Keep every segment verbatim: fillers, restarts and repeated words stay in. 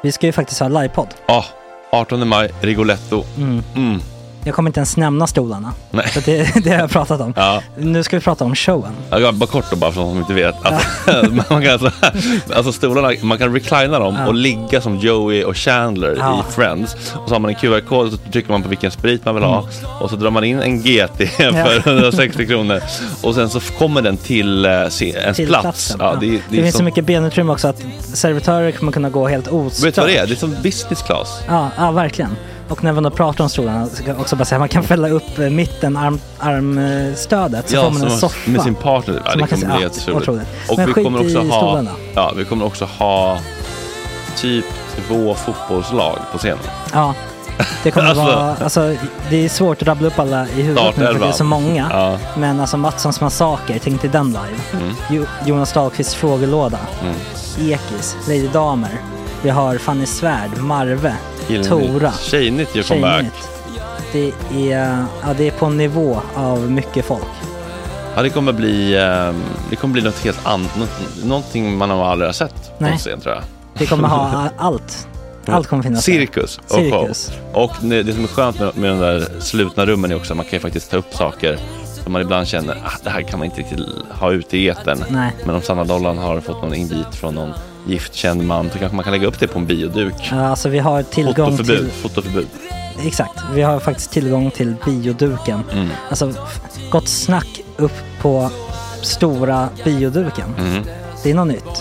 Vi ska ju faktiskt ha livepodd. Ja, artonde maj, Rigoletto. Mm. Mm. Jag kommer inte ens nämna stolarna. Nej. För det, det har jag pratat om. Ja. Nu ska vi prata om showen. Ja, bara kort då, bara för de som inte vet. Alltså, man kan alltså, alltså stolarna, man kan reclina dem ja. och ligga som Joey och Chandler ja. i Friends. Och så har man en Q R-kod och så trycker man på vilken sprit man vill ha. Mm. Och så drar man in en G T för hundrasextio kronor. Och sen så kommer den till uh, ens till plats. Ja, ja. det, det, det finns som... så mycket benutrymme också att servitörer kommer kunna gå helt ostört. Vet du vad det är? Det är som business class. Ja, ja verkligen. Och när man då pratar om stolarna så kan jag också bara säga att man kan fälla upp mitten, arm, armstödet så ja, får man en soffa. Med sin partner. Ja, det kommer bli helt otroligt. Och men vi kommer också ha, stolarna. ja, vi kommer också ha typ två fotbollslag på scenen. Ja, det kommer alltså, vara, alltså det är svårt att rabbla upp alla i huvudet nu för det är så många. Ja. Men alltså Mattssons massaker, tänk till den live. Mm. Jo, Jonas Dahlqvists frågelåda. Mm. Ekis, Lady Damer. Vi har Fanny Svärd, Marve, Gillnytt. Tora. Tjejnytt gör comeback. Det är, ja, det är på en nivå av mycket folk. Ja, det kommer bli, det kommer bli något helt annat. Någonting man har aldrig har sett på scen, tror jag. Det kommer ha allt. Allt kommer finnas. Cirkus och Cirkus. show. Och det som är skönt med, med de där slutna rummen är också att man kan ju faktiskt ta upp saker som man ibland känner att det här kan man inte riktigt ha ute i etern. Nej. Men om Sanna Dollan har fått någon invit från någon giftkänd man så kanske man kan lägga upp det på en bioduk. Ja, alltså vi har tillgång fotoförbud, till... Fotoförbud. Exakt, vi har faktiskt tillgång till bioduken. Mm. Alltså, gott snack upp på stora bioduken. Mm. Det är något nytt.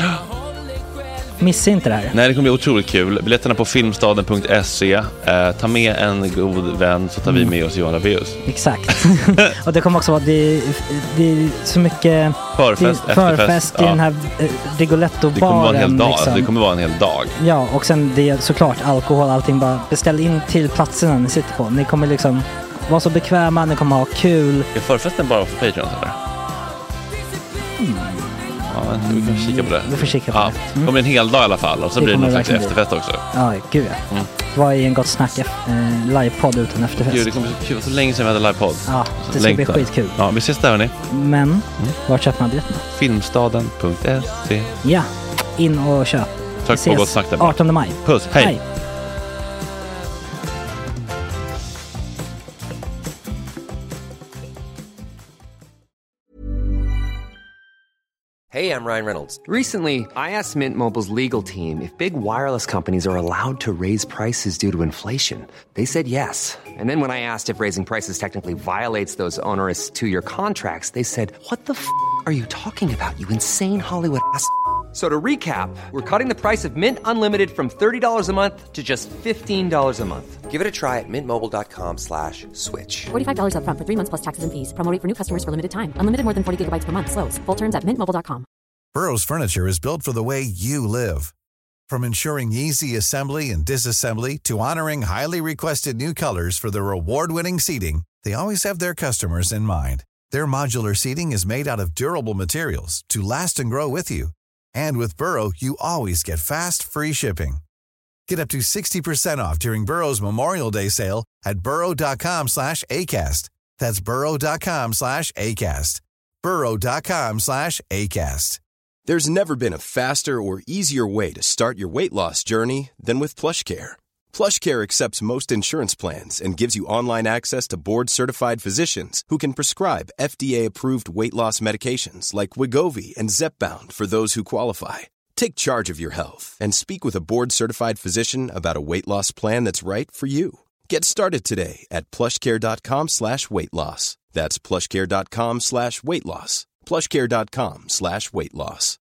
Missa inte det här. Nej, det kommer bli otroligt kul. Biljetterna på filmstaden punkt se. Eh, ta med en god vän så tar mm. vi med oss Johan Rabaeus. Exakt. Och det kommer också vara det, det är så mycket förfest, det, förfest i ja. den här eh, Rigoletto-baren. Det kommer vara en hel dag. Liksom. Det kommer vara en hel dag. Ja, och sen det är såklart alkohol, allting. Bara beställ in till platserna ni sitter på. Ni kommer liksom vara så bekväma, ni kommer ha kul. Är förfesten bara för Patreon eller? Mm. Ja, vi kan kika på det. Vi får kika på ja, det. Mm. Det kommer en hel dag i alla fall. Och så det blir det någon slags efterfest också. Ja, gud ja. Mm. Vad är en gott snack eh, livepodd utan efterfest? Gud, det kommer så kul. Så länge sedan vi hade livepodd. Ja, det ska Längtar. bli skitkul. Ja, vi ses där hörni. Men, mm. var köper man biljetterna? filmstaden punkt se. Ja, in och köp. Tack på gott snack där. artonde maj. Puss, hej. hej. Hey, I'm Ryan Reynolds. Recently, I asked Mint Mobile's legal team if big wireless companies are allowed to raise prices due to inflation. They said yes. And then when I asked if raising prices technically violates those onerous two-year contracts, they said, what the f*** are you talking about, you insane Hollywood ass f- So to recap, we're cutting the price of Mint Unlimited from thirty dollars a month to just fifteen dollars a month. Give it a try at mintmobile.com slash switch. forty-five dollars up front for three months plus taxes and fees. Promo rate for new customers for limited time. Unlimited more than forty gigabytes per month. Slows full terms at mint mobile dot com. Burrow's furniture is built for the way you live. From ensuring easy assembly and disassembly to honoring highly requested new colors for their award-winning seating, they always have their customers in mind. Their modular seating is made out of durable materials to last and grow with you. And with Burrow, you always get fast, free shipping. Get up to sixty percent off during Burrow's Memorial Day sale at burrow.com slash ACAST. That's burrow.com slash ACAST. burrow.com slash ACAST. There's never been a faster or easier way to start your weight loss journey than with PlushCare. PlushCare accepts most insurance plans and gives you online access to board-certified physicians who can prescribe F D A-approved weight loss medications like Wegovy and Zepbound for those who qualify. Take charge of your health and speak with a board-certified physician about a weight loss plan that's right for you. Get started today at plushcare.com slash weight loss. That's plushcare.com slash weight loss. plushcare.com slash weight loss.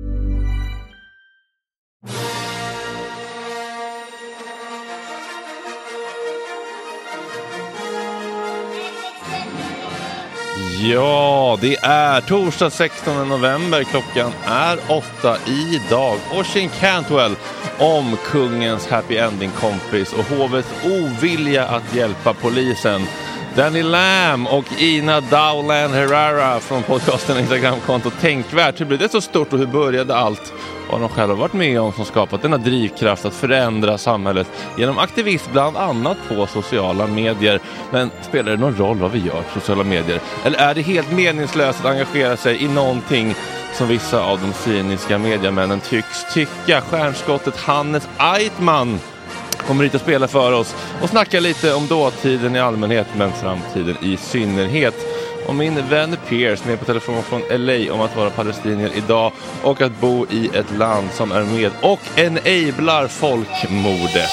Ja, det är torsdag sextonde november. Klockan är åtta idag. Oisin Cantwell om kungens happy ending-kompis och hovets ovilja att hjälpa polisen. Danny Lam och Ina Dowland Herrera från podcasten Instagramkonto Tänkvärt. Hur blev det så stort och hur började allt? Vad de själva varit med om som skapat denna drivkraft att förändra samhället genom aktivism bland annat på sociala medier. Men spelar det någon roll vad vi gör på sociala medier? Eller är det helt meningslöst att engagera sig i någonting som vissa av de cyniska mediamännen tycks tycka. Stjärnskottet Hannes Eitman kommer hit att spela för oss och snacka lite om dåtiden i allmänhet men framtiden i synnerhet. Och min vän Piers med på telefon från L A om att vara palestinier idag och att bo i ett land som är med och enablar folkmordet.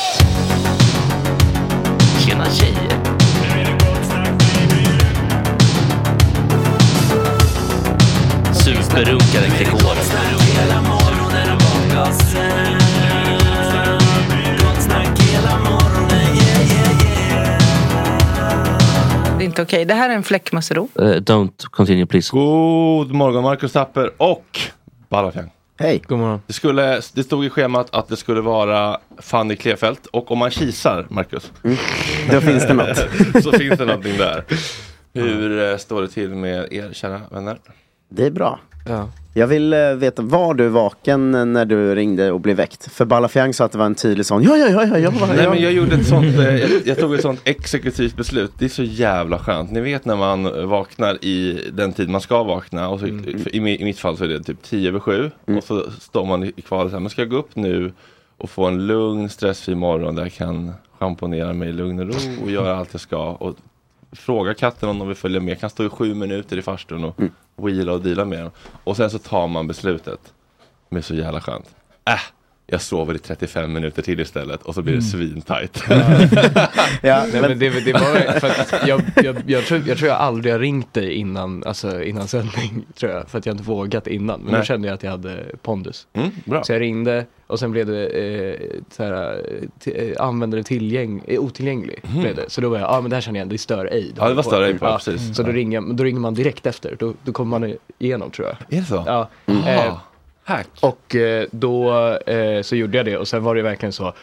Tjena tjejer! Superrunkare Gregoren. Det är inte okej. Det här är en fläckmussero. Uh, don't continue please. God morgon Marcus Tapper och Balafjang. Hej. God morgon. Det, skulle, det stod i schemat att det skulle vara Fanny Klefelt och om man kisar, Marcus. Mm. Då finns det något. Så finns det någonting där. Hur uh, står det till med er kära vänner? Det är bra. Ja. Jag vill uh, veta, var du vaken när du ringde och blev väckt? För Balafjang sa att det var en tydlig sån. Ja, ja, ja, ja, ja. Nej, men jag gjorde ett sånt, uh, jag, jag tog ett sånt exekutivt beslut. Det är så jävla skönt. Ni vet när man vaknar i den tid man ska vakna. Och så, mm. i, I mitt fall så är det typ tio över sju. Mm. Och så står man i kvar och säger, men ska jag gå upp nu och få en lugn, stressfri morgon där jag kan schamponera mig i lugn och ro och göra allt jag ska. Och fråga katten om de vill följa med. Jag kan stå i sju minuter i farstun och mm. wheela och deala med dem. Och sen så tar man beslutet. Det är så jävla skönt. Äh, jag sover i trettiofem minuter till istället. Och så blir det mm. svintajt. Ja. Ja, Nej, men det, det var för att jag, jag, jag, tror, jag tror jag aldrig har ringt dig innan, alltså innan sändning, tror jag. För att jag inte vågat innan. Men då kände jag att jag hade pondus. Mm, bra. Så jag ringde och sen blev det eh, så här, t- användare tillgäng, eh, otillgänglig. Mm. Blev det. Så då var jag, ja ah, men det här känner jag igen, det är stör ej. Ja, det var stör ej på, ja, precis. Så då ringer, då ringer man direkt efter. Då, då kommer man igenom, tror jag. Är det så? Ja. Mm. Eh, Hack. Och eh, då eh, så gjorde jag det och sen var det verkligen så.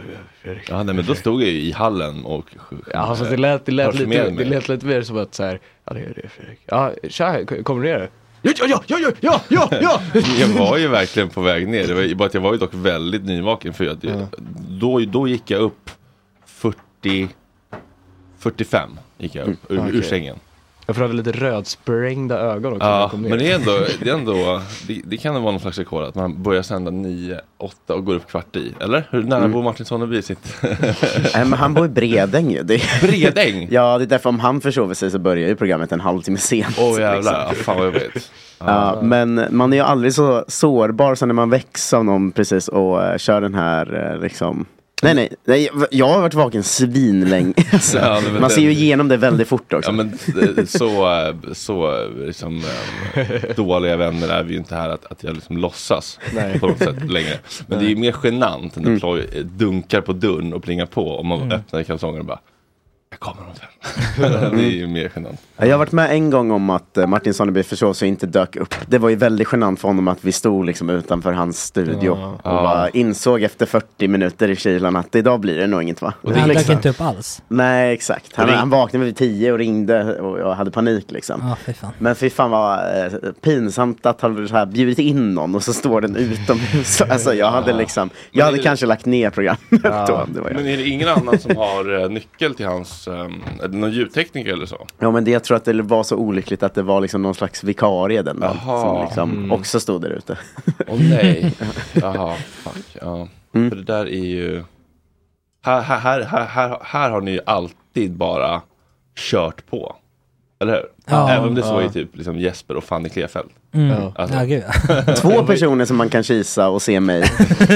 Ja, nej, men då stod jag ju i hallen och ja, alltså det lät det lät lite det lät lite mer som att så här, ja det är det Fredrik. Ja, tja, kommer du ner? Ja ja ja ja ja ja ja. Jag var ju verkligen på väg ner. Det var ju bara att jag var ju dock väldigt nyvaken för att jag, ja. då då gick jag upp fyrtio fyrtiofem gick jag upp mm. ur, okay. ur sängen. Jag får ha lite rödsprängda ögon också. Ja, men det är ändå, det, är ändå det, det kan vara någon slags rekord att man börjar sända nio, åtta och går upp kvart i. Eller? Hur nära mm. bor Martin Sonneby sitt? Nej, men han bor i Bredäng ju. Det är... Bredäng? Ja, det är därför om han försover sig så börjar ju programmet en halvtimme sent. Åh oh, jävlar, liksom. Fan vad jag vet. Ja, ah. Men man är ju aldrig så sårbar som när man väcks av någon precis och uh, kör den här uh, liksom... Nej, nej, nej, jag har varit vaken svinlänge. Alltså, ja, man den, ser ju igenom det väldigt fort också. Ja, men så, så liksom, dåliga vänner är vi ju inte här att, att jag liksom låtsas nej. På något sätt längre. Men nej. Det är ju mer genant än att mm. dunkar på dörren och plingar på om man mm. öppnar kalsonger och bara jag kommer om fem. Det är ju mer genant. Jag har varit med en gång om att Martin Sonneby försåg sig inte dök upp. Det var ju väldigt genant för honom att vi stod liksom utanför hans studio ja. Och ja. Bara insåg efter fyrtio minuter i kylan att idag blir det nog inget va? Och han dök inte upp alls. Nej, exakt. Han, han vaknade vid tio och ringde och jag hade panik liksom. Ja, fy fan. Men fy fan vad eh, pinsamt att han så här bjudit in någon och så står den utomhus. Alltså jag hade liksom, jag hade det... kanske lagt ner programmet ja. Då. Det var jag. Men är det ingen annan som har uh, nyckel till hans, um, är det någon ljudtekniker eller så? Ja, men det, jag tror att det var så olyckligt att det var liksom någon slags vikarie den dagen som liksom mm. också stod där ute. Åh oh, nej. Jaha, fuck. Ja. Mm. För det där är ju här, här, här, här, här har ni ju alltid bara kört på. Eller hur? Ja, även om det så ja. Är typ liksom Jesper och Fanny Klefelt. Mm. Alltså. Ja, gud. Två personer som man kan kisa och se mig.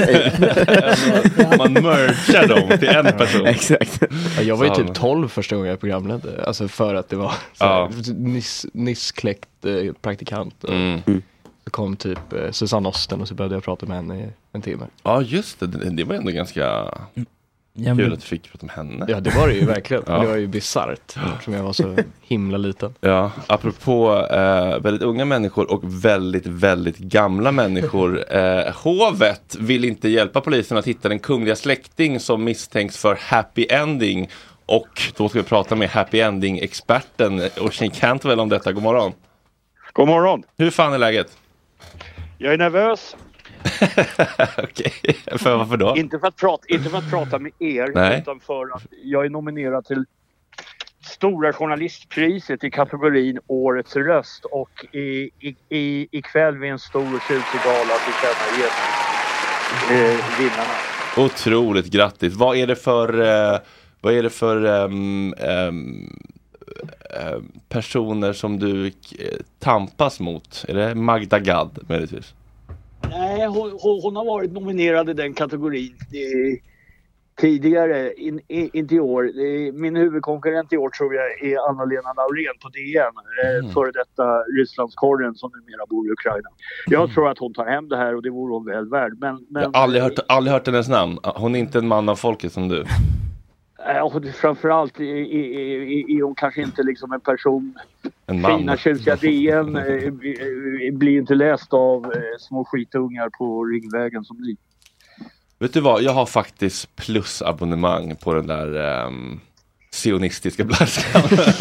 Man mergar dem till en person. Exakt. Ja, jag var ju typ tolv första gången jag programledde. Alltså för att det var så här, ja. nyss, nyss kläckt eh, praktikant. Och mm. så kom typ eh, Susanne Osten och så började jag prata med henne i en timme. Ja, just det. Det, det var ändå ganska... Ja, men... kul att du fick prata med henne. Ja, det var det ju verkligen. Ja. Det var ju bizarrt som jag var så himla liten. Ja, apropå eh, väldigt unga människor och väldigt, väldigt gamla människor. Eh, hovet vill inte hjälpa polisen att hitta den kungliga släkting som misstänks för happy ending. Och då ska vi prata med happy ending-experten Oisin Cantwell om detta. God morgon. God morgon. Hur fan är läget? Jag är nervös. Okej, för varför då? Inte för att prata, inte för att prata med er, Nej. utan för att jag är nominerad till Stora journalistpriset i kategorin Årets röst, och i, i, i, ikväll vid en stor och tjusig gala tillkännager eh, vinnarna. Otroligt grattis. Vad är det för eh, vad är det för um, um, um, personer som du tampas mot? Är det Magda Gad möjligtvis? Nej, hon, hon har varit nominerad i den kategorin i, tidigare, in, in, inte i år. Min huvudkonkurrent i år tror jag är Anna-Lena Laurén på D N, mm. före detta Rysslandskorren som numera bor i Ukraina. Jag mm. tror att hon tar hem det här, och det vore hon väl värd. Men, men, jag har aldrig hört, aldrig hört hennes namn. Hon är inte en man av folket som du. Och framförallt är hon kanske inte liksom en person. En man. Fina tjusiga D N blir inte läst av små skitungar på Ringvägen som ni. Vet du vad, jag har faktiskt plusabonnemang på den där um, sionistiska blaskan.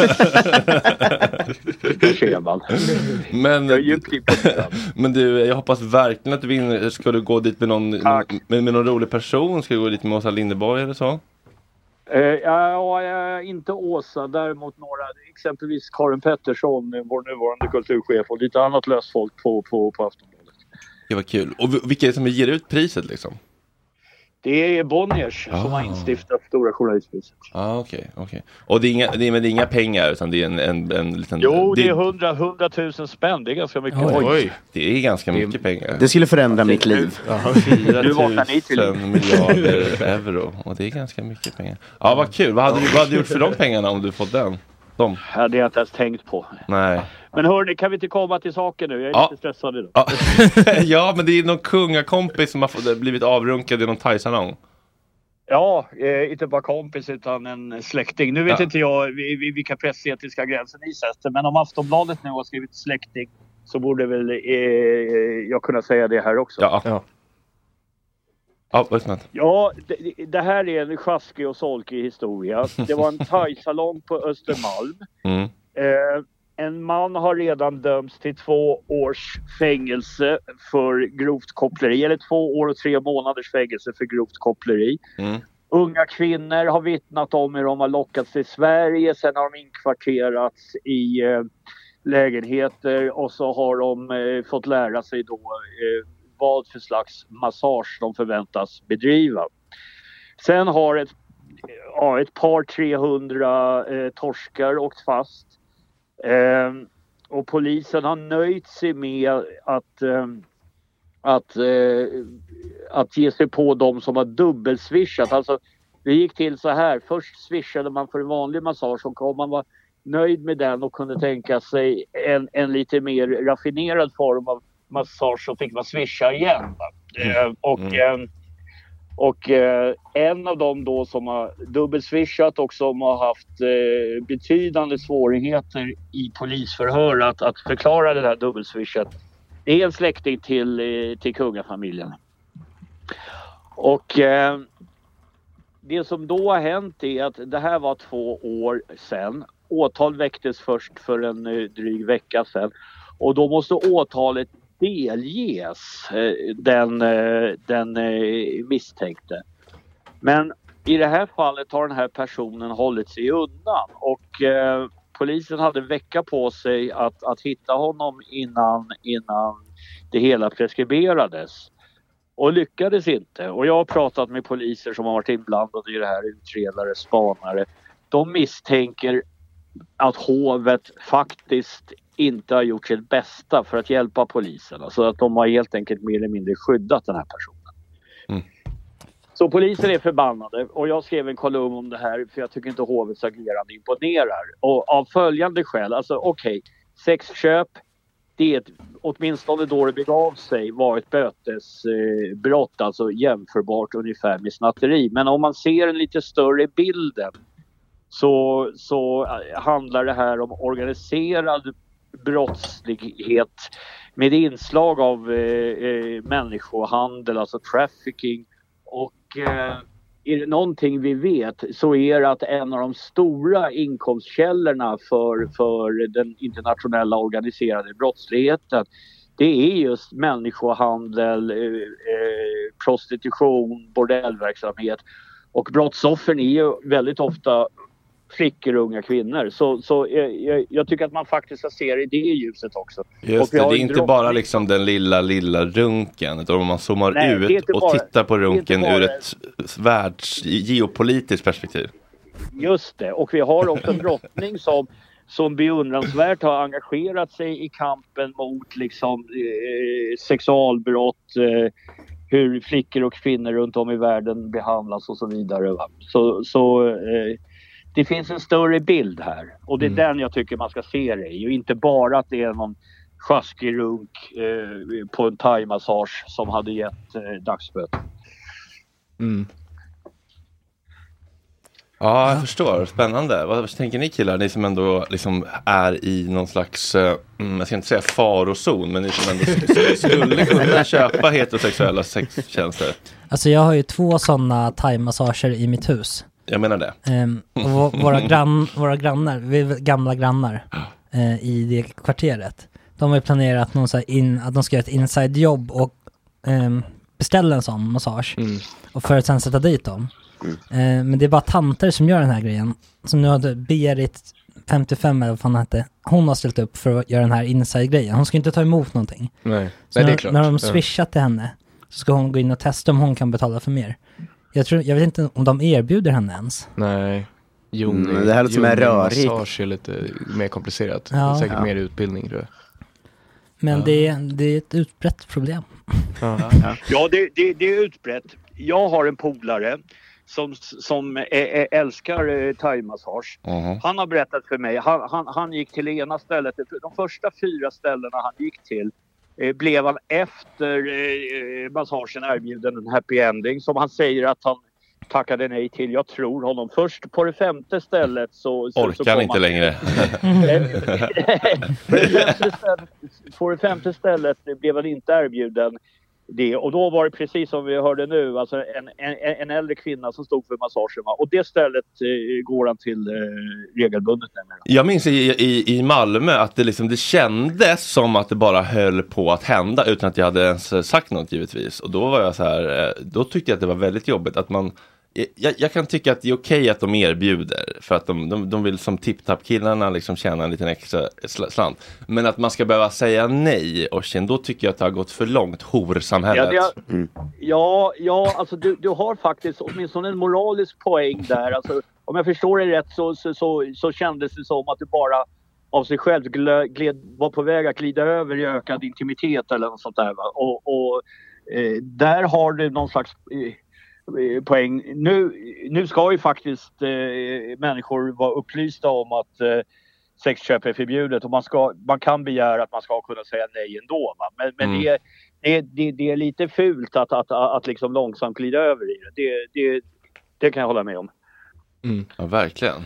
men, men du, jag hoppas verkligen att du vinner. Ska du gå dit med någon, med, med någon rolig person? Ska du gå dit med Åsa Linderborg eller så? Uh, ja, ja, inte Åsa, däremot några, exempelvis Karin Pettersson, vår nuvarande kulturchef, och lite annat löst folk på, på, på Aftonbladet. Det var kul. Och vilka är det som ger ut priset liksom? Det är Bonniers ah. som har instiftat Stora journalistpriset. Ja, ah, okej, okay, okay. Och det är, inga, det, är, men det är inga pengar, utan det är en, en, en liten... Jo, det är hundra, hundratusen spänn, det är ganska mycket. Oj, Oj. Det är ganska det, mycket pengar. Det skulle förändra alltså, mitt liv. fyra tusen miljarder euro, och det är ganska mycket pengar. Ja, vad kul. Vad hade du, vad hade du gjort för de pengarna om du fått den? De. Ja, det har jag inte ens tänkt på. Nej. Men hörni, kan vi inte komma till saken nu? Jag är ja. lite stressad idag. Ja. ja, men det är någon kungakompis som har blivit avrunkad i någon thaisalong. Ja, eh, inte bara kompis utan en släkting. Nu vet ja. inte jag vilka pressetiska gränser ni sätter, men om Aftonbladet nu har skrivit släkting så borde väl eh, jag kunna säga det här också. Ja, ja. Ja, vad är ja det, det här är en sjaskig och solkig historia. Det var en thaisalong på Östermalm. Mm. Eh, en man har redan dömts till två års fängelse för grovt koppleri. Eller två år och tre månaders fängelse för grovt koppleri. Mm. Unga kvinnor har vittnat om hur de har lockats till Sverige. Sen har de inkvarterats i eh, lägenheter. Och så har de eh, fått lära sig då eh, vad för slags massage de förväntas bedriva. Sen har ett, ja, ett par trehundra eh, torskar åkt fast. Eh, och polisen har nöjt sig med att, eh, att, eh, att ge sig på de som har dubbelswishat. Alltså, det gick till så här. Först swishade man för en vanlig massage, och om man var nöjd med den och kunde tänka sig en, en lite mer raffinerad form av massage, så fick man swisha igen. Eh, och mm. eh, och eh, en av dem då som har dubbelswishat och som har haft eh, betydande svårigheter i polisförhör att, att förklara det här dubbelswishat, det är en släkting till, eh, till kungafamiljen. Och eh, det som då har hänt är att det här var två år sedan. Åtal väcktes först för en eh, dryg vecka sedan. Och då måste åtalet delges eh, den, eh, den eh, misstänkte. Men i det här fallet har den här personen hållit sig undan. Och eh, polisen hade en vecka på sig att, att hitta honom innan, innan det hela preskriberades. Och lyckades inte. Och jag har pratat med poliser som har varit inblandade i det här, utredare, spanare. De misstänker att hovet faktiskt inte har gjort sitt bästa för att hjälpa polisen. Alltså att de har helt enkelt mer eller mindre skyddat den här personen. Mm. Så polisen är förbannade. Och jag skrev en kolumn om det här, för jag tycker inte hovets agerande imponerar. Och av följande skäl, alltså okej, okay, sexköp, det är ett, åtminstone då det begav sig, var ett bötesbrott, eh, alltså jämförbart ungefär med snatteri. Men om man ser en lite större bilden, så, så handlar det här om organiserad brottslighet med inslag av eh, eh, människohandel, alltså trafficking. Och eh, är det någonting vi vet, så är det att en av de stora inkomstkällorna för, för den internationella organiserade brottsligheten, det är just människohandel, eh, eh, prostitution, bordellverksamhet. Och brottsoffren är ju väldigt ofta flickor och unga kvinnor. Så, så jag, jag tycker att man faktiskt ska se det i det ljuset också. Just det, det är inte bara liksom den lilla, lilla runken. Utan om man zoomar Nej, ut och bara, tittar på runken ur ett världs geopolitiskt perspektiv. Just det, och vi har också en drottning som, som beundransvärt har engagerat sig i kampen mot liksom, eh, sexualbrott, eh, hur flickor och kvinnor runt om i världen behandlas och så vidare. Va? Så, så eh, det finns en större bild här. Och det är mm. den jag tycker man ska se det i. Och inte bara att det är någon sjaskig runk eh, på en thai-massage som hade gett eh, dagsböter. Mm. Ja, jag förstår. Spännande. Vad tänker ni killar? Ni som ändå liksom är i någon slags, mm, jag ska inte säga farozon, men ni som ändå skulle kunna köpa heterosexuella sextjänster. Alltså jag har ju två sådana thai-massager i mitt hus. Jag menar det. Ehm, och våra, grann, våra grannar, vi är gamla grannar eh, i det kvarteret. De har ju planerat någon så här in, att de ska göra ett inside-jobb och eh, beställa en sån massage. Mm. Och för att sen sätta dit dem. Mm. Eh, men det är bara tanter som gör den här grejen. Som nu hade Berit femtiofem eller vad fan hette. Hon har ställt upp för att göra den här inside-grejen. Hon ska inte ta emot någonting. Nej, så Nej det är klart. När de swishat till henne så ska hon gå in och testa om hon kan betala för mer. Jag, tror, jag vet inte om de erbjuder henne ens. Nej. Jon, mm, det här låter som är rörigt. Massage är lite mer komplicerat. Ja. Det är säkert ja. mer utbildning, tror jag. Men ja. det, är, det är ett utbrett problem. Ja, ja. ja det, det, det är utbrett. Jag har en polare som, som är, är, älskar thai-massage. Uh-huh. Han har berättat för mig. Han, han, han gick till ena stället. De första fyra ställena han gick till eh, blev han efter eh, massagen erbjuden en happy ending. Som han säger att han tackade nej till. Jag tror honom. Först på det femte stället så... så Orkar så han inte han... längre. på, det femte stället, på det femte stället blev han inte erbjuden det. Och då var det precis som vi hörde nu. Alltså en, en, en äldre kvinna som stod för massagen. Och det stället eh, går han till eh, regelbundet. Nämligen. Jag minns i, i, i Malmö att det, liksom, det kändes som att det bara höll på att hända utan att jag hade ens sagt något givetvis. Och då var jag så här, då tyckte jag att det var väldigt jobbigt att man... Jag, jag kan tycka att det är okej att de erbjuder för att de, de, de vill som tipptapp-killarna liksom tjäna en liten extra slant. Men att man ska behöva säga nej och sen då tycker jag att det har gått för långt horsamhället. Ja, det, mm. ja, ja alltså du, du har faktiskt åtminstone en moralisk poäng där. Alltså, om jag förstår det rätt så, så, så, så kändes det som att du bara av sig själv gled, gled, var på väg att glida över i ökad intimitet eller något sånt där. Va? Och, och eh, där har du någon slags... Eh, poäng. Nu, nu ska ju faktiskt eh, människor vara upplysta om att eh, sexköp är förbjudet och man, ska, man kan begära att man ska kunna säga nej ändå. Va? Men, men mm. det, det, det, det är lite fult att, att, att, att liksom långsamt glida över i det. Det, det. det kan jag hålla med om. Mm. Ja, verkligen.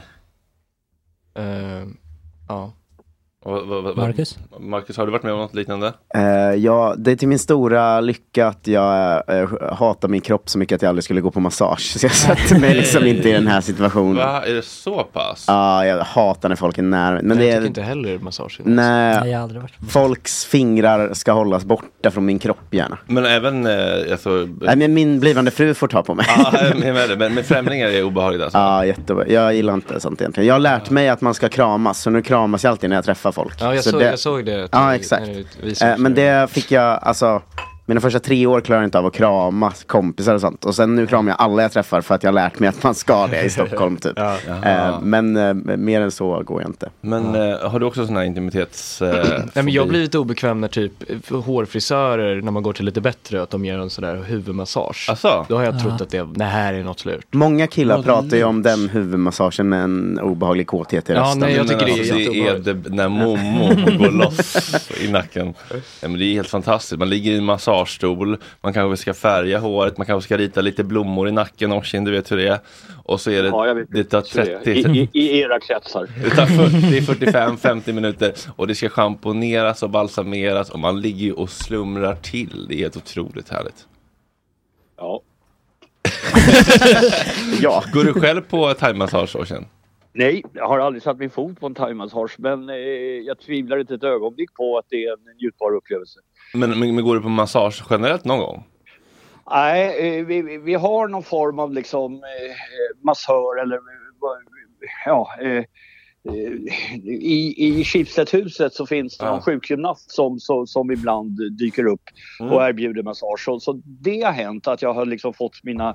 Uh, ja. Och, vad, vad, Marcus? Marcus, har du varit med om något liknande? Uh, ja, det är till min stora lycka att jag uh, hatar min kropp så mycket att jag aldrig skulle gå på massage. Så jag sätter mig liksom inte i den här situationen. Va? Är det så pass? Ja, uh, jag hatar när folk är nära. Men jag det är tycker inte heller massage. Nej, Nej, jag har aldrig varit. Folks fingrar ska hållas borta från min kropp gärna. Men även... Uh, alltså, Nej, men min blivande fru får ta på mig. Ja, men, men, men främlingar är obehagligt alltså. Ja, jättebra. Jag gillar inte sånt egentligen. Jag har lärt mig att man ska kramas. Så nu kramas jag alltid när jag träffar folk. Ja, jag, så såg, det, jag såg det. Ja, exakt. Eh, men det fick jag, alltså, mina första tre år klarade jag inte av att krama kompisar och sånt. Och sen nu kramar jag alla jag träffar för att jag har lärt mig att man ska det i Stockholm typ. Ja, eh, men eh, mer än så går jag inte. Men eh, har du också sån här intimitets... Eh, Nej, men jag blir lite obekväm när typ hårfrisörer, när man går till lite bättre, att de gör en sån där huvudmassage. Asså? Då har jag trott att det, det här är något slut. Många killar något pratar ju om den huvudmassagen med en obehaglig kåthet i rösten. Ja, nej, jag tycker men, det är alltså, jätteobehagligt. Det är det när Momo går loss i nacken. Ja, men det är helt fantastiskt. Man ligger i en massagestol. Man kanske ska färga håret, man kanske ska rita lite blommor i nacken och du vet hur det är. Och så är det, ja, vet, det tar trettio... I, i, I era kretsar. Det tar fyrtio, fyrtiofem, femtio minuter och det ska schamponeras och balsameras och man ligger ju och slumrar till. Det är helt otroligt härligt. Ja. Ja. Går du själv på thai-massage och sen? Nej, jag har aldrig satt min fot på en thai-massage, men eh, jag tvivlar inte ett ögonblick på att det är en njutbar upplevelse. Men, men, men går du på massage generellt någon gång? Nej, eh, vi, vi har någon form av liksom eh, massör eller ja, eh, i, i Schibsted-huset så finns det ja. en sjukgymnast som, som, som ibland dyker upp mm. och erbjuder massage. Så, så det har hänt att jag har liksom fått mina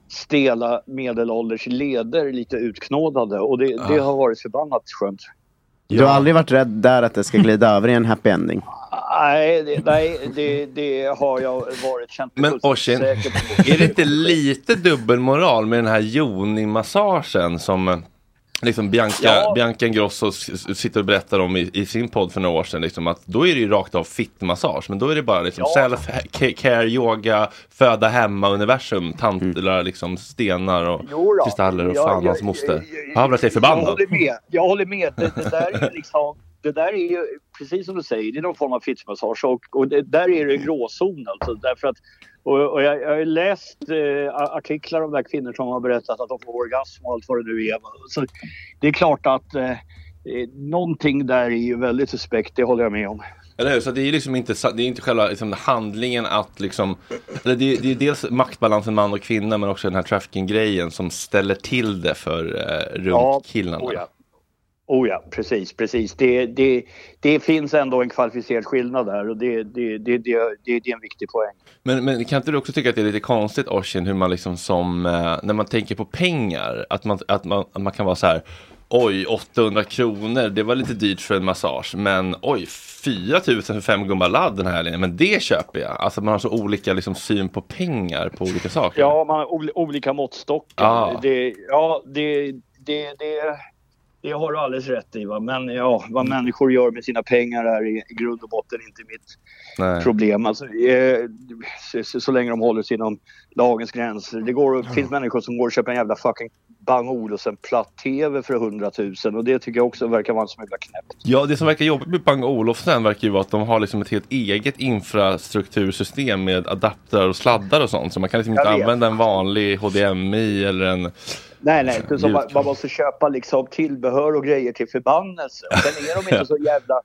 stela medelålders leder lite utknådade och det, ja. det har varit förbannat skönt. Du har aldrig varit rädd där att det ska glida över i en happy ending? Nej, det, nej det, det har jag varit känt. Men Oisin, är det inte lite dubbelmoral med den här Joni-massagen som liksom Bianca, ja. Bianca Ingrosso sitter och berättar om i, i sin podd för några år sedan liksom, att då är det ju rakt av fit-massage, men då är det bara liksom ja. self-care, yoga, föda hemma, universum, tantlar, mm. liksom stenar och kristaller och ja, fan hans moster. Jag har blivit förbannad. Jag håller med, jag håller med. Det, det där är liksom, det där är ju, precis som du säger, det är någon form av fit-massage och, och det, där är det en gråzon alltså, därför att Och, och jag, jag har läst eh, artiklar om de där kvinnor som har berättat att de får orgasm och allt vad det nu är. Så det är klart att eh, någonting där är ju väldigt suspekt, det håller jag med om. Eller hur? Så det är liksom inte, det är inte själva liksom, handlingen att liksom, eller det, det är dels maktbalansen man och kvinna men också den här trafficking-grejen som ställer till det för eh, runt ja, killarna. Oh ja. Oh ja, precis, precis. Det, det, det finns ändå en kvalificerad skillnad där och det, det, det, det, det, det är en viktig poäng. Men, men kan inte du också tycka att det är lite konstigt, Oisin, hur man liksom som, när man tänker på pengar, att man, att man, att man kan vara så här, oj, åttahundra kronor, det var lite dyrt för en massage, men oj, fyra tusen för fem gumma ladd den här linjen, men det köper jag. Alltså man har så olika liksom, syn på pengar på olika saker. Ja, man har ol- olika måttstockar. Ah. Det, ja, det, det, det Det har du alldeles rätt i, va? Men ja, vad mm. människor gör med sina pengar är i, i grund och botten inte mitt Nej. problem. Alltså, eh, så, så länge de håller sig inom lagens gränser. Det går, mm. finns människor som går och köper en jävla fucking Bang Olufsen platt-tv för hundratusen och det tycker jag också verkar vara en som jävla knäppt. Ja, det som verkar jobbigt med Bang Olufsen verkar ju vara att de har liksom ett helt eget infrastruktursystem med adaptrar och sladdar och sånt, så man kan liksom inte använda en vanlig H D M I eller en... Nej, nej, det är som man, man måste köpa liksom tillbehör och grejer till förbannelse. Och sen är de inte så jävla...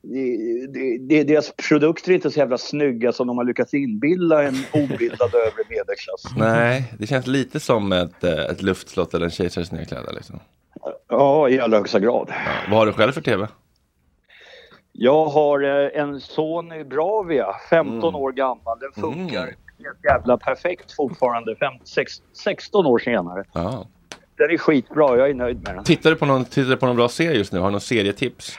Det, det, deras produkter är inte så jävla snygga som de har lyckats inbilda en obildad övre medelklass. Nej, det känns lite som ett, ett luftslott eller en kejsares nya kläder liksom. Ja, i allra högsta grad. Ja, vad har du själv för tv? Jag har en Sony Bravia, femton mm. år gammal. Den funkar mm. helt jävla perfekt fortfarande, fem, sex, sexton år senare. Ja. Den är skitbra, jag är nöjd med den. Tittar du på någon, tittar du på någon bra serie just nu? Har du någon serietips?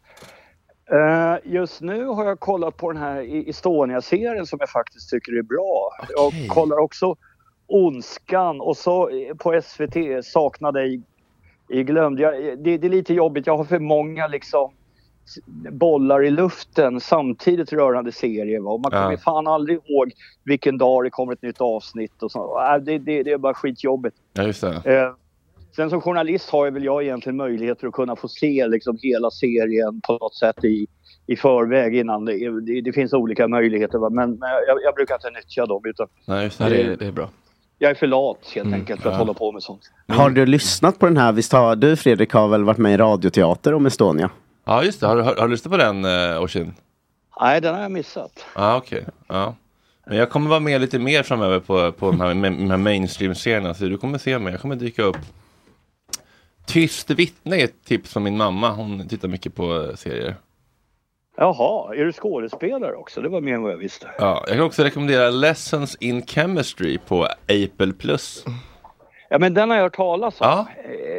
Uh, just nu har jag kollat på den här Estonia-serien som jag faktiskt tycker är bra. Okay. Jag kollar också Ondskan och så på S V T Saknade i, i glömd. Jag, det, det är lite jobbigt, jag har för många liksom bollar i luften samtidigt rörande serier. Va? Man kommer ja. fan aldrig ihåg vilken dag det kommer ett nytt avsnitt och så. Uh, det, det, det är bara skitjobbigt. Ja, just det. Uh, Sen som journalist har jag väl jag egentligen möjligheter att kunna få se liksom hela serien på något sätt i, i förväg innan. Det, det, det finns olika möjligheter, va? men, men jag, jag brukar inte nyttja dem. Utan Nej, just det, det, det är bra. Jag är för lat helt mm, enkelt för att ja. hålla på med sånt. Mm. Har du lyssnat på den här? Visst har du, Fredrik, har väl varit med i radioteater om Estonia? Ja, just det. Har, har, har du lyssnat på den, uh, Oisin? Nej, den har jag missat. Ja, ah, okej. Okay. Ja. Men jag kommer vara med lite mer framöver på, på de här, de här mainstream-serierna. Så du kommer se mig. Jag kommer dyka upp. Tyst vittne är ett tips från min mamma. Hon tittar mycket på serier. Jaha, är du skådespelare också? Det var mer än vad jag visste. Ja, jag kan också rekommendera Lessons in Chemistry på Apple Plus. Ja, men den har jag hört talas om. Ja.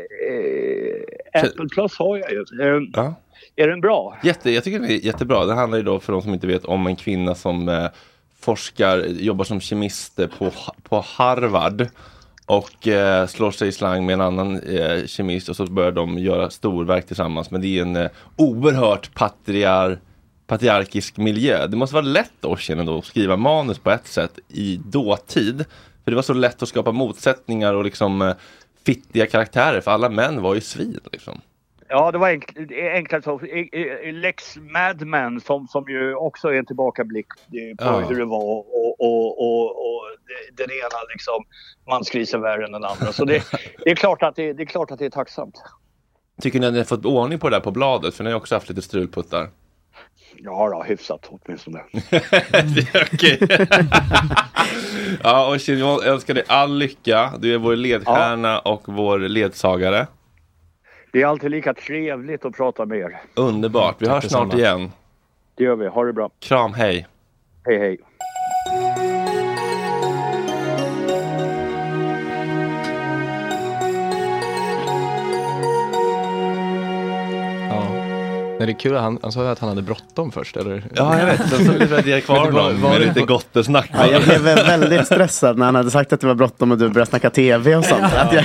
Eh, Apple Plus har jag ju. Eh, ja. Är den bra? Jätte, jag tycker den är jättebra. Det handlar ju då, för de som inte vet, om en kvinna som eh, forskar, jobbar som kemist på, på Harvard. Och eh, slår sig i slang med en annan eh, kemist och så börjar de göra storverk tillsammans. Men det är en eh, oerhört patriar, patriarkisk miljö. Det måste vara lätt Oisin då att skriva manus på ett sätt i dåtid. För det var så lätt att skapa motsättningar och liksom eh, fittiga karaktärer. För alla män var ju svin liksom. Ja, det var enk- enklare så. Lex Mad Men som, som ju också är en tillbakablick på ja. hur det var och, och, och, och den ena liksom mansgrisen värre än den andra. Så det, det, är klart att det, det är klart att det är tacksamt. Tycker ni att ni har fått ordning på det där på bladet? För ni har också haft lite strulputtar. Ja då, hyfsat åtminstone. Okej. Ja, och jag önskar dig all lycka. Du är vår ledstjärna ja. och vår ledsagare. Det är alltid lika trevligt att prata med er. Underbart, vi hörs snart igen. Det gör vi, ha det bra. Kram, hej. Hej, hej. Men det är kul, han, han sa att han hade bråttom först, eller? Ja, jag vet, så ville jag kvar honom med lite gott snack. Ja, jag blev väldigt stressad när han hade sagt att det var bråttom och du började snacka tv och sånt. Ja. Att jag...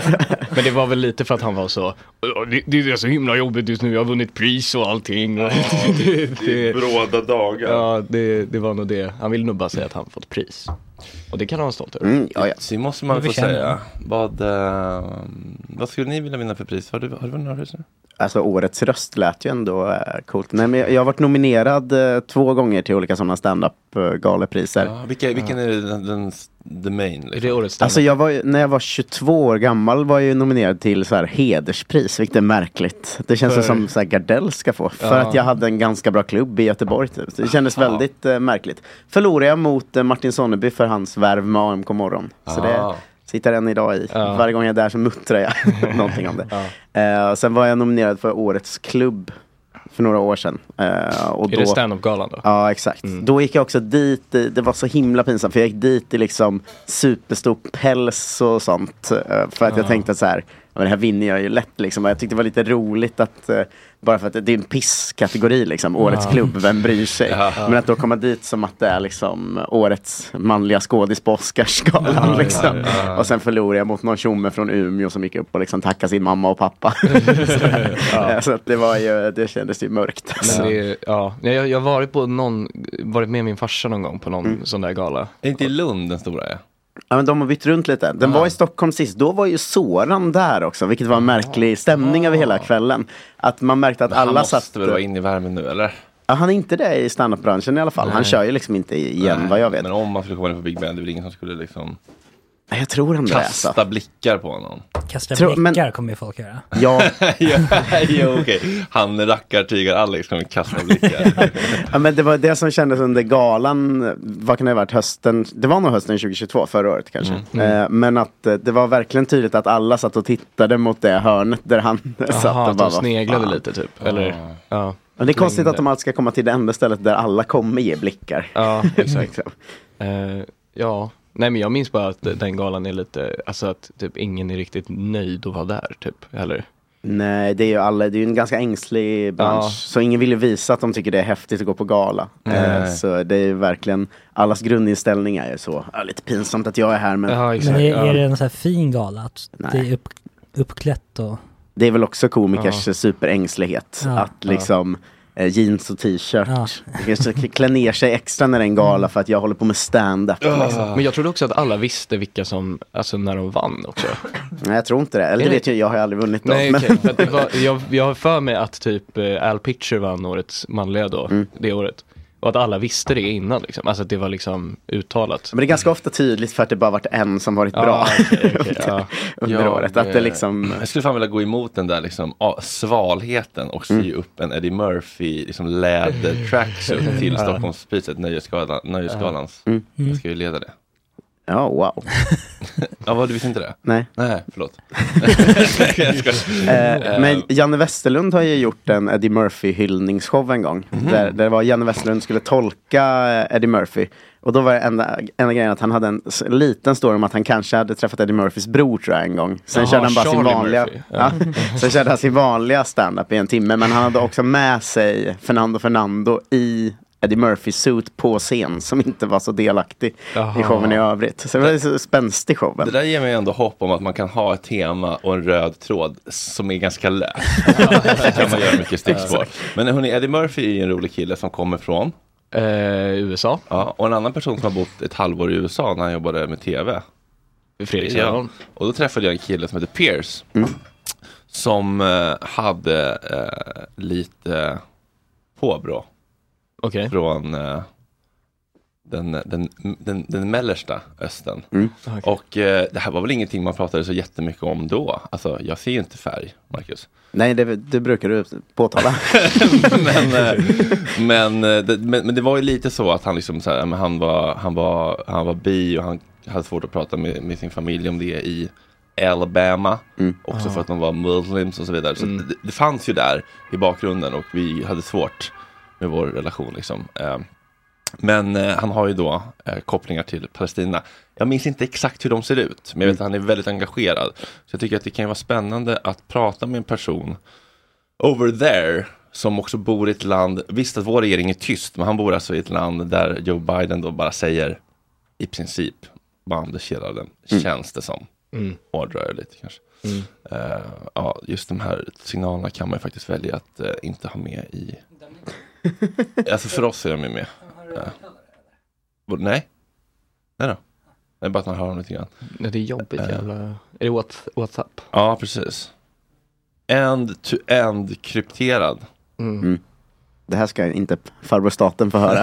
Men det var väl lite för att han var så, det, det är så himla jobbigt just nu, jag har vunnit pris och allting. Ja, det, det är bråda dagar. Ja, det, det var nog det. Han ville nog bara säga att han fått pris. Och det kan han vara stolt över. Mm, ja, ja. Så måste man få säga. Vad, uh, vad skulle ni vilja vinna för pris? Har du, har du vunnit några pris nu? Alltså årets röst lät ju ändå uh, coolt. Nej, men jag, jag har varit nominerad uh, två gånger till olika sådana stand-up uh, galepriser. Ja, vilka, vilken ja. är den, den the main? Liksom? Är det årets stand-up? Alltså jag var, när jag var tjugotvå år gammal var jag ju nominerad till så här hederspris, vilket är märkligt. Det känns för... som så här Gardell ska få. Ja. För att jag hade en ganska bra klubb i Göteborg. Typ. Det kändes ja. väldigt uh, märkligt. Förlorade jag mot uh, Martin Sonneby för hans värv med A M K morgon. Så ah. det sitter än idag i. Ja. Varje gång jag är där så muttrar jag någonting om det. Ja. Uh, sen var jag nominerad för årets klubb för några år sedan. Uh, och är då, det stand-up-galan då? Ja, exakt. Mm. Då gick jag också dit, det var så himla pinsamt för jag gick dit i liksom superstor päls och sånt. Uh, för att ja. jag tänkte så här, men det här vinner jag ju lätt liksom. Jag tyckte det var lite roligt att uh, bara för att det är en pisskategori liksom, årets ja. klubb, vem bryr sig? Ja. Men att då komma dit som att det är liksom årets manliga skådis på Oscarsgalan ja, liksom. Ja, ja, ja. Och sen förlorade jag mot någon tjomme från Umeå som gick upp och liksom tackade sin mamma och pappa. så ja. så att det var ju, det kändes ju mörkt. Alltså. Det, ja, jag, jag har varit på någon, varit med min farsa någon gång på någon mm. sån där gala. Är inte i Lund den stora är? Ja, men de har bytt runt lite. Den ah. var i Stockholm sist. Då var ju Soran där också, vilket var en märklig stämning ah. över hela kvällen. Att man märkte att men alla satt... Han måste satt... väl vara inne i värmen nu, eller? Ja, han är inte det i stand-up-branschen i alla fall. Nej. Han kör ju liksom inte igen, Nej. vad jag vet. Men om man skulle komma in på Big Ben, det är väl ingen som skulle liksom... Jag tror han kasta det, blickar på honom. Kasta tror, blickar men... kommer ju folk göra. Ja. ja, ja okej. Okay. Han rackar tygar Alex kommer kasta blickar. ja, men det var det som kändes under galan. Vad kan det ha varit hösten? Det var nog hösten tjugohundratjugotvå, förra året kanske. Mm. Mm. Eh, men att eh, det var verkligen tydligt att alla satt och tittade mot det hörnet där han Aha, satt och bara de sneglade var, lite typ. Eller, ah. ja. Men det är konstigt att de alltid ska komma till det enda stället där alla kommer ge blickar. Ja, exakt. uh, ja. Nej, men jag minns bara att den galan är lite, alltså att typ ingen är riktigt nöjd att vara där typ, eller? Nej, det är ju alla, det är ju en ganska ängslig bransch. Ja. Så ingen vill ju visa att de tycker det är häftigt att gå på gala. Eh, så det är ju verkligen, allas grundinställning är ju så, ja, lite pinsamt att jag är här. Men, ja, men är, är det en sån här fin gala? Att det är upp, uppklätt och... Det är väl också komikers ja. superängslighet. Ja. Att liksom... jeans och t-shirt. Ja. Klä ner sig extra när det är en gala för att jag håller på med stand-up. Ja. Liksom. Men jag trodde också att alla visste vilka som, alltså när de vann också. Nej, jag tror inte det. Eller det vet jag, jag har aldrig vunnit då. Nej, men... okay. För att det var, jag, jag har för mig att typ Al Pitcher vann årets manliga då, mm. det året. Och att alla visste det innan liksom. Alltså att det var liksom uttalat. Men det är ganska ofta tydligt för att det bara varit en som varit bra okay, okay, ja. under ja, året. Att det liksom... Jag skulle fan vilja gå emot den där liksom, ah, svalheten och sy mm. upp en Eddie Murphy liksom, läder tracksuit till Stockholmspriset, Nöjesgalan, Nöjesgalans. Mm. Jag ska ju leda det. Ja, oh, wow. Ja, vad, du visste inte det? Nej. Nej, förlåt. eh, men Janne Westerlund har ju gjort en Eddie Murphy-hyllningsshow en gång. Mm. Där, där var Janne Westerlund skulle tolka Eddie Murphy. Och då var det enda, enda grejen att han hade en liten story om att han kanske hade träffat Eddie Murphys bror tror jag en gång. Sen Aha, körde han bara Charlie sin vanliga ja. Ja. Sen körde han sin vanliga stand-up i en timme. Men han hade också med sig Fernando Fernando i Eddie Murphy suit på scen som inte var så delaktig Aha. i showen i övrigt. Så det var så spänstig showen. Det där ger mig ändå hopp om att man kan ha ett tema och en röd tråd som är ganska lätt. Det kan man göra mycket stickspår. Men hörni, Eddie Murphy är en rolig kille som kommer från uh, U S A. Ja, och en annan person som har bott ett halvår i U S A när han jobbade med tv. Fredrik ja. Och då träffade jag en kille som heter Pierce. Mm. Som uh, hade uh, lite påbrå. Okay. Från uh, den, den, den, den mellersta östen. Mm. Okay. Och uh, det här var väl ingenting man pratade så jättemycket om då. Alltså, jag ser ju inte färg, Marcus. Nej, det, det brukar du påtala. men, uh, men, uh, det, men, men det var ju lite så att han liksom så här, men han var, han var, han var bi och han hade svårt att prata med, med sin familj om det i Alabama. Mm. Också Ah. för att de var muslims och så vidare. Så Mm. det, det fanns ju där i bakgrunden och vi hade svårt med vår relation liksom. Eh, men eh, han har ju då eh, kopplingar till Palestina. Jag minns inte exakt hur de ser ut, men jag vet att han är väldigt engagerad. Så jag tycker att det kan vara spännande att prata med en person over there som också bor i ett land, visst att vår regering är tyst, men han bor alltså i ett land där Joe Biden då bara säger i princip bandekedalen, mm. känns det som. Mm. Hårdrar jag lite kanske. Mm. Uh, ja, just de här signalerna kan man ju faktiskt välja att uh, inte ha med i. Alltså för oss är de ju med. Uh, nej. Nej då. Det är bara att man hör dem lite grann. Nej, det är jobbigt uh, jävla. Är det WhatsApp? Ja, precis. End to end krypterad. Mm. Mm. Det här ska inte farbror staten få höra.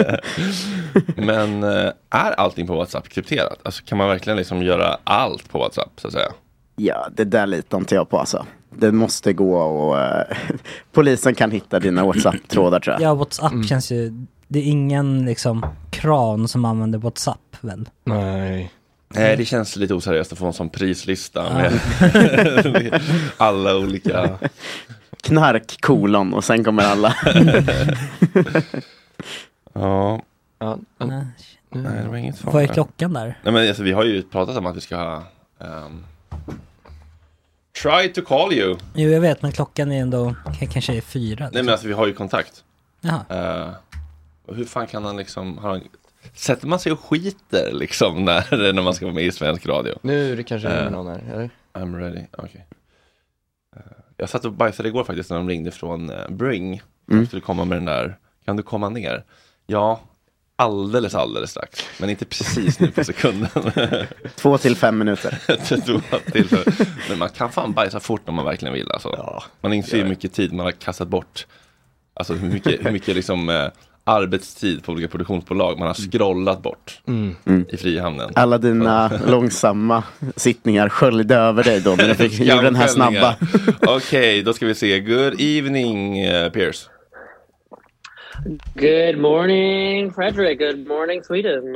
Men äh, är allting på WhatsApp krypterat? Alltså kan man verkligen liksom göra allt på WhatsApp så att säga? Ja, det där litar inte jag på alltså. Det måste gå och äh, polisen kan hitta dina WhatsApp-trådar tror jag. Ja, WhatsApp mm. känns ju, det är ingen liksom kran som använder WhatsApp väl? Nej. Nej, det känns lite oseriöst att få en sån prislista ja. med alla olika... Knark, kolon och sen kommer alla. ja. ja. Nej, Nej, det var inget farligt. Vad är klockan där? Nej, men alltså, vi har ju pratat om att vi ska ha... Um, try to call you. Jo, jag vet, men klockan är ändå kanske är fyra. Nej, men alltså vi har ju kontakt. Jaha. Uh, och hur fan kan han liksom... Har han, sätter man sig och skiter liksom när, när man ska vara med i svensk radio? Nu är det kanske uh, någon här, eller? I'm ready, okej. Okay. Uh, jag satt och bajsade igår faktiskt när de ringde från uh, Bring. De mm. skulle komma med den där, kan du komma ner? Ja, alldeles, alldeles strax. Men inte precis nu på sekunden. Två till fem minuter. Två till fem. Men man kan fan bajsa fort om man verkligen vill. Alltså. Ja, man inser hur mycket tid man har kastat bort. Alltså hur mycket, hur mycket liksom... Uh, arbetstid på olika produktionsbolag man har scrollat bort mm. i Frihamnen. Alla dina långsamma sittningar sköljde över dig då när du fick göra den här snabba. Okej, okay, då ska vi se. Good evening, uh, Piers. Good morning, Frederick. Good morning, Sweden.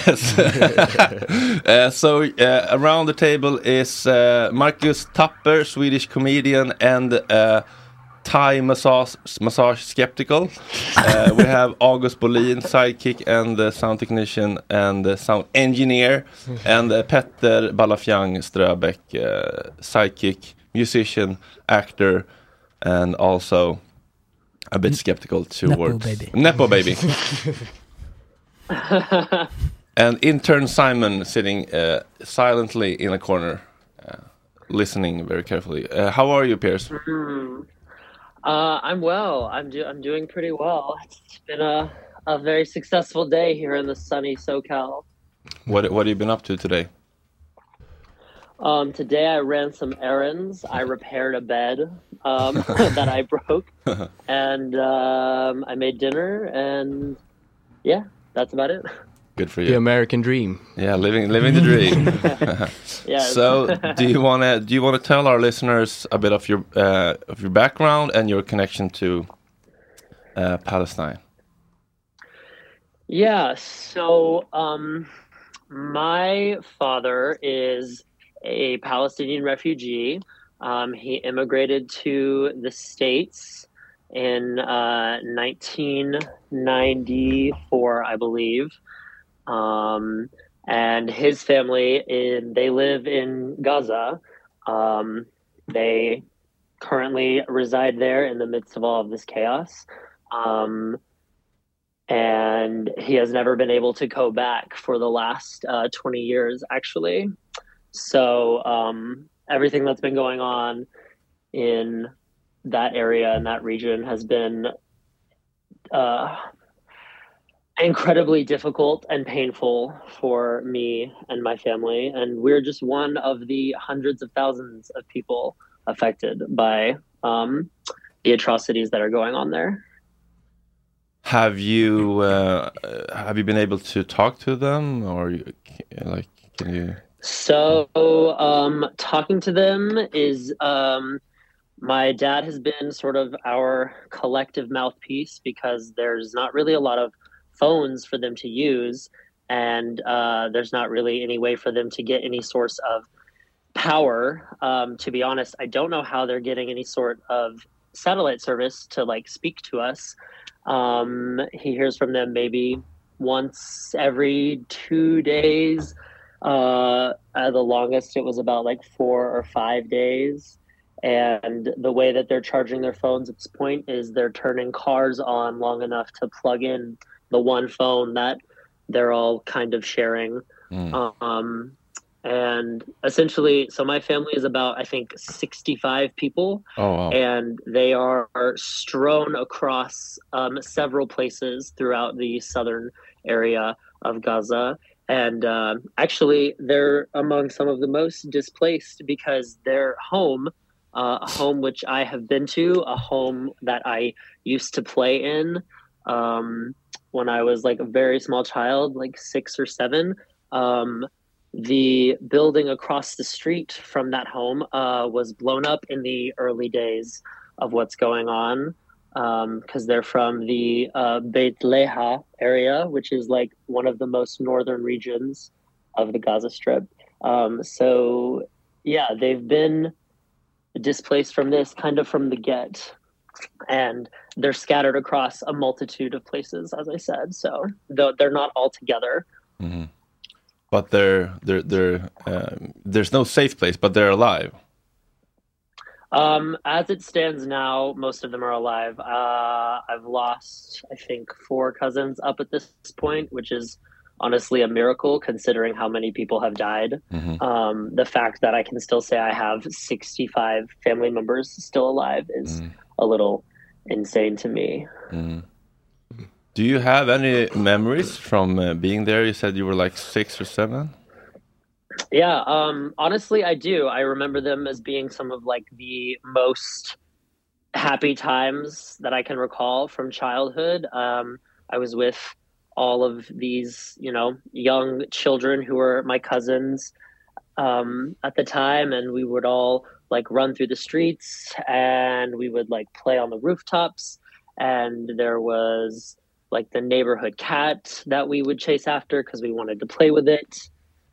uh, so uh, around the table is uh, Marcus Tapper, Swedish comedian, and uh, Thai massage, massage skeptical. Uh, we have August Bolin, sidekick and uh, sound technician and uh, sound engineer. And uh, Petter Balafjang Ströbeck, uh, sidekick, musician, actor, and also a bit skeptical towards... Nepo baby. Nepo baby. And intern Simon sitting uh, silently in a corner, uh, listening very carefully. Uh, how are you, Piers? Mm. Uh, I'm well. I'm do- I'm doing pretty well. It's been a, a very successful day here in the sunny SoCal. What What have you been up to today? Um, today I ran some errands. I repaired a bed um, that I broke, and um, I made dinner. And yeah, that's about it. Good for you. The American dream. Yeah, living living the dream. Yeah. So, do you want to do you want to tell our listeners a bit of your uh, of your background and your connection to uh, Palestine? Yeah. So, um, my father is a Palestinian refugee. Um, he immigrated to the States in uh, nineteen ninety-four, I believe. Um, and his family, in, they live in Gaza. Um, they currently reside there in the midst of all of this chaos. Um, and he has never been able to go back for the last uh, twenty years, actually. So um, everything that's been going on in that area and that region has been uh, incredibly difficult and painful for me and my family. And we're just one of the hundreds of thousands of people affected by um, the atrocities that are going on there. Have you uh, have you been able to talk to them, or you, like can you? So um, talking to them is um, my dad has been sort of our collective mouthpiece, because there's not really a lot of phones for them to use, and uh, there's not really any way for them to get any source of power. Um, to be honest, I don't know how they're getting any sort of satellite service to like speak to us. Um, he hears from them maybe once every two days. Uh, at the longest, it was about like four or five days. And the way that they're charging their phones at this point is they're turning cars on long enough to plug in the one phone that they're all kind of sharing. Mm. Um, and essentially, so my family is about, I think, sixty-five people. Oh, wow. And they are strewn across um, several places throughout the southern area of Gaza. And uh, actually, they're among some of the most displaced because their home, uh, a home which I have been to, a home that I used to play in um, when I was like a very small child, like six or seven. Um, the building across the street from that home uh, was blown up in the early days of what's going on. Because um, they're from the uh, Beit Leha area, which is like one of the most northern regions of the Gaza Strip. Um, so, yeah, they've been displaced from this kind of from the get. And they're scattered across a multitude of places, as I said. So they're not all together. Mm-hmm. But they're, they're, they're, uh, there's no safe place, but they're alive. Um, as it stands now, most of them are alive. Uh, I've lost, I think, four cousins up at this point, which is honestly a miracle considering how many people have died. Mm-hmm. Um, the fact that I can still say I have sixty-five family members still alive is mm. a little insane to me. Mm. Do you have any memories from uh, being there? You said you were like six or seven. Yeah, um, honestly, I do. I remember them as being some of like the most happy times that I can recall from childhood. Um, I was with all of these, you know, young children who were my cousins um, at the time, and we would all like run through the streets and we would like play on the rooftops. And there was like the neighborhood cat that we would chase after because we wanted to play with it.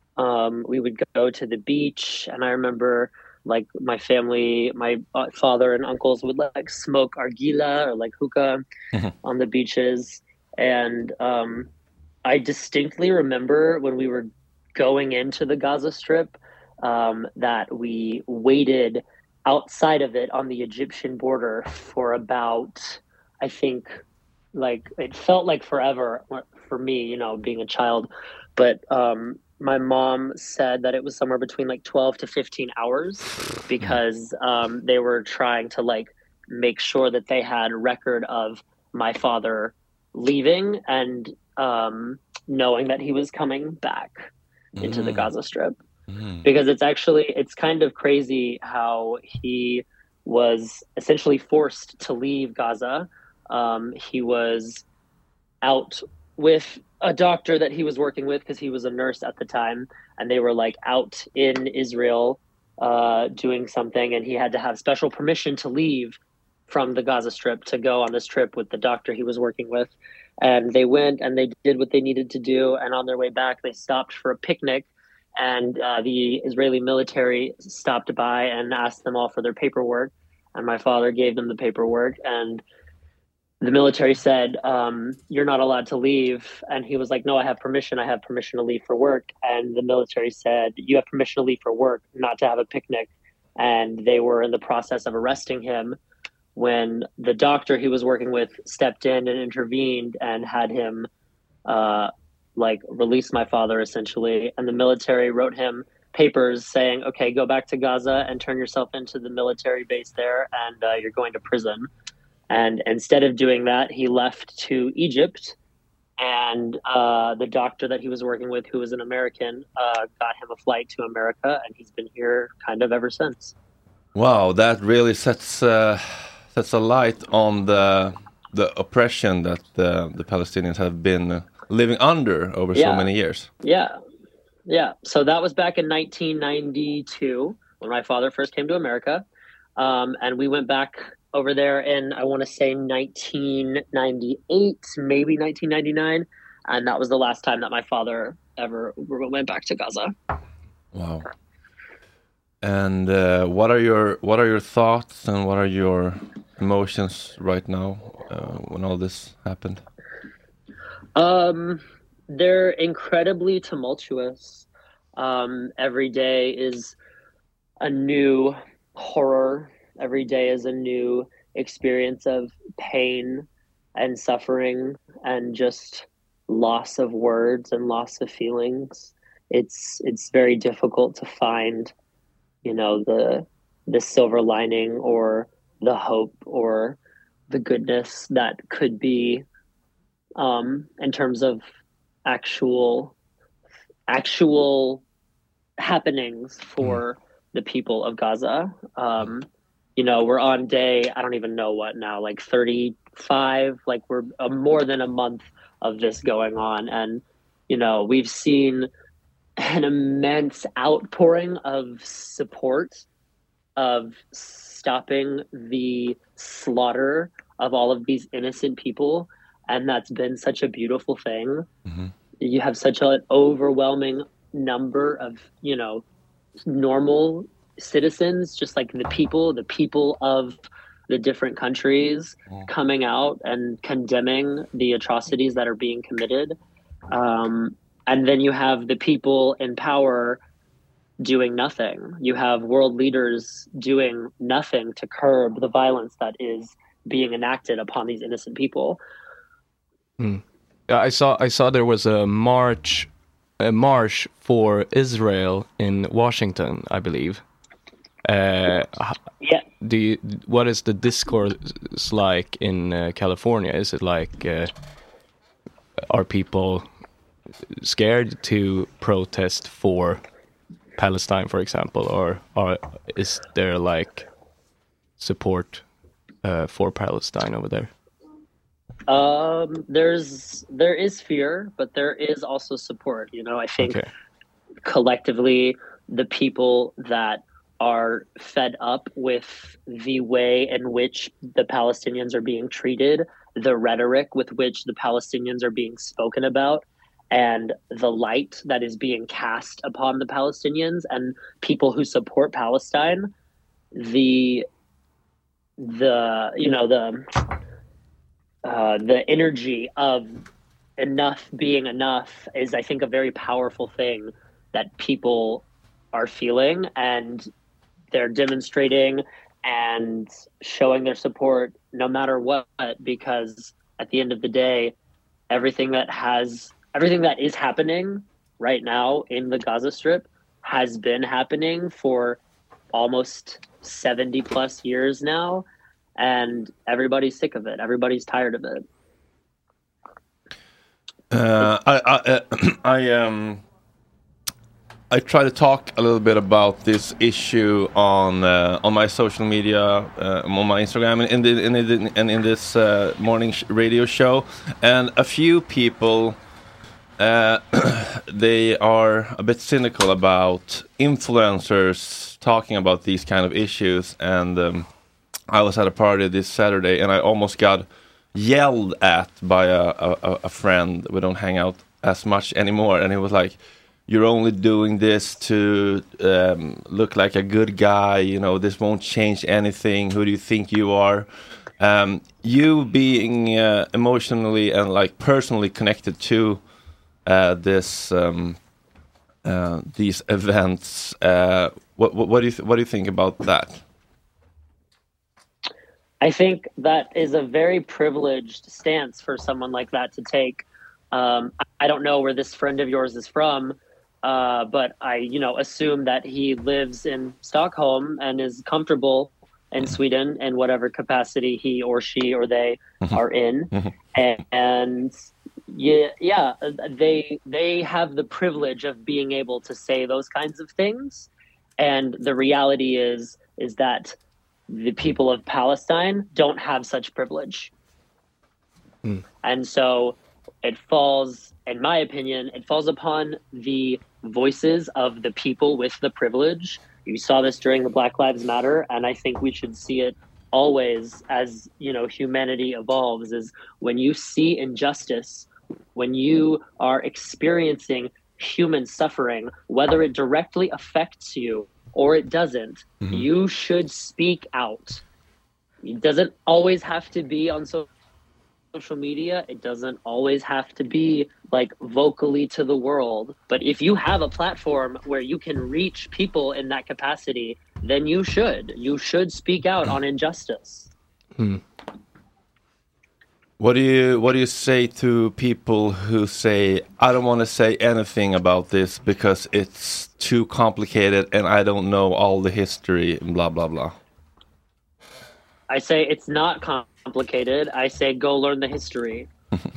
Um, we would go to the beach, and I remember like my family, my father and uncles would like smoke argila or like hookah on the beaches. And um, I distinctly remember when we were going into the Gaza Strip um, that we waited outside of it on the Egyptian border for about, I think, like it felt like forever for me, you know, being a child. But um, my mom said that it was somewhere between like twelve to fifteen hours because um, they were trying to like make sure that they had record of my father leaving and um, knowing that he was coming back mm. into the Gaza Strip. Mm. Because it's actually, it's kind of crazy how he was essentially forced to leave Gaza. Um, he was out with a doctor that he was working with because he was a nurse at the time, and they were like out in Israel uh, doing something, and he had to have special permission to leave from the Gaza Strip to go on this trip with the doctor he was working with. And they went and they did what they needed to do, and on their way back they stopped for a picnic, and uh, the Israeli military stopped by and asked them all for their paperwork, and my father gave them the paperwork, and the military said, um, you're not allowed to leave. And he was like, no, I have permission. I have permission to leave for work. And the military said, you have permission to leave for work, not to have a picnic. And they were in the process of arresting him when the doctor he was working with stepped in and intervened and had him uh, like release my father, essentially. And the military wrote him papers saying, okay, go back to Gaza and turn yourself into the military base there, and uh, you're going to prison. And instead of doing that, he left to Egypt, and uh, the doctor that he was working with, who was an American, uh, got him a flight to America, and he's been here kind of ever since. Wow, that really sets uh, sets a light on the the oppression that the, the Palestinians have been living under over yeah. so many years. Yeah, yeah. So that was back in nineteen ninety-two when my father first came to America, um, and we went back over there in, I want to say nineteen ninety-eight, maybe nineteen ninety-nine. And that was the last time that my father ever went back to Gaza. Wow. and uh, what are your what are your thoughts and what are your emotions right now uh, when all this happened? Um, they're incredibly tumultuous. Um, every day is a new horror. Every day is a new experience of pain and suffering and just loss of words and loss of feelings. It's it's very difficult to find, you know, the the silver lining or the hope or the goodness that could be um, in terms of actual actual happenings for the people of Gaza. Um, you know, we're on day, I don't even know what now, like thirty-five, like we're uh, more than a month of this going on. And, you know, we've seen an immense outpouring of support, of stopping the slaughter of all of these innocent people. And that's been such a beautiful thing. Mm-hmm. You have such an overwhelming number of, you know, normal citizens, just like the people, the people of the different countries mm. coming out and condemning the atrocities that are being committed. Um, and then you have the people in power doing nothing. You have world leaders doing nothing to curb the violence that is being enacted upon these innocent people. Hmm. Yeah, I saw I saw there was a march a march for Israel in Washington, I believe. Uh, yeah. Do you, what is the discourse like in uh, California? Is it like uh, are people scared to protest for Palestine, for example, or or is there like support uh, for Palestine over there? Um, there's there is fear, but there is also support. You know, I think okay. collectively the people that are fed up with the way in which the Palestinians are being treated, the rhetoric with which the Palestinians are being spoken about, and the light that is being cast upon the Palestinians and people who support Palestine, the the you know the uh, the energy of enough being enough is, I think, a very powerful thing that people are feeling, and they're demonstrating and showing their support no matter what, because at the end of the day, everything that has everything that is happening right now in the Gaza Strip has been happening for almost seventy plus years now, and everybody's sick of it. Everybody's tired of it. Uh, I I, I um I try to talk a little bit about this issue on uh, on my social media, uh, on my Instagram, and in the, in the, and in this uh, morning sh- radio show, and a few people. Uh, they are a bit cynical about influencers talking about these kind of issues, and um, I was at a party this Saturday and I almost got yelled at by a, a, a friend. We don't hang out as much anymore, and he was like, "You're only doing this to um, look like a good guy, you know, this won't change anything. Who do you think you are?" Um, you being uh, emotionally and like personally connected to Uh, this um, uh, these events. Uh, what, what, what do you th- what do you think about that? I think that is a very privileged stance for someone like that to take. Um, I don't know where this friend of yours is from, uh, but I, you know, assume that he lives in Stockholm and is comfortable in Sweden in whatever capacity he or she or they are in, and. and Yeah, yeah, they they have the privilege of being able to say those kinds of things, and the reality is is that the people of Palestine don't have such privilege, mm. and so it falls, in my opinion, it falls upon the voices of the people with the privilege. You saw this during the Black Lives Matter, and I think we should see it always as, you know, humanity evolves. Is when you see injustice. When you are experiencing human suffering, whether it directly affects you or it doesn't. Mm-hmm. You should speak out. It doesn't always have to be on social social media. It doesn't always have to be like vocally to the world. But if you have a platform where you can reach people in that capacity, then you should. You should speak out on injustice. Hmm. What do you what do you say to people who say, I don't want to say anything about this because it's too complicated and I don't know all the history and blah blah blah? I say it's not complicated. I say go learn the history.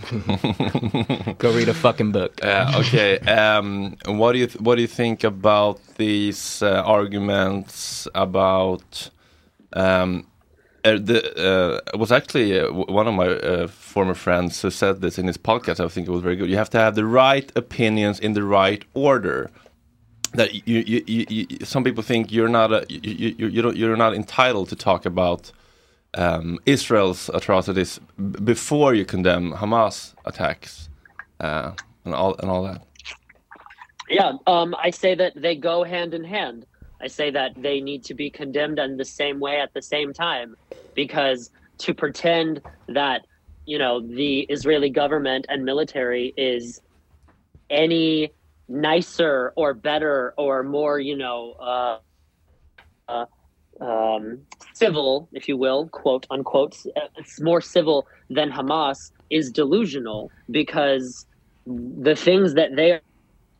Go read a fucking book. Uh, okay. Um, what do you th- what do you think about these uh, arguments about? Um, uh, the uh, it was actually uh, one of my uh, former friends who said this in his podcast. I think it was very good. You have to have the right opinions in the right order. That you, you, you, you some people think you're not a, you, you, you don't you're not entitled to talk about. Um, Israel's atrocities b- before you condemn Hamas attacks uh, and all and all that. Yeah, um, I say that they go hand in hand. I say that they need to be condemned in the same way at the same time, because to pretend that, you know, the Israeli government and military is any nicer or better or more, you know, uh, uh, um, civil, if you will, quote unquote, it's more civil than Hamas is delusional, because the things that they are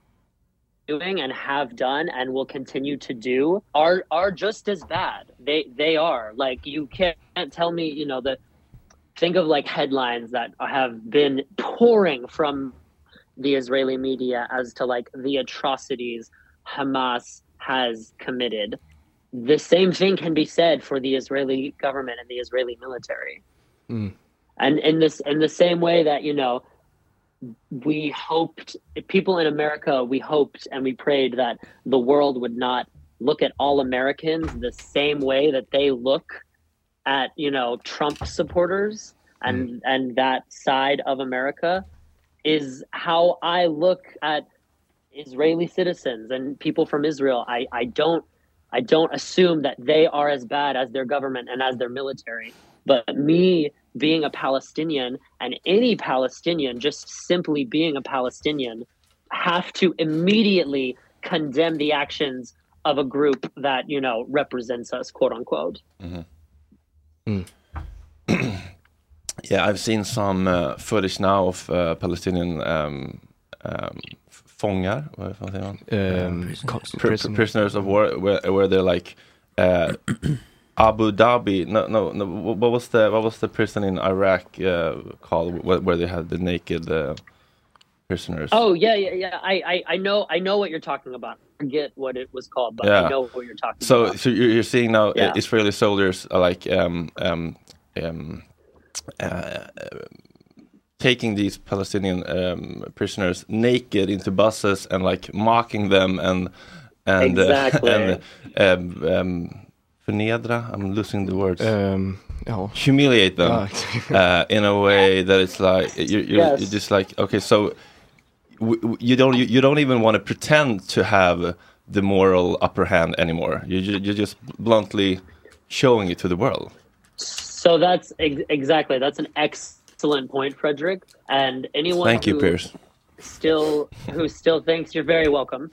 doing and have done and will continue to do are are just as bad. They they are. Like, you can't tell me, you know, that think of like headlines that have been pouring from the Israeli media as to like the atrocities Hamas has committed. The same thing can be said for the Israeli government and the Israeli military. Mm. And in this, in the same way that, you know, we hoped, people in America, we hoped and we prayed that the world would not look at all Americans the same way that they look at, you know, Trump supporters and, mm. and that side of America, is how I look at Israeli citizens and people from Israel. I, I don't, I don't assume that they are as bad as their government and as their military. But me being a Palestinian, and any Palestinian just simply being a Palestinian, have to immediately condemn the actions of a group that, you know, represents us, quote unquote. Mm-hmm. Mm. Yeah, I've seen some uh, footage now of uh, Palestinian um, um, fångar, vad fan säger man? Um, pr- prisoners. prisoners of war, where, where they're like uh, Abu Dhabi. No, no, no. What was the what was the prison in Iraq uh, called, where, where they had the naked uh, prisoners? Oh yeah, yeah, yeah. I, I, I know, I know what you're talking about. I forget what it was called, but yeah. I know what you're talking so, about. So you're, you're seeing now yeah. Israeli soldiers are like um um um. Uh, taking these Palestinian um, prisoners naked into buses and like mocking them and and exactly. uh, and um, um, förnedra, I'm losing the words. Um, oh. Humiliate them oh. uh, in a way that it's like you're, you're, yes. you're just like, okay, so w- w- you don't you, you don't even want to pretend to have the moral upper hand anymore. You you're just bluntly showing it to the world. So that's ex- exactly that's an excellent point, Frederick. And anyone Thank you, who Piers. still who still thinks you're very welcome.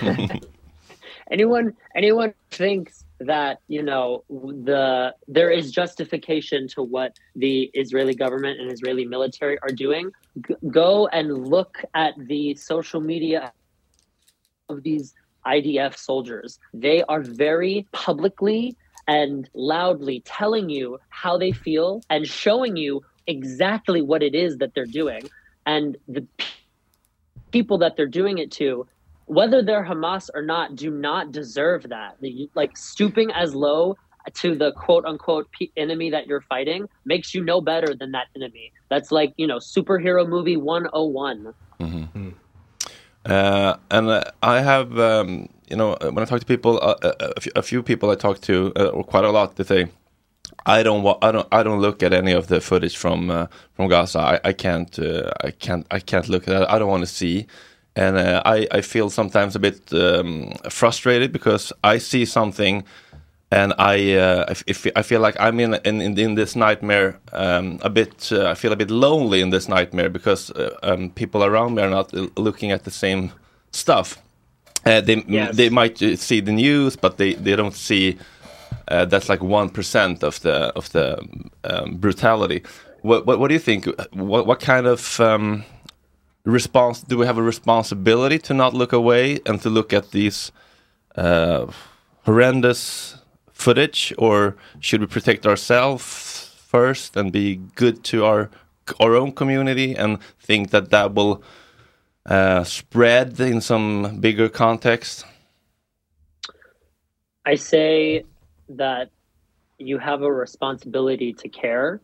anyone anyone thinks that, you know, the there is justification to what the Israeli government and Israeli military are doing, G- go and look at the social media of these I D F soldiers. They are very publicly and loudly telling you how they feel and showing you exactly what it is that they're doing. And the p- people that they're doing it to, whether they're Hamas or not, do not deserve that. The, like, stooping as low to the quote unquote p- enemy that you're fighting makes you no better than that enemy. That's like, you know, superhero movie one oh one. Mm-hmm. Uh, and uh, I have, um, you know, when I talk to people, uh, a, a, few, a few people I talk to, uh, or quite a lot, they say, I don't, wa- I don't, I don't look at any of the footage from uh, from Gaza. I, I can't, uh, I can't, I can't look at it. I don't want to see. and uh, I I feel sometimes a bit um, frustrated because I see something. And I, uh, if, I feel like I'm in in, in this nightmare um, a bit. Uh, I feel a bit lonely in this nightmare because uh, um, people around me are not looking at the same stuff. Uh, they yes. they might see the news, but they, they don't see uh, that's like one percent of the of the um, brutality. What, what what do you think? What what kind of um, response do we have a responsibility to not look away and to look at these uh, horrendous footage, or should we protect ourselves first and be good to our our own community and think that that will uh, spread in some bigger context? I say that you have a responsibility to care.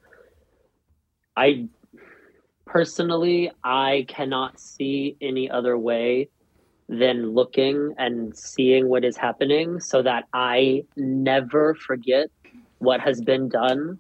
I personally, I cannot see any other way than looking and seeing what is happening so that I never forget what has been done.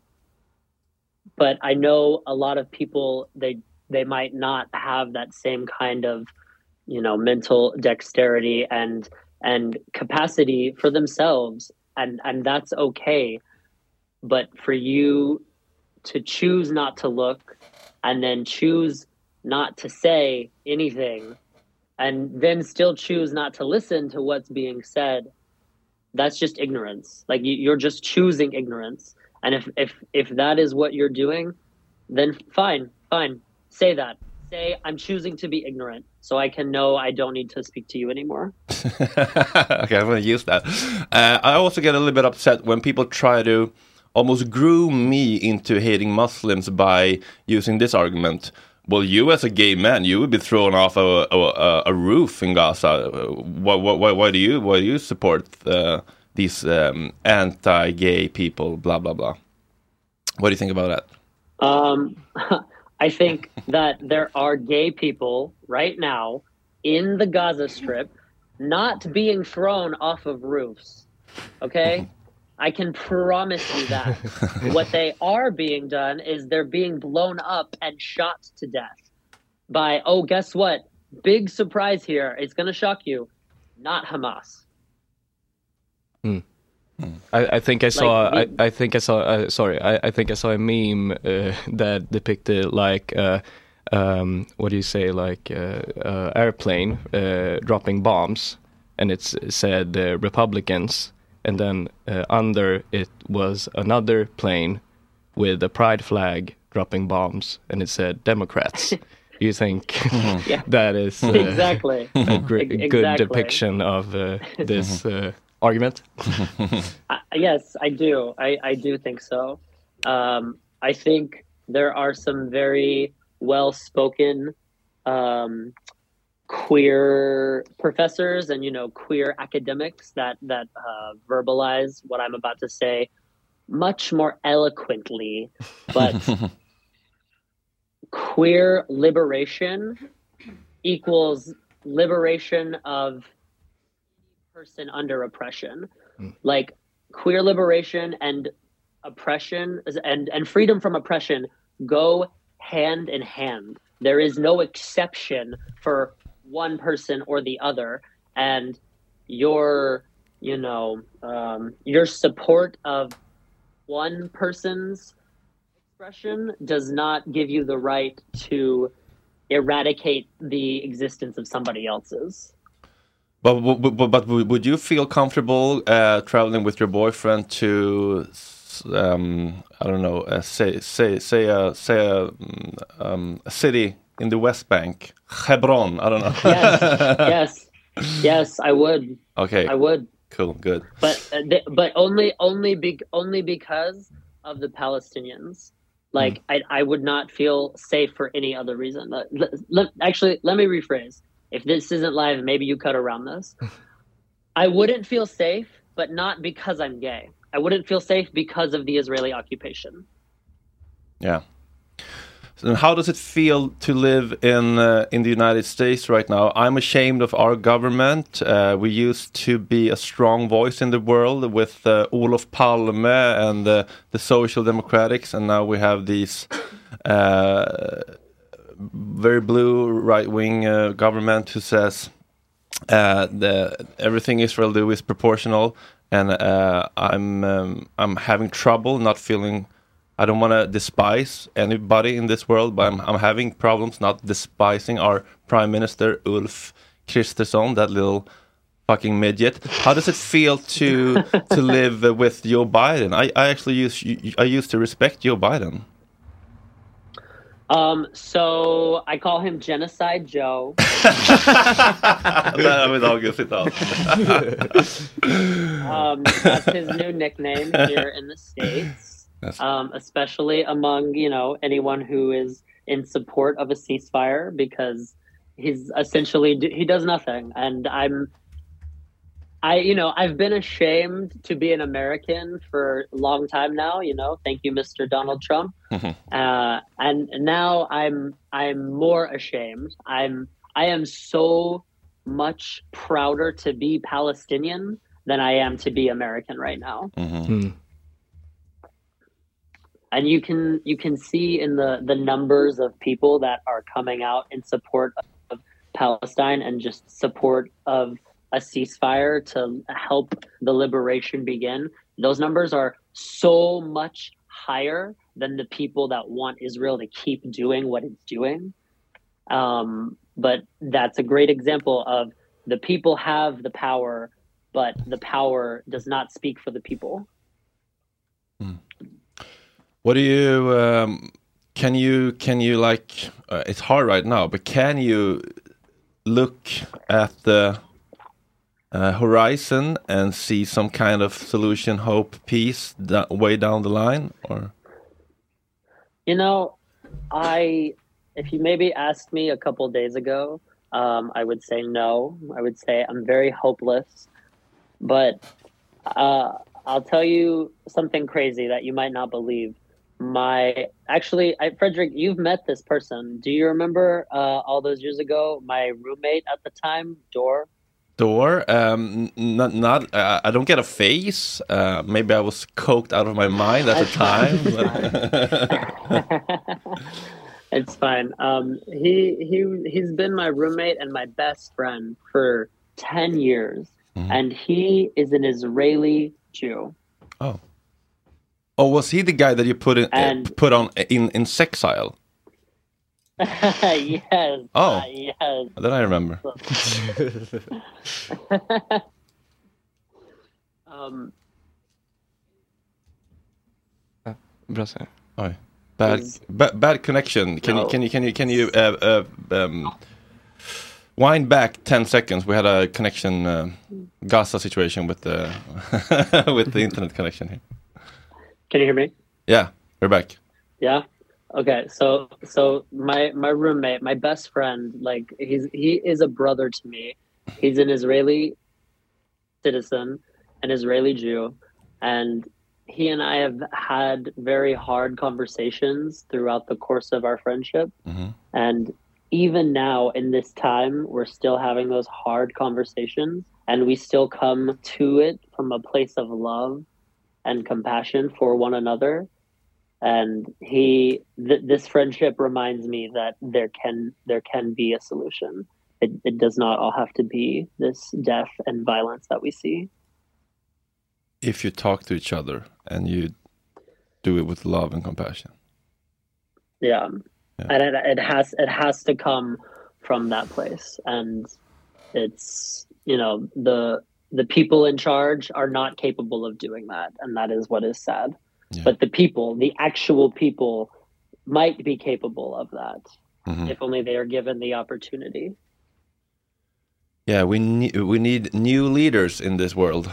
But I know a lot of people, they they might not have that same kind of, you know, mental dexterity and and capacity for themselves, and and that's okay. But for you to choose not to look and then choose not to say anything and then still choose not to listen to what's being said, that's just ignorance. Like you, you're just choosing ignorance. And if, if, if that is what you're doing, then fine, fine. Say that. Say, I'm choosing to be ignorant so I can know I don't need to speak to you anymore. Okay, I'm going to use that. Uh, I also get a little bit upset when people try to almost groom me into hating Muslims by using this argument. Well, you as a gay man, you would be thrown off a a, a roof in Gaza. Why, why, why do you why do you support uh, these um, anti-gay people? Blah blah blah. What do you think about that? Um, I think that there are gay people right now in the Gaza Strip not being thrown off of roofs. Okay. I can promise you that. What they are being done is they're being blown up and shot to death by, oh, guess what? Big surprise here. It's going to shock you. Not Hamas. Hmm. I, I think I saw. Like, I, I think I saw. Uh, sorry, I, I think I saw a meme uh, that depicted like, uh, um, what do you say, like uh, uh, airplane uh, dropping bombs, and it said uh, Republicans. And then uh, under it was another plane with a pride flag dropping bombs, and it said Democrats. You think yeah. that is uh, exactly a gr- exactly. good depiction of uh, this uh, argument? uh, yes, I do. I, I do think so. Um, I think there are some very well-spoken um, queer professors and, you know, queer academics that that uh, verbalize what I'm about to say much more eloquently. But queer liberation equals liberation of person under oppression. Mm. Like queer liberation and oppression and, and freedom from oppression go hand in hand. There is no exception for one person or the other, and your, you know, um, your support of one person's expression does not give you the right to eradicate the existence of somebody else's. But but, but, but would you feel comfortable uh, traveling with your boyfriend to, um, I don't know, uh, say say say a say a, um, a city in the West Bank, Hebron? I don't know. yes, yes, yes. I would. Okay, I would. Cool, good. But uh, th- but only only be- only because of the Palestinians. Like mm. I I would not feel safe for any other reason. Let, let, actually, let me rephrase. If this isn't live, maybe you cut around this. I wouldn't feel safe, but not because I'm gay. I wouldn't feel safe because of the Israeli occupation. Yeah. So how does it feel to live in uh, in the United States right now? I'm ashamed of our government. Uh, we used to be a strong voice in the world with uh, Olof Palme and uh, the Social Democrats, and now we have these uh, very blue right-wing uh, government who says uh, the everything Israel do is proportional, and uh, I'm um, I'm having trouble not feeling. I don't want to despise anybody in this world, but I'm, I'm having problems not despising our Prime Minister Ulf Kristersson, that little fucking midget. How does it feel to to live with Joe Biden? I, I actually used I used to respect Joe Biden. Um, so I call him Genocide Joe. um, that's his new nickname here in the States. Um, especially among, you know, anyone who is in support of a ceasefire, because he's essentially, he does nothing. And I'm, I, you know, I've been ashamed to be an American for a long time now, you know, thank you, Mister Donald Trump. uh, and now I'm, I'm more ashamed. I'm, I am so much prouder to be Palestinian than I am to be American right now. Mm-hmm. And you can, you can see in the, the numbers of people that are coming out in support of Palestine and just support of a ceasefire to help the liberation begin. Those numbers are so much higher than the people that want Israel to keep doing what it's doing. Um, but that's a great example of the people have the power, but the power does not speak for the people. Hmm. What do you, um, can you, can you like, uh, it's hard right now, but can you look at the Uh, horizon and see some kind of solution, hope, peace that way down the line? Or you know, I if you maybe asked me a couple days ago, um, I would say no. I would say I'm very hopeless. But uh, I'll tell you something crazy that you might not believe. My actually, I, Frederick, you've met this person. Do you remember uh, all those years ago? My roommate at the time, Dor. Door, um, not, not uh, I don't get a face. Uh, maybe I was coked out of my mind at the time. It's fine. Um, he he he's been my roommate and my best friend for ten years, mm-hmm. and he is an Israeli Jew. Oh, oh, was he the guy that you put in and, uh, put on in in Sexile? Yes. Oh, uh, yes. Then I remember. um. Oh, bad, is, ba- bad connection. Can no. you can you can you can you uh, uh, um, wind back ten seconds? We had a connection uh, Gaza situation with the with the internet connection here. Can you hear me? Yeah, we're back. Yeah. Okay, so so my my roommate, my best friend, like he's he is a brother to me. He's an Israeli citizen, an Israeli Jew, and he and I have had very hard conversations throughout the course of our friendship. Mm-hmm. And even now in this time, we're still having those hard conversations, and we still come to it from a place of love and compassion for one another. And he, th- this friendship reminds me that there can there can be a solution. It, it does not all have to be this death and violence that we see. If you talk to each other and you do it with love and compassion. Yeah, yeah. And it, it has it has to come from that place. And it's, you know, the the people in charge are not capable of doing that, and that is what is sad. Yeah. But the people, the actual people, might be capable of that, mm-hmm. if only they are given the opportunity. Yeah, we need we need new leaders in this world.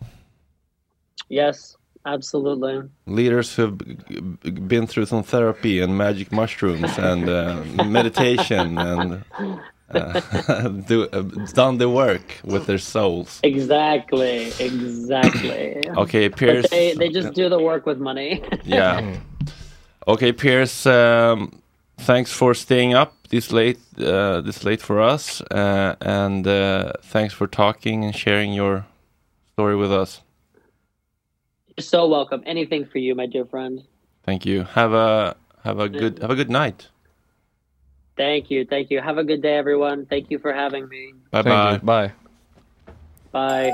Yes, absolutely. Leaders who've been through some therapy and magic mushrooms and uh, meditation and uh, do, uh, done the work with their souls. Exactly, exactly. Okay, Piers. But they, they just do the work with money. Yeah. Okay, Piers. Um, thanks for staying up this late. Uh, this late for us, uh, and uh, thanks for talking and sharing your story with us. You're so welcome. Anything for you, my dear friend. Thank you. Have a have a good have a good night. Thank you, thank you. Have a good day, everyone. Thank you for having me. Bye bye. Bye. Bye.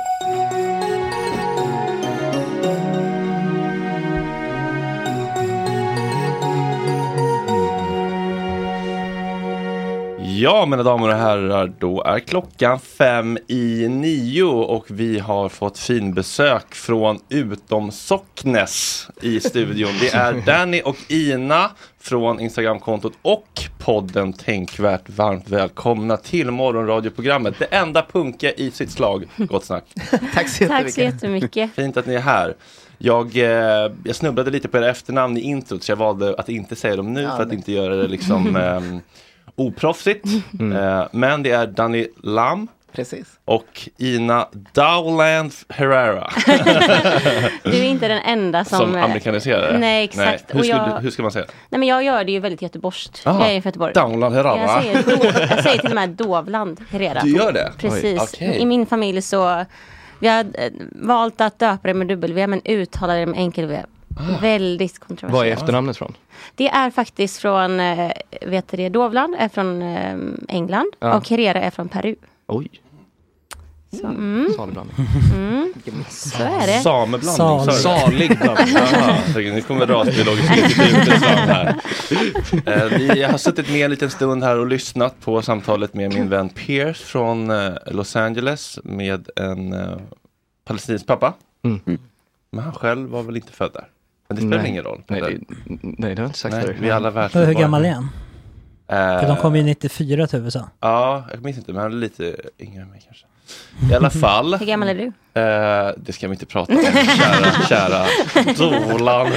Ja, mina damer och herrar, då är klockan fem i nio och vi har fått fin besök från Utom Socknes i studion. Det är Danny och Ina från Instagramkontot och podden Tänkvärt. Varmt välkomna till morgonradioprogrammet. Det enda punka i sitt slag. Gott snack. Tack så jättemycket. Tack så jättemycket. Fint att ni är här. Jag, eh, jag snubblade lite på era efternamn i introt så jag valde att inte säga dem nu ja, för att nej. inte göra det liksom... Eh, oproffsigt, mm. eh, men det är Danny Lam. Precis. Och Ina Dowland Herrera. Du är inte den enda som... Som amerikaniserar. Nej, exakt. Nej. Hur, ska jag... du, hur ska man säga? Nej, men jag gör det ju väldigt göteborgskt. Jag är i Göteborg. Dowland Herrera. Jag säger, do... jag säger till och med Dovland Herrera. Du gör det? Precis. Okay. I min familj så... Vi har valt att döpa det med dubbel-V men uttala det med enkel-V. Ah. Väldigt kontroversiellt. Vad är efternamnet från? Det är faktiskt från äh, vet du det, Dovland är från äh, England ja. och Herrera är från Peru. Oj. Så, mm. Mm. Så är det. Sameblandning. Sal. Salig blandning. Nu kommer rasbiologiskt institutet fram här. Vi har suttit med en liten stund här och lyssnat på samtalet med min vän Pierce från uh, Los Angeles med en uh, palestinsk pappa. Mm. Mm. Men han själv var väl inte född där. Men det spelar nej. ingen roll. Nej, det, nej, det har inte sagt nej, det. Vi alla världsmedborgare. Hur gammal är han? Uh, För de kom ju nittiofyra till U S A. Ja, jag minns inte, men han är lite yngre än mig kanske. I alla fall. Hur gammal är du? Uh, det ska vi inte prata om, kära, kära Dolan.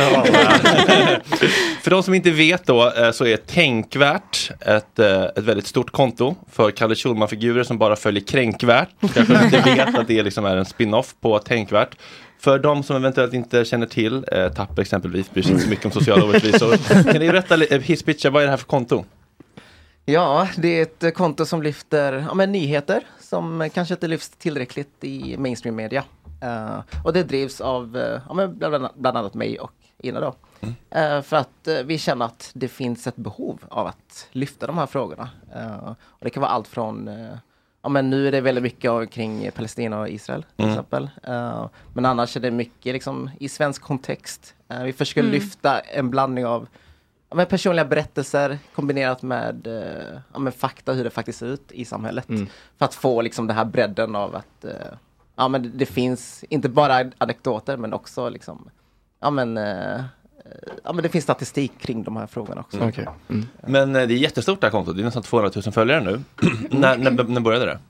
För de som inte vet då uh, så är Tänkvärt ett, uh, ett väldigt stort konto för Kalle Schulman-figurer som bara följer Kränkvärt. Kanske inte vet att det liksom är en spin-off på Tänkvärt. För de som eventuellt inte känner till, eh, Tapper exempelvis, bryr sig inte så mycket om sociala orättvisor. Kan ni berätta, eh, hisspitcha, vad är det här för konto? Ja, det är ett konto som lyfter ja, men nyheter som kanske inte lyfts tillräckligt i mainstream media. Uh, och det drivs av uh, ja, men bland, bland annat mig och Ina då. Mm. Uh, för att uh, vi känner att det finns ett behov av att lyfta de här frågorna. Uh, och det kan vara allt från... Uh, Ja, men nu är det väldigt mycket kring Palestina och Israel till mm. exempel. Uh, men annars är det mycket liksom, i svensk kontext. Uh, vi försöker mm. lyfta en blandning av ja, men personliga berättelser kombinerat med, uh, ja, med fakta hur det faktiskt ser ut i samhället. Mm. För att få liksom, den här bredden av att uh, ja, men det, det finns inte bara anekdoter men också liksom, ja, men, uh, ja, men det finns statistik kring de här frågorna också. Mm. Okay. Mm. Men det är jättestort det här kontot. Det är nästan tvåhundratusen följare nu. när, när, när började det?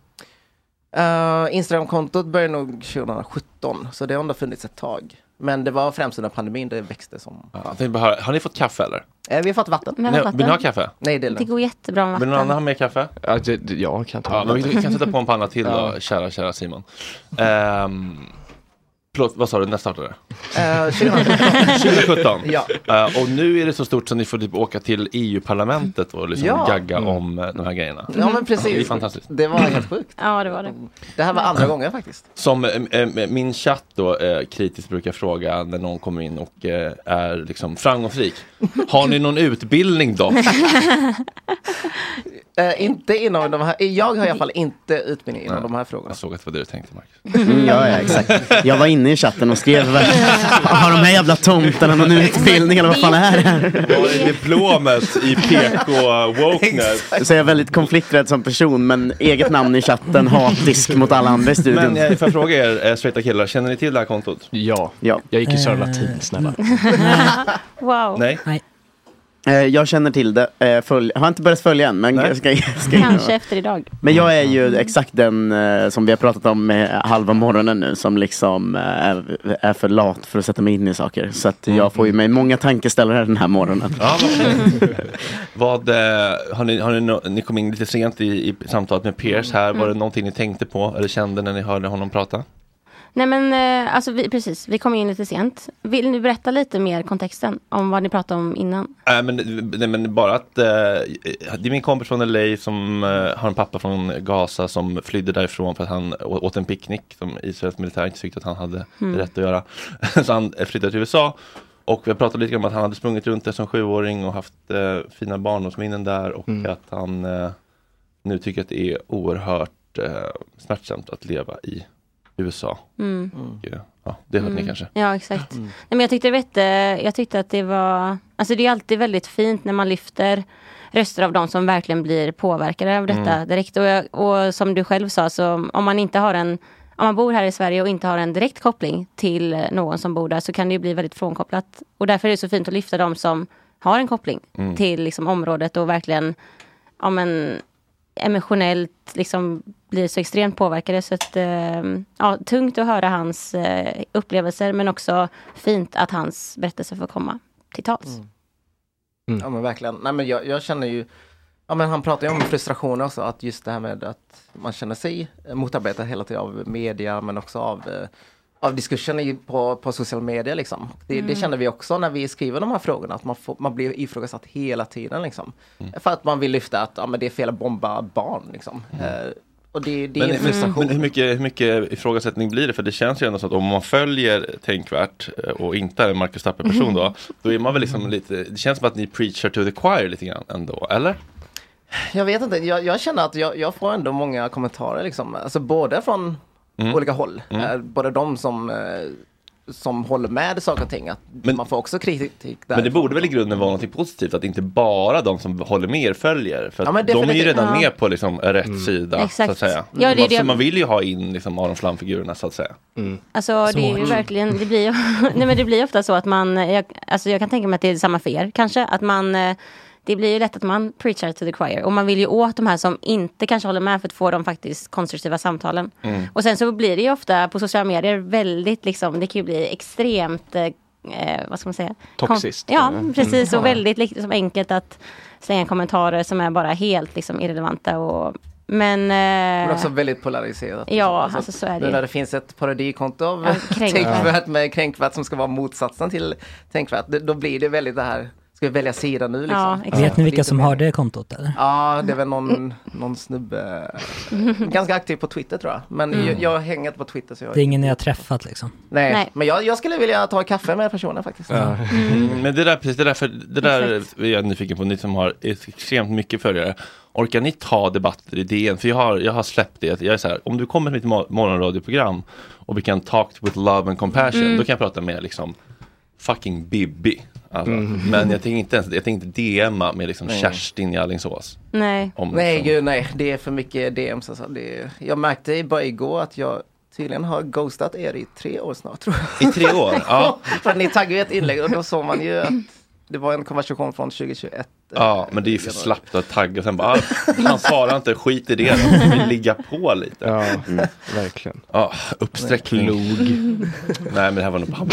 Uh, Instagram-kontot började nog tjugosjutton. Så det har ändå funnits ett tag. Men det var främst under pandemin det växte som... Ja, bara, har ni fått kaffe eller? Uh, vi har fått vatten. Nej, vatten. Vill ni ha kaffe? Nej, det är det går jättebra med vatten. Vill någon annan ha mer kaffe? Ja, det, jag kan ta ja, men vi kan sätta på en panna till då, ja. kära, kära Simon. Um, Förlåt, vad sa du? När startade det? Uh, tjugosjutton. Ja. Uh, och nu är det så stort så ni får typ åka till E U-parlamentet och liksom ja. gagga mm. om uh, de här grejerna. Ja, men precis. Det är fantastiskt. Det var helt sjukt. Ja, det var det. Det här var andra mm. gången faktiskt. Som uh, min chatt då uh, kritiskt brukar fråga när någon kommer in och uh, är liksom framgångsrik. Har ni någon utbildning då? Uh, inte inom de här, jag har i alla fall inte utbildning inom Nej, de här frågorna. Jag såg att det var det du tänkte, Marcus. Mm, ja, ja, exakt. Jag var inne i chatten och skrev har de här jävla tomtarna någon utbildning eller vad fan är det här? Vad är diplomet i P K-wokeness? Så jag är väldigt konflikträdd som person, men eget namn i chatten, hatisk mot alla andra i studion. Men får jag fråga er, straighta killar, känner ni till det här kontot? Ja, ja. Jag gick i Södra latin, snälla. Wow. Nej. Nej. Jag känner till det. Följ, jag har inte börjat följa än. Men ska, ska, ska Kanske efter idag. Men jag är ju exakt den som vi har pratat om med halva morgonen nu. Som liksom är, är för lat för att sätta mig in i saker. Så att jag får ju mig många tankeställare den här morgonen. Ja, vad, har ni, har ni, ni kom in lite sent i, i samtalet med Pierce här. Var det någonting ni tänkte på eller kände när ni hörde honom prata? Nej men alltså vi, precis, vi kom in lite sent. Vill ni berätta lite mer kontexten om vad ni pratade om innan? Äh, men, nej, men bara att äh, det är min kompis från L A som äh, har en pappa från Gaza som flydde därifrån för att han åt en picknick som Israels militär inte tyckte att han hade mm. rätt att göra. Så han flyttade till U S A Och vi har pratat lite om att han hade sprungit runt där som sjuåring och haft eh, fina barndomsminnen där. Och mm. att han eh, nu tycker att det är oerhört eh, smärtsamt att leva i U S A. Mm. Och, eh, ja, det hörde mm. ni kanske. Ja, exakt. Mm. Nej, men jag tyckte, vet, jag tyckte att det var... Alltså det är alltid väldigt fint när man lyfter röster av de som verkligen blir påverkade av detta mm. direkt. Och, jag, och som du själv sa, så om man inte har en... Om man bor här i Sverige och inte har en direkt koppling till någon som bor där, så kan det ju bli väldigt frånkopplat. Och därför är det så fint att lyfta de som har en koppling mm. till liksom, området och verkligen ja, men, emotionellt liksom, blir så extremt påverkade. Så att, eh, ja, tungt att höra hans eh, upplevelser, men också fint att hans berättelse får komma till tals. Mm. Mm. Ja men verkligen. Nej, men jag, jag känner ju, ja men han pratar ju om frustration också, att just det här med att man känner sig motarbetad hela tiden av media, men också av, eh, av diskussioner på, på social media liksom. Det, mm. det känner vi också när vi skriver de här frågorna, att man, får, man blir ifrågasatt hela tiden liksom. Mm. För att man vill lyfta att ja, men det är fel att bomba barn liksom. Mm. Eh, och det, det men, är en frustration. Men hur mycket, hur mycket ifrågasättning blir det? För det känns ju ändå så att om man följer Tänkvärt och inte är en Marcus Tapper-person då, då är man väl liksom lite, det känns som att ni preachar to the choir lite grann ändå, eller? Jag vet inte, jag, jag känner att jag, jag får ändå många kommentarer liksom, alltså både från mm. olika håll, mm. eh, både de som, eh, som håller med saker och ting, att men, man får också kritik där. Men det borde väl i grunden vara något positivt, att inte bara de som håller med er följer, för att ja, de är ju redan ja. med på liksom rätt mm. sida, Exakt. så att säga. Ja, det, man, det, man vill ju ha in liksom Aron Flam-figurerna, så att säga. Mm. Alltså så. Det är ju verkligen, det blir ju, nej men det blir ofta så att man, jag, alltså jag kan tänka mig att det är samma för er, kanske, att man det blir ju lätt att man preachar to the choir. Och man vill ju åt de här som inte kanske håller med, för att få de faktiskt konstruktiva samtalen. Mm. Och sen så blir det ju ofta på sociala medier väldigt liksom, det kan ju bli extremt, eh, vad ska man säga? Toxiskt. Ja, precis. Mm. Och väldigt liksom, enkelt att slänga kommentarer som är bara helt liksom, irrelevanta och Men, men också väldigt polariserat. Ja, alltså, alltså så är det. Nu när det finns ett parodikonto av ja, Tänkvärt med Kränkvärt som ska vara motsatsen till Tänkvärt, då blir det väldigt det här, ska vi välja sida nu liksom? Ja, vet ni vilka som har det kontot eller? Ja, det är väl någon, någon snubbe ganska aktiv på Twitter tror jag. Men mm. jag, jag hänger inte på Twitter så jag... Det är ingen ni har träffat liksom? Nej, Nej. men jag, jag skulle vilja ta kaffe med personen faktiskt. Ja. Mm. Men det där, precis, det där, för, det där är jag nyfiken på, ni som har extremt mycket följare. Orkar ni ta debatter i D N? För jag har, jag har släppt det. Jag är så här, om du kommer till mitt morgonradioprogram och vi kan talk with love and compassion, mm. då kan jag prata med liksom fucking Bibi. Alltså. Mm. Men jag tänker inte ens, jag tänker inte D M-a med liksom Kerstin i Alingsås. Nej. Om, nej, liksom. gud, nej. Det är för mycket D Ms. Alltså. Det, jag märkte bara igår att jag tydligen har ghostat er i tre år snart, tror jag. I tre år? Ja. För att ni taggade ju ett inlägg och då såg man ju att det var en konversation från tjugohundratjugoett. Ja, men det är ju för slappt att tagga. Sen bara, han svarar inte, skit i det. Han vill ligga på lite. Ja, mm. verkligen. Ja, uppsträckning. Log. Nej, men det här var nog på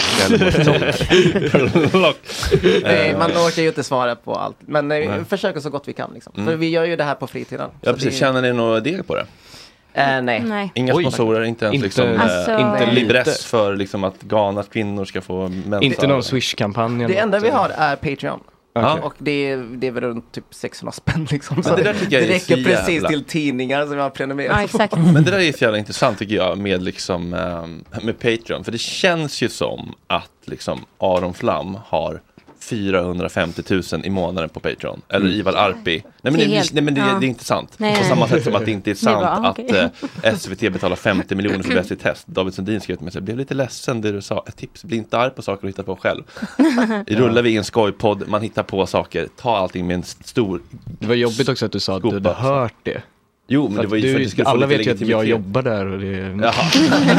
Nej, man orkar ju inte svara på allt. Men nej, vi försöker så gott vi kan. Liksom. Mm. För vi gör ju det här på fritiden. Ja, precis. Det... Känner ni några del på det? Uh, nej. nej. Inga sponsorer, inte ens inte, liksom, alltså, äh, inte libress för liksom, att Ghanas kvinnor ska få mensa. Inte någon Swish-kampanj. Det enda vi har är Patreon. Okay. Och det är, det är väl runt typ sexhundra spänn liksom. Så det, det, det räcker precis jävla. till tidningar som jag har prenumererat ja, exakt. på. Men det där är så jävla intressant tycker jag med, liksom, med Patreon. För det känns ju som att liksom, Aron Flam har fyrahundrafemtio tusen i månaden på Patreon. Eller mm. Ivar Arpi. Nej men, det, helt, nej, men det, ja. det är inte sant. Nej, på samma sätt som att det inte är sant bra, att okay. eh, S V T betalar femtio miljoner för bäst i test. David Sundin skrev till mig, jag blev lite ledsen det du sa. Ett tips, bli inte arg på saker och hitta på själv. Rullar vi i en skojpodd, man hittar på saker. Ta allting med en stor... Det var jobbigt också att du sa att du hade hört det. Jo, men det var ju för att du skulle alla vet ju att jag jobbar där och det... Jaha.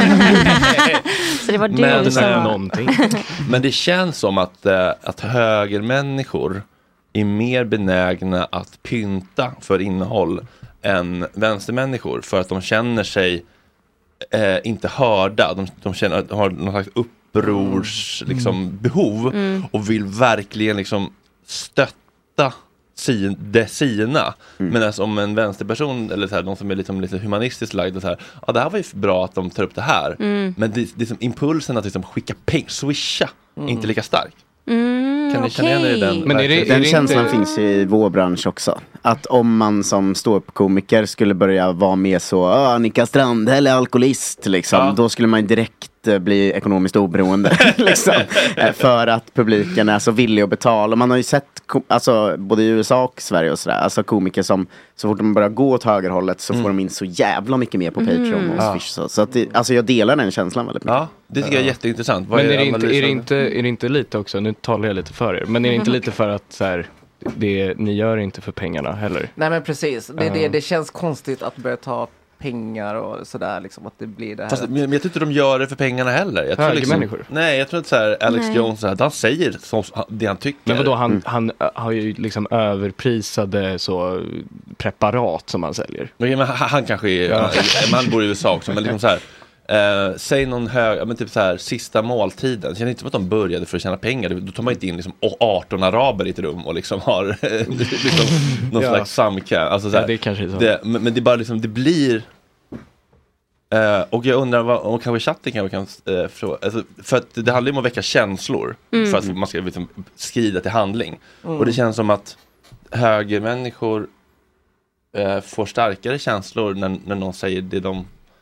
Så det var du men, som var... någonting. Men det känns som att, äh, att högermänniskor är mer benägna att pynta för innehåll än vänstermänniskor. För att de känner sig äh, inte hörda. De, de känner, har någon slags upprors mm. liksom, behov mm. och vill verkligen liksom, stötta sin, det sina. Mm. Men alltså, om en vänsterperson eller så här, någon som är liksom, lite humanistiskt lagd och så här, ja det här var ju bra att de tar upp det här. Mm. Men det, det är som impulsen att liksom skicka pengar, swisha, mm. inte lika stark. Mm, kan ni okay. känna igen er i den? Men är det, är den det känslan inte... finns i vår bransch också. Att om man som ståuppkomiker skulle börja vara med så Annika Strand eller alkoholist liksom, ja. Då skulle man direkt uh, bli ekonomiskt oberoende liksom, uh, för att publiken är så villig att betala. Man har ju sett kom- alltså, både i U S A och Sverige och sådär, alltså komiker som så fort de börjar gå åt högerhållet så mm. får de in så jävla mycket mer på Patreon mm. och ja. Swish. Så, så att det, alltså jag delar den känslan väldigt mycket. Ja, det tycker jag är jätteintressant. Vad men är, är, det inte, är, det inte, är det inte lite också, nu talar jag lite för er, men är det inte lite för att så här, det, ni gör inte för pengarna heller? Nej men precis, det, uh. det, det känns konstigt att börja ta pengar och sådär liksom, att det blir det här. Fast, men jag tror inte de gör det för pengarna heller. Jag tror liksom, människor. Nej, jag tror inte så här Alex nej. Jones så här, han säger så, det han tycker. Men vadå, han, mm. han har ju liksom överprisade så preparat som han säljer. Men, men han, han kanske är, ja. man bor i U S A också, men liksom så här Uh, säg någon hög, men typ så här sista måltiden. Känner inte som att de började för att tjäna pengar. Då tar man inte in liksom arton araber i ett rum och liksom har liksom någon ja. slags samkam. Alltså så här, ja, det kanske är så. Det, men, men det är bara liksom, det blir uh, och jag undrar vad, om kanske chatten kan, kan uh, fråga, alltså, för att det handlar ju om att väcka känslor mm. för att man ska liksom skrida till handling. Mm. Och det känns som att högermänniskor uh, får starkare känslor när, när någon säger det de.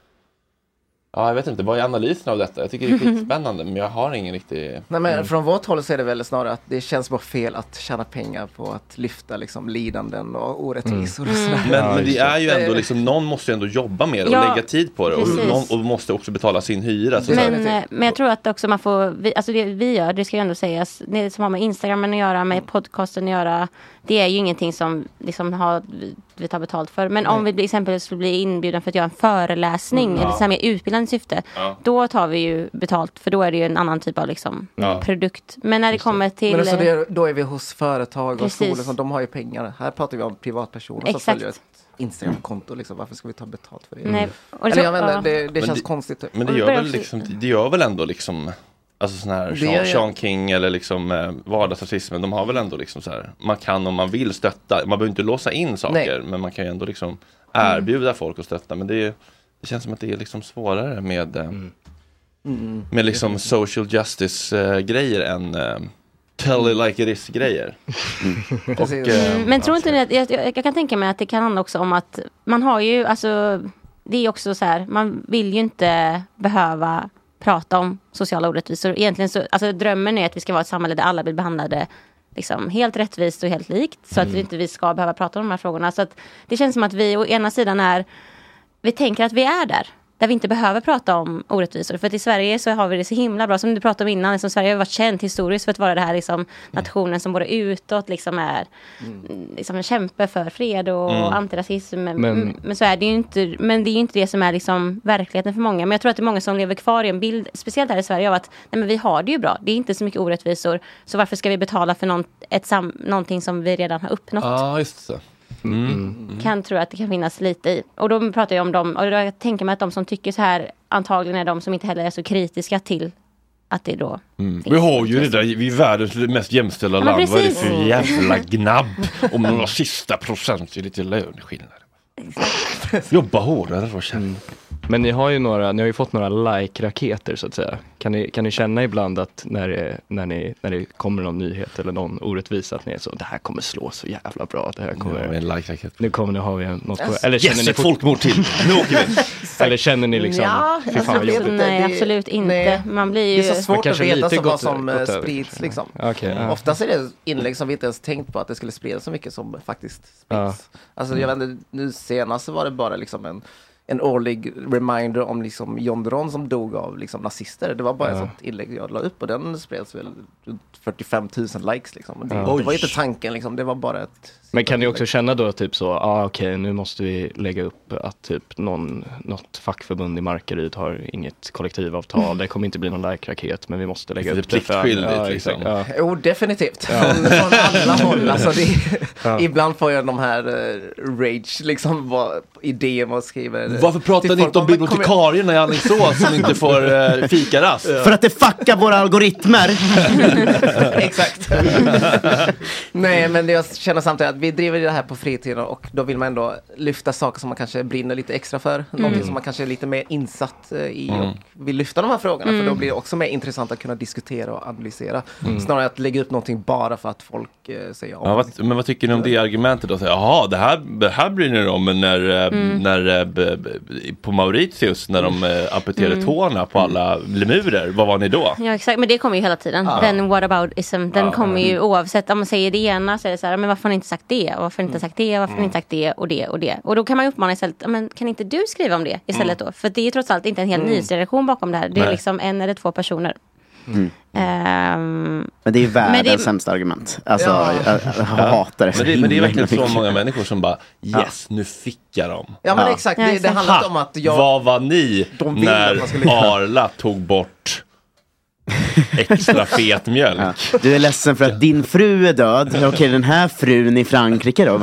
Ja, jag vet inte, vad är analysen av detta? Jag tycker det är skitspännande, men jag har ingen riktig... Nej, men från vårt håll så är det väl snarare att det känns bara fel att tjäna pengar på att lyfta liksom lidanden och orättvisor mm. och sådär. Men, men det är ju ändå liksom, någon måste ju ändå jobba med det och ja, lägga tid på det och, någon, och måste också betala sin hyra. Så men, så men jag tror att också man får, vi, alltså det vi gör, det ska ju ändå sägas, det som har med Instagramen att göra, med podcasten att göra, det är ju ingenting som liksom har, vi tar betalt för. Men Nej. om vi till exempel skulle bli inbjuden för att göra en föreläsning mm, ja. eller så här med utbildande syfte, ja. då tar vi ju betalt, för då är det ju en annan typ av liksom ja. produkt. Men när det kommer till... Men alltså det, då är vi hos företag och skolor som de har ju pengar. Här pratar vi om privatpersoner som Exakt. följer ett Instagram-konto. Liksom. Varför ska vi ta betalt för det? Nej. Och Eller jag vet inte, ja. det, det känns det, konstigt. Men det gör väl liksom, det gör väl ändå liksom... Alltså sån här Sean, Sean King eller liksom eh, vardagsrasismen, de har väl ändå liksom så här, man kan om man vill stötta, man behöver inte låsa in saker, Nej. men man kan ju ändå liksom erbjuda mm. folk att stötta, men det, det känns som att det är liksom svårare med eh, mm. Mm. med liksom social justice eh, grejer än eh, tell it like it is grejer. Mm. Och, eh, men tror inte ni att, jag, jag, jag kan tänka mig att det kan handla också om att man har ju, alltså det är också så här, man vill ju inte behöva prata om sociala orättvisor. Egentligen så, alltså drömmen är att vi ska vara ett samhälle där alla blir behandlade liksom helt rättvist och helt likt, så mm. att vi inte vi ska behöva prata om de här frågorna. Så att det känns som att vi å ena sidan är, vi tänker att vi är där, där vi inte behöver prata om orättvisor. För att i Sverige så har vi det så himla bra, som du pratade om innan, liksom Sverige har varit känt historiskt för att vara det här liksom, nationen som både utåt liksom är mm. liksom en kämpe för fred och mm. antirasism. Men, men, men så är det ju inte, men det är ju inte det som är liksom verkligheten för många. Men jag tror att det är många som lever kvar i en bild, speciellt här i Sverige, av att nej, men vi har det ju bra. Det är inte så mycket orättvisor, så varför ska vi betala för någon, ett sam, någonting som vi redan har uppnått? Ja, ah, just så. Mm. Mm. Kan tro att det kan finnas lite i. Och då pratar jag om dem, och jag tänker mig att de som tycker så här antagligen är de som inte heller är så kritiska till att det då mm. Vi har ju det där, vi är världens mest jämställda ja, land. Precis. Vad är det för jävla gnabb om några sista procent är lite löneskillnad. Jobba hårdare och känna. Mm. Men ni har ju några, ni har ju fått några like-raketer så att säga. Kan ni, kan ni känna ibland att när det, när, ni, när det kommer någon nyhet eller någon orättvisa att ni är så, det här kommer slå så jävla bra. Det här kommer, ja, en like-raket. Nu kommer ni ha en, något yes. eller känner yes, ni ett folkmord till. Nu åker vi. Eller känner ni liksom, ja, fy fan vad jobbigt. Nej, absolut inte. Nej. Man blir ju... Det är så svårt att veta så vad som gott sprids liksom. Okay, ja. Oftast är det inlägg som vi inte ens tänkt på att det skulle spridas så mycket som faktiskt sprids. Ja. Alltså jag vet inte, nu senast så var det bara liksom en en årlig reminder om liksom John Dron som dog av liksom nazister. Det var bara ja. ett sånt inlägg jag la upp och den spreds väl fyrtiofem tusen likes liksom. Det, ja. det var inte tanken liksom, det var bara ett... Men kan ni också känna då typ så, ja ah, okej okay, nu måste vi lägga upp att typ någon, något fackförbund i Markaryd har inget kollektivavtal, mm. det kommer inte bli någon like-raket, men vi måste lägga det upp det. För, ja, liksom. ja. Jo, definitivt. Ja. Från, från alla håll. Alltså det, ja. Ibland får jag de här uh, rage, liksom vad, idéer man skriver. Varför pratar ni inte om bibliotekarierna i Alingsås som inte får uh, fikarast? Ja. För att det fuckar våra algoritmer. Exakt. Nej, men jag känner samtidigt att vi driver det här på fritiden och då vill man ändå lyfta saker som man kanske brinner lite extra för. Mm. Någonting som man kanske är lite mer insatt i mm. och vill lyfta de här frågorna. Mm. För då blir det också mer intressant att kunna diskutera och analysera. Mm. Snarare att lägga upp någonting bara för att folk eh, säger om. Ja, vad, men vad tycker ni om det argumentet då? Jaha, det här, det här brinner om när, mm. när b, på Mauritius när de äh, amputerade mm. tårna på alla lemurer. Vad var ni då? Ja, exakt. Men det kommer ju hela tiden. Ja. Den whataboutism, den ja. kommer ju oavsett om man säger det ena så är det så här, men varför har ni inte sagt det? Och varför har ni inte sagt det? Varför har ni inte sagt det? Och det och det. Och då kan man ju uppmana istället, men kan inte du skriva om det istället mm. då? För det är ju trots allt inte en hel mm. nyhetsredaktion bakom det här. Det är Nej. liksom en eller två personer. Mm. Um, men det är världens det... sämsta argument. Alltså, ja. jag, jag hatar det. Men det, men det är verkligen så många människor som bara, yes, nu fick jag dem. Ja, men ja. exakt. Det, det handlar inte om att jag... Vad var ni när Arla tog bort extra fet mjölk? Ja. Du är ledsen för att din fru är död. Okej, okay, den här frun i Frankrike då?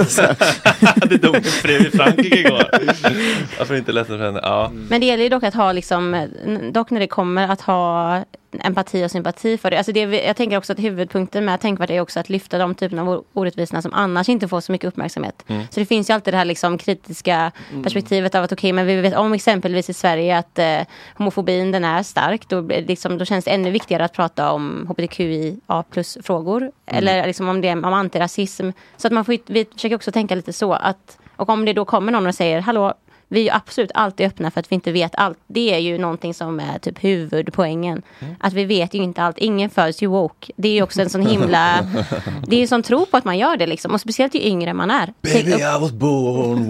Det dog en fru i Frankrike igår. Varför inte ledsen för henne? Ja. Men det gäller ju dock att ha liksom, dock när det kommer att ha empati och sympati för det. Alltså det, jag tänker också att huvudpunkten med tänkvärt är också att lyfta de typerna av orättvisorna som annars inte får så mycket uppmärksamhet. Mm. Så det finns ju alltid det här liksom kritiska mm. perspektivet av att okej, okay, men vi vet om exempelvis i Sverige att eh, homofobin den är stark. Då, liksom, då känns det ännu viktigare att prata om H B T Q I A plus frågor. Mm. Eller liksom om det om antirasism. Så att man får, vi försöker också tänka lite så att, och om det då kommer någon och säger hallå, vi är ju absolut alltid öppna för att vi inte vet allt. Det är ju någonting som är typ huvudpoängen. Mm. Att vi vet ju inte allt. Ingen föds ju woke. Det är ju också en sån himla... Det är ju som tro på att man gör det liksom. Och speciellt ju yngre man är. Baby, I was born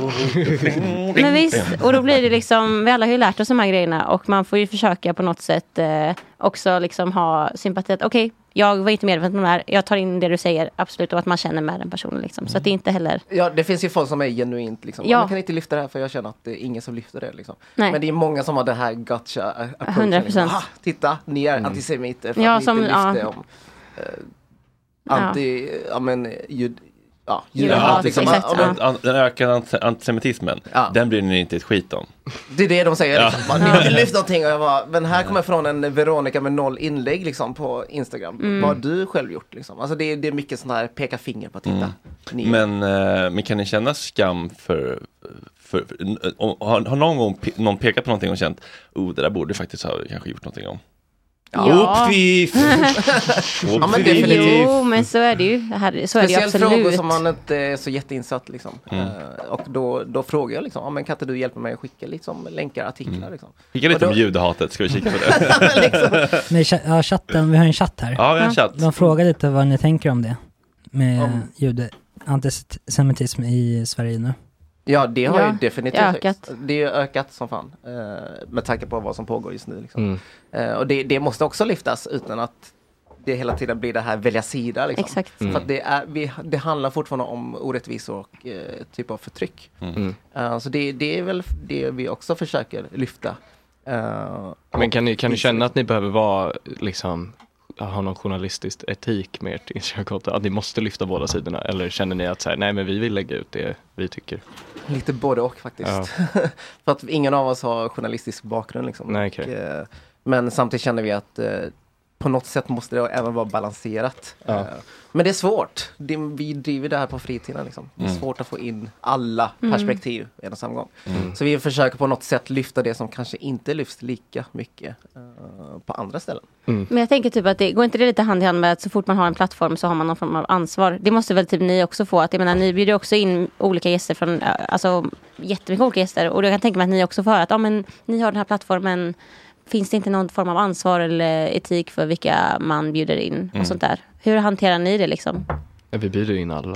woke. Men visst, och då blir det liksom... Vi alla har ju lärt oss de här grejerna. Och man får ju försöka på något sätt eh, också liksom ha sympati. Okej, okay, jag var inte medveten om det här. Jag tar in det du säger, absolut. Och att man känner med den personen liksom. Så att det är inte heller... Ja, det finns ju folk som är genuint liksom. Ja. Man kan inte lyfta det här för jag känner att det är ingen som lyfter det liksom. Nej. Men det är många som har det här gotcha approachen. hundra procent. Liksom. Titta, ni är mm. antisemiter för ja, att ni som, inte lyfter ja. om uh, anti... Ja, ja men... Jud, ja, ja, liksom, exakt, ja. an, den ökade antisemitismen, ja. Den blir ni inte ett skit om. Det är det de säger. Ja. Liksom. Man vill lyfta någonting och jag bara, men här kommer från en Veronica med noll inlägg liksom, på Instagram. Mm. Vad har du själv gjort? Liksom? Alltså det är, det är mycket sån här peka finger på att titta. Mm. Men, äh, men kan ni känna skam för... för, för har, har någon gång pe- någon pekat på någonting och känt oh, det där borde faktiskt ha kanske gjort någonting om? Ja. Uppfif. Ja, men definitivt. Jo, men så är det ju. Här, så är det ju absolut. Frågor som man inte är så jätteinsatt liksom. Mm. Uh, och då, då frågar jag liksom, ja, men kan inte du hjälpa mig att skicka liksom, länkar, artiklar mm. liksom. Skicka lite då... om judehatet, ska vi kika på det? liksom. Men ja, chatten, vi har en chatt här. Ja, vi har en chatt. De frågar lite vad ni tänker om det. Med om... jude, antisemitism i Sverige nu. Ja, det har ja, ju definitivt ökat. Det är ökat som fan. Uh, med tanke på vad som pågår just nu. Liksom. Mm. Uh, och det, det måste också lyftas utan att det hela tiden blir det här välja sida. Liksom. Exakt. Mm. För att det, är, vi, det handlar fortfarande om orättvisor och uh, typ av förtryck. Mm. Uh, så det, det är väl det vi också försöker lyfta. Uh, Men kan ni, kan ni känna att ni behöver vara liksom... har någon journalistisk etik med ert Instagram-konto? Att ni måste lyfta båda sidorna? Eller känner ni att så här, nej men vi vill lägga ut det vi tycker? Lite både och faktiskt. Ja. För att ingen av oss har journalistisk bakgrund liksom. Nej, okay. och, eh, men samtidigt känner vi att eh, på något sätt måste det även vara balanserat. Ja. Eh, men det är svårt. Det, vi driver det här på fritiden liksom. Det är mm. svårt att få in alla perspektiv mm. i en och samma gång. Mm. Så vi försöker på något sätt lyfta det som kanske inte lyfts lika mycket uh, på andra ställen. Mm. Men jag tänker typ att det går inte det lite hand i hand med att så fort man har en plattform så har man någon form av ansvar. Det måste väl typ ni också få. Att jag menar, ni bjuder också in olika gäster från, alltså jättemycket olika gäster. Och jag kan tänka mig att ni också får höra att ja, men ni har den här plattformen. Finns det inte någon form av ansvar eller etik för vilka man bjuder in och mm. sånt där? Hur hanterar ni det liksom? Ja, vi bjuder in alla.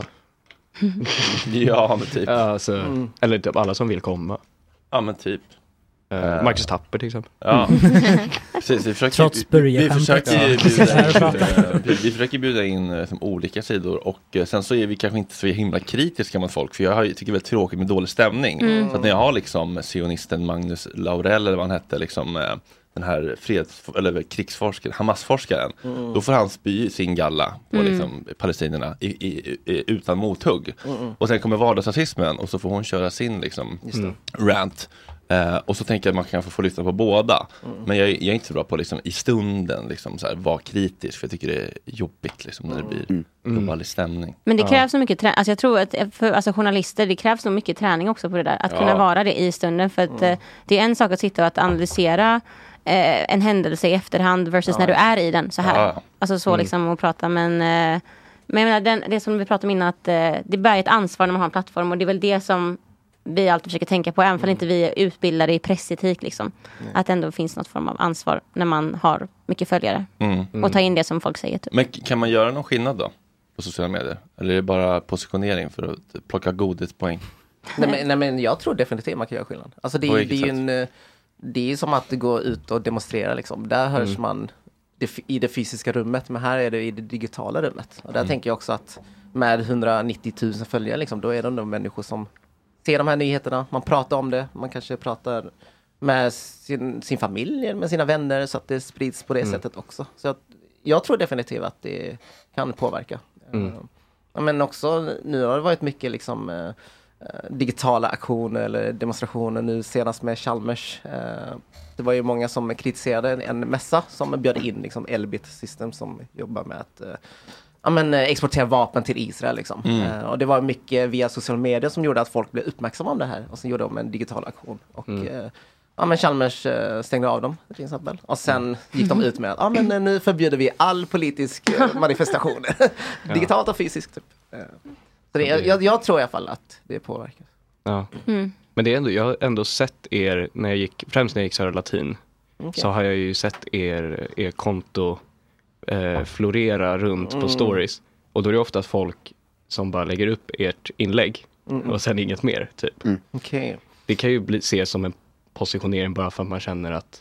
Ja, men typ. Ja, alltså, mm. Eller typ alla som vill komma. Ja, men typ. Uh, Marcus Tapper till exempel. Ja. Precis, vi försöker, Trots vi, vi, försöker bjuda, vi, vi försöker bjuda in liksom, olika sidor och uh, sen så är vi kanske inte så himla kritiska mot folk för jag har, tycker det är väldigt tråkigt med dålig stämning. Mm. Så att när jag har liksom sionisten Magnus Laurell eller vad han hette liksom uh, den här freds eller krigsforskaren, Hamas-forskaren, mm. då får han spy sin galla på mm. liksom, palestinierna i, i, i, utan mothugg. Mm. Och sen kommer vardagsrasismen och så får hon köra sin liksom, mm. rant. Uh, och så tänker jag att man kan få, få lyssna på båda. Mm. Men jag, jag är inte så bra på liksom, i stunden liksom, så här, vara kritisk. För jag tycker det är jobbigt liksom, när det blir mm. global stämning. Men det krävs ja. så mycket träning. Alltså jag tror att för alltså, journalister, det krävs nog mycket träning också på det där. Att ja. kunna vara det i stunden. För att mm. uh, det är en sak att sitta och att analysera uh, en händelse i efterhand versus ja. när du är i den. Så här. Ja. Alltså så mm. liksom att prata. Men, uh, men jag menar, den, det som vi pratade om innan, att uh, det bär ett ansvar när man har en plattform. Och det är väl det som vi alltid försöker tänka på, även om inte vi är utbildade i pressetik liksom. Mm. Att det ändå finns något form av ansvar när man har mycket följare. Mm. Mm. Och ta in det som folk säger. Typ. Men kan man göra någon skillnad då på sociala medier? Eller är det bara positionering för att plocka godispoäng? nej, men, nej men jag tror definitivt man kan göra skillnad. Alltså det, det är ju en, det är som att gå ut och demonstrera liksom. Där hörs mm. man det, i det fysiska rummet, men här är det i det digitala rummet. Och där mm. tänker jag också att med hundranittio tusen följare liksom, då är det de människor som ser de här nyheterna, man pratar om det, man kanske pratar med sin, sin familj, med sina vänner, så att det sprids på det mm. sättet också. Så att, jag tror definitivt att det kan påverka. Mm. Uh, men också, nu har det varit mycket liksom uh, digitala aktioner eller demonstrationer, nu senast med Chalmers. Uh, det var ju många som kritiserade en, en mässa som bjöd in liksom Elbit System som jobbar med att uh, ja, men, exportera vapen till Israel liksom. Mm. Uh, och det var mycket via sociala medier som gjorde att folk blev uppmärksamma om det här. Och sen gjorde de en digital aktion. Och mm. uh, ja, men Chalmers uh, stängde av dem till exempel. Och sen mm. gick de ut med att ja, men, uh, nu förbjuder vi all politisk uh, manifestation. Digitalt och fysiskt typ. Uh, så det, jag, jag tror i alla fall att det påverkar. Ja. Mm. Men det är ändå, jag har ändå sett er, när jag gick, främst när jag gick Södra Latin, okay. så har jag ju sett er, er konto Eh, florera runt mm. på stories. Och då är det ofta folk som bara lägger upp ert inlägg mm. och sen inget mer typ. Mm. Okay. Det kan ju bli, ses som en positionering bara för att man känner att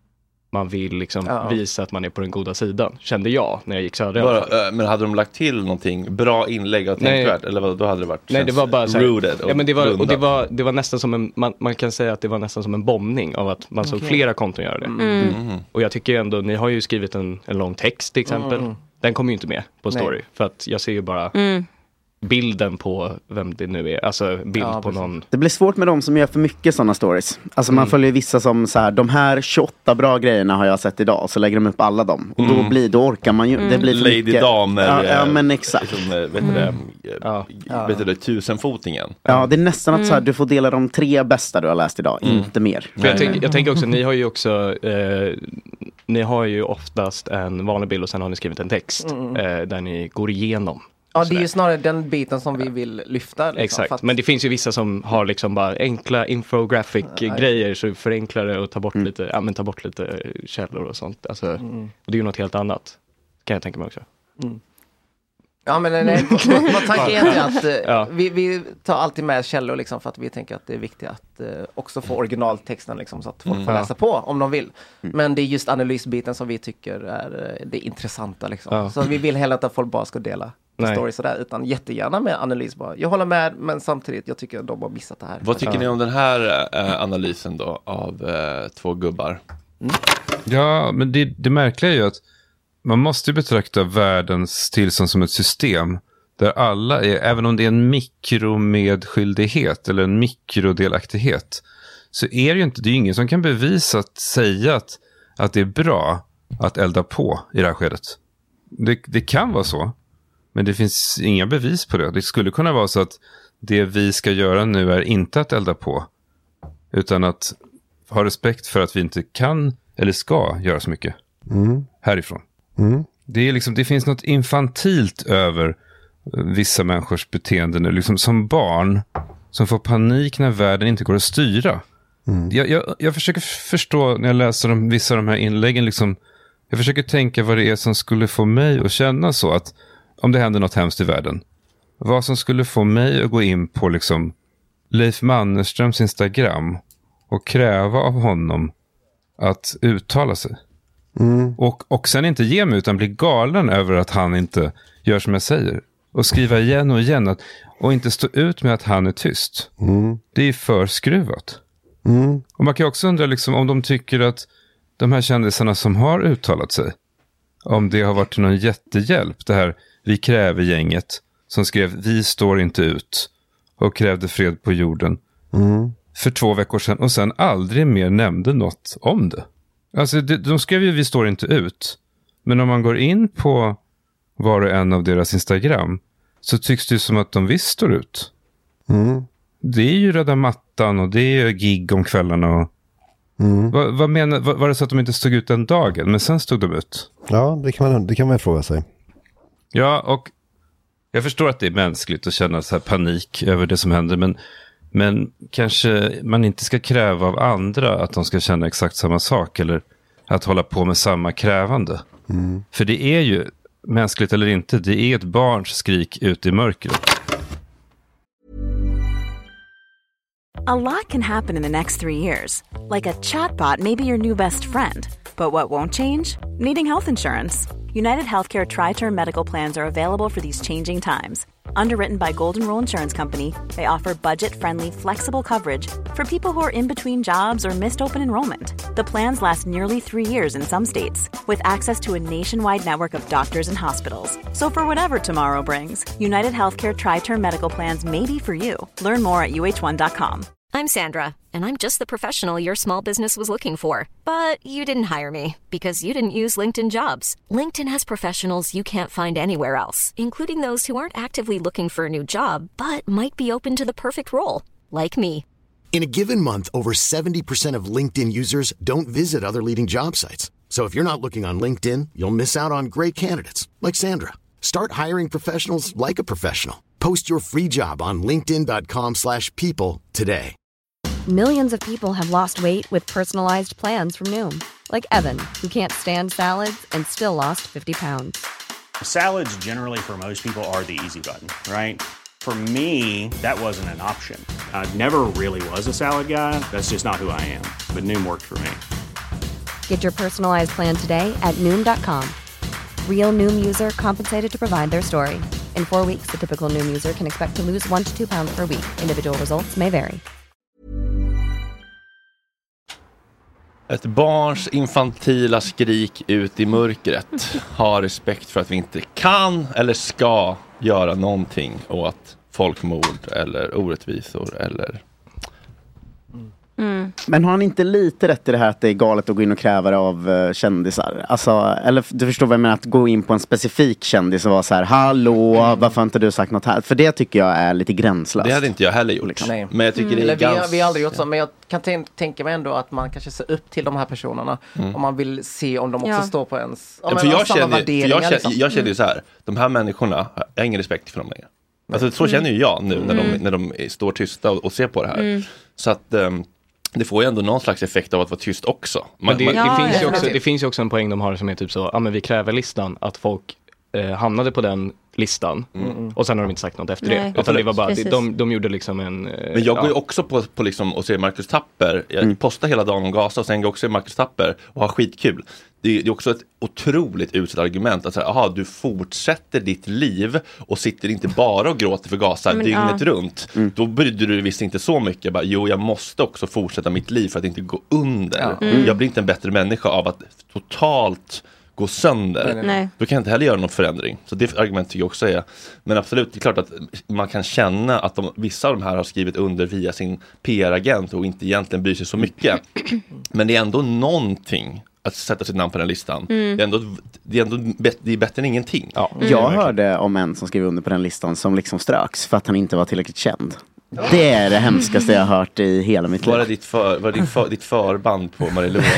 man vill liksom ja. visa att man är på den goda sidan. Kände jag när jag gick södra. Bara, äh, men hade de lagt till någonting bra inlägg och tänkvärt? Eller vad, då hade det varit Nej, det var bara så här, ja, men det var, och det var, det var nästan som en, man, man kan säga att det var nästan som en bombning av att man okay. såg flera konton göra det. Mm. Mm. Och jag tycker ändå, ni har ju skrivit en, en lång text till exempel. Mm. Den kommer ju inte med på story. Nej. För att jag ser ju bara mm. bilden på vem det nu är. Alltså bild ja, på precis. någon. Det blir svårt med de som gör för mycket sådana stories. Alltså mm. man följer vissa som så här, de här tjugoåtta bra grejerna har jag sett idag. Så lägger de upp alla dem. Och mm. då, blir, då orkar man ju. Mm. Det blir för Lady mycket. Damer. Ja, ja men exakt. Liksom, vet mm. det, ja. vet du det, tusenfotingen. Ja, det är nästan att så här, du får dela de tre bästa du har läst idag. Mm. Inte mer. För jag, tänk, jag tänker också, ni har ju också eh, ni har ju oftast en vanlig bild och sen har ni skrivit en text mm. eh, där ni går igenom. Ja, det är ju snarare den biten som vi vill lyfta. Liksom, Exakt, att... men det finns ju vissa som har liksom bara enkla infographic-grejer så för enklare att ta bort, mm. lite, ja, men ta bort lite källor och sånt. Alltså, mm. och det är ju något helt annat, kan jag tänka mig också. Mm. Ja, men nej, vad tanken är att uh, ja. vi, vi tar alltid med källor liksom, för att vi tänker att det är viktigt att uh, också få originaltexten liksom, så att folk mm. får läsa på om de vill. Mm. Men det är just analysbiten som vi tycker är uh, det intressanta. Liksom. Ja. Så vi vill heller inte att folk bara ska dela stories sådär, utan jättegärna med analys bara. Jag håller med, men samtidigt jag tycker att de har missat det här. Vad tycker ja. ni om den här uh, analysen då av uh, två gubbar? Mm. Ja, men det, det märkliga är ju att man måste betrakta världens tillstånd som ett system där alla är, även om det är en mikromedskyldighet eller en mikrodelaktighet, så är det ju inte, det är ingen som kan bevisa att säga att, att det är bra att elda på i det här skedet. Det, det kan vara så, men det finns inga bevis på det. Det skulle kunna vara så att det vi ska göra nu är inte att elda på, utan att ha respekt för att vi inte kan eller ska göra så mycket mm. härifrån. Mm. Det, är liksom, det finns något infantilt över vissa människors beteende nu. Liksom som barn som får panik när världen inte går att styra. Mm. Jag, jag, jag försöker förstå när jag läser om vissa av de här inläggen. Liksom, jag försöker tänka vad det är som skulle få mig att känna så. Att om det händer något hemskt i världen. Vad som skulle få mig att gå in på liksom, Leif Mannerströms Instagram och kräva av honom att uttala sig. Mm. Och, och sen inte ge mig utan bli galen över att han inte gör som jag säger. Och skriva igen och igen att, och inte stå ut med att han är tyst. Mm. Det är för skruvat. Mm. Och man kan också undra liksom, om de tycker att de här kändisarna som har uttalat sig, om det har varit till någon jättehjälp. Det här Vi kräver gänget som skrev Vi står inte ut och krävde fred på jorden mm. för två veckor sedan och sen aldrig mer nämnde något om det. Alltså de, de skrev ju Vi står inte ut. Men om man går in på var och en av deras Instagram så tycks det som att de visst står ut. Mm. Det är ju röda mattan och det är ju gig om kvällarna. Och... Mm. Vad, vad menar, var, var det så att de inte stod ut den dagen men sen stod de ut? Ja, det kan man, det kan man fråga sig. Ja, och jag förstår att det är mänskligt att känna så här panik över det som händer, men Men kanske man inte ska kräva av andra att de ska känna exakt samma sak eller att hålla på med samma krävande. Mm. För det är ju, mänskligt eller inte, det är ett barns skrik ut i mörkret. A lot can happen in the next three years. Like a chatbot may be your new best friend. But what won't change? Needing health insurance. United Healthcare Tri-Term Medical Plans are available for these changing times. Underwritten by Golden Rule Insurance Company, they offer budget-friendly, flexible coverage for people who are in between jobs or missed open enrollment. The plans last nearly three years in some states, with access to a nationwide network of doctors and hospitals. So for whatever tomorrow brings, United Healthcare Tri-Term Medical Plans may be for you. Learn more at U H one dot com. I'm Sandra, and I'm just the professional your small business was looking for. But you didn't hire me, because you didn't use LinkedIn Jobs. LinkedIn has professionals you can't find anywhere else, including those who aren't actively looking for a new job, but might be open to the perfect role, like me. In a given month, over seventy percent of LinkedIn users don't visit other leading job sites. So if you're not looking on LinkedIn, you'll miss out on great candidates, like Sandra. Start hiring professionals like a professional. Post your free job on linkedin dot com slash people today. Millions of people have lost weight with personalized plans from Noom. Like Evan, who can't stand salads and still lost fifty pounds. Salads generally for most people are the easy button, right? For me, that wasn't an option. I never really was a salad guy. That's just not who I am. But Noom worked for me. Get your personalized plan today at noom dot com. Real Noom user compensated to provide their story. In four weeks, the typical Noom user can expect to lose one to two pounds per week. Individual results may vary. Ett barns infantila skrik ut i mörkret. Ha respekt för att vi inte kan eller ska göra någonting åt folkmord eller orättvisor eller... Mm. Men har han inte lite rätt i det här att det är galet att gå in och kräva det av uh, kändisar? Alltså, eller du förstår vad jag menar, att gå in på en specifik kändis och vara så här: hallå, mm. varför har inte du sagt något här? För det tycker jag är lite gränslöst. Det hade inte jag heller gjort. Liksom. Men jag tycker mm. det är Eller ganska... vi, har, vi har aldrig gjort så, men jag kan t- tänka mig ändå att man kanske ser upp till de här personerna mm. om man vill se om de också ja. står på ens ja, för jag känner, för jag känner, liksom. jag känner ju så här, de här människorna, jag har ingen respekt för dem längre. Alltså, så känner ju jag nu när, mm. de, när de står tysta och, och ser på det här. Mm. Så att... Um, det får ju ändå någon slags effekt av att vara tyst också. Man, men det, man, det, ja, finns ja, ju också, ja. det finns ju också en poäng de har som är typ så, ja men vi kräver listan att folk eh, hamnade på den listan mm. och sen har de inte sagt något efter Nej. det. Utan det var bara, de, de, de gjorde liksom en... Eh, men jag går ju ja. också på, på liksom och ser Marcus Tapper. Jag mm. postar hela dagen om Gaza och sen går jag också i Marcus Tapper och har skitkul. Det är, det är också ett otroligt utsatt argument att säga, aha, du fortsätter ditt liv och sitter inte bara och gråter för Gaza men, dygnet ja. runt. Mm. Då brydde du visst inte så mycket. Bara, jo, jag måste också fortsätta mitt liv för att inte gå under. Ja. Mm. Jag blir inte en bättre människa av att totalt gå sönder. Nej. Då kan jag inte heller göra någon förändring. Så det argument tycker jag också är. Men absolut, det är klart att man kan känna att de, vissa av de här har skrivit under via sin P R-agent och inte egentligen bryr sig så mycket. Men det är ändå någonting att sätta sitt namn på den listan. Mm. Det är ändå, det är ändå bet- det är bättre än ingenting. Ja. Mm. Jag hörde om en som skrev under på den listan som liksom ströks för att han inte var tillräckligt känd. Det är det hemskaste jag har hört i hela mitt liv. Var det ditt, för, var det ditt, för, ditt förband på Marie Louise?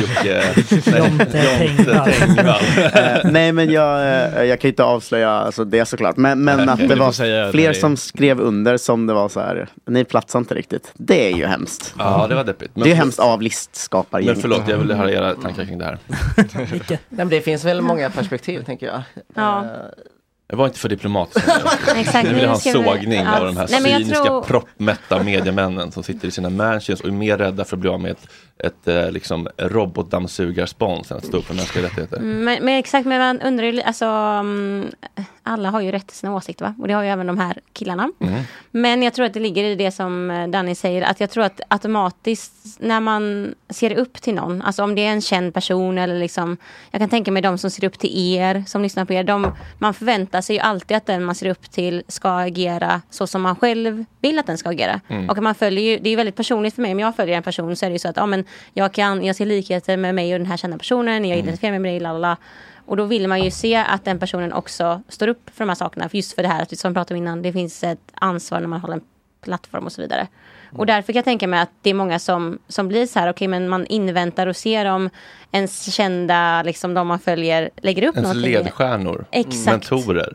uh, nej, men jag, uh, jag kan inte avslöja alltså, det såklart. Men, men att det var fler som skrev under som det var så här, ni platsar inte riktigt. Det är ju hemskt. Ja, det var deppigt. Men det är hemskt av listskapare. Men förlåt, jag ville höra era tankar kring det här. Nej, men det finns väl många perspektiv, tänker jag. Ja. Uh, Jag var inte för diplomatisk. Exakt. Nu vill jag ha en sågning ja. av de här Nej, cyniska, tror... proppmätta mediemännen som sitter i sina mansions och är mer rädda för att bli av med ett, ett, ett liksom, robotdammsugarspons än att stå upp för mänskliga rättigheter. Men, men exakt, men man undrar ju, alltså, alla har ju rätt till sina åsikter, va? Och det har ju även de här killarna. Mm. Men jag tror att det ligger i det som Danny säger, att jag tror att automatiskt när man ser upp till någon, alltså om det är en känd person eller liksom, jag kan tänka mig de som ser upp till er, som lyssnar på er, de, man förväntar sig ju alltid att den man ser upp till ska agera så som man själv vill att den ska agera. Mm. Och man följer ju, det är ju väldigt personligt för mig, om jag följer en person så är det ju så att ja, men jag, kan, jag ser likheter med mig och den här kända personen, jag identifierar mig med dig, lalala. Och då vill man ju se att den personen också står upp för de här sakerna, för just för det här att, som vi pratade om innan, det finns ett ansvar när man håller en plattform och så vidare. Mm. Och därför kan jag tänka mig att det är många som, som blir så här, okej, okay, men man inväntar och ser om ens kända, liksom de man följer, lägger upp ens någonting. ledstjärnor, Exakt. mentorer.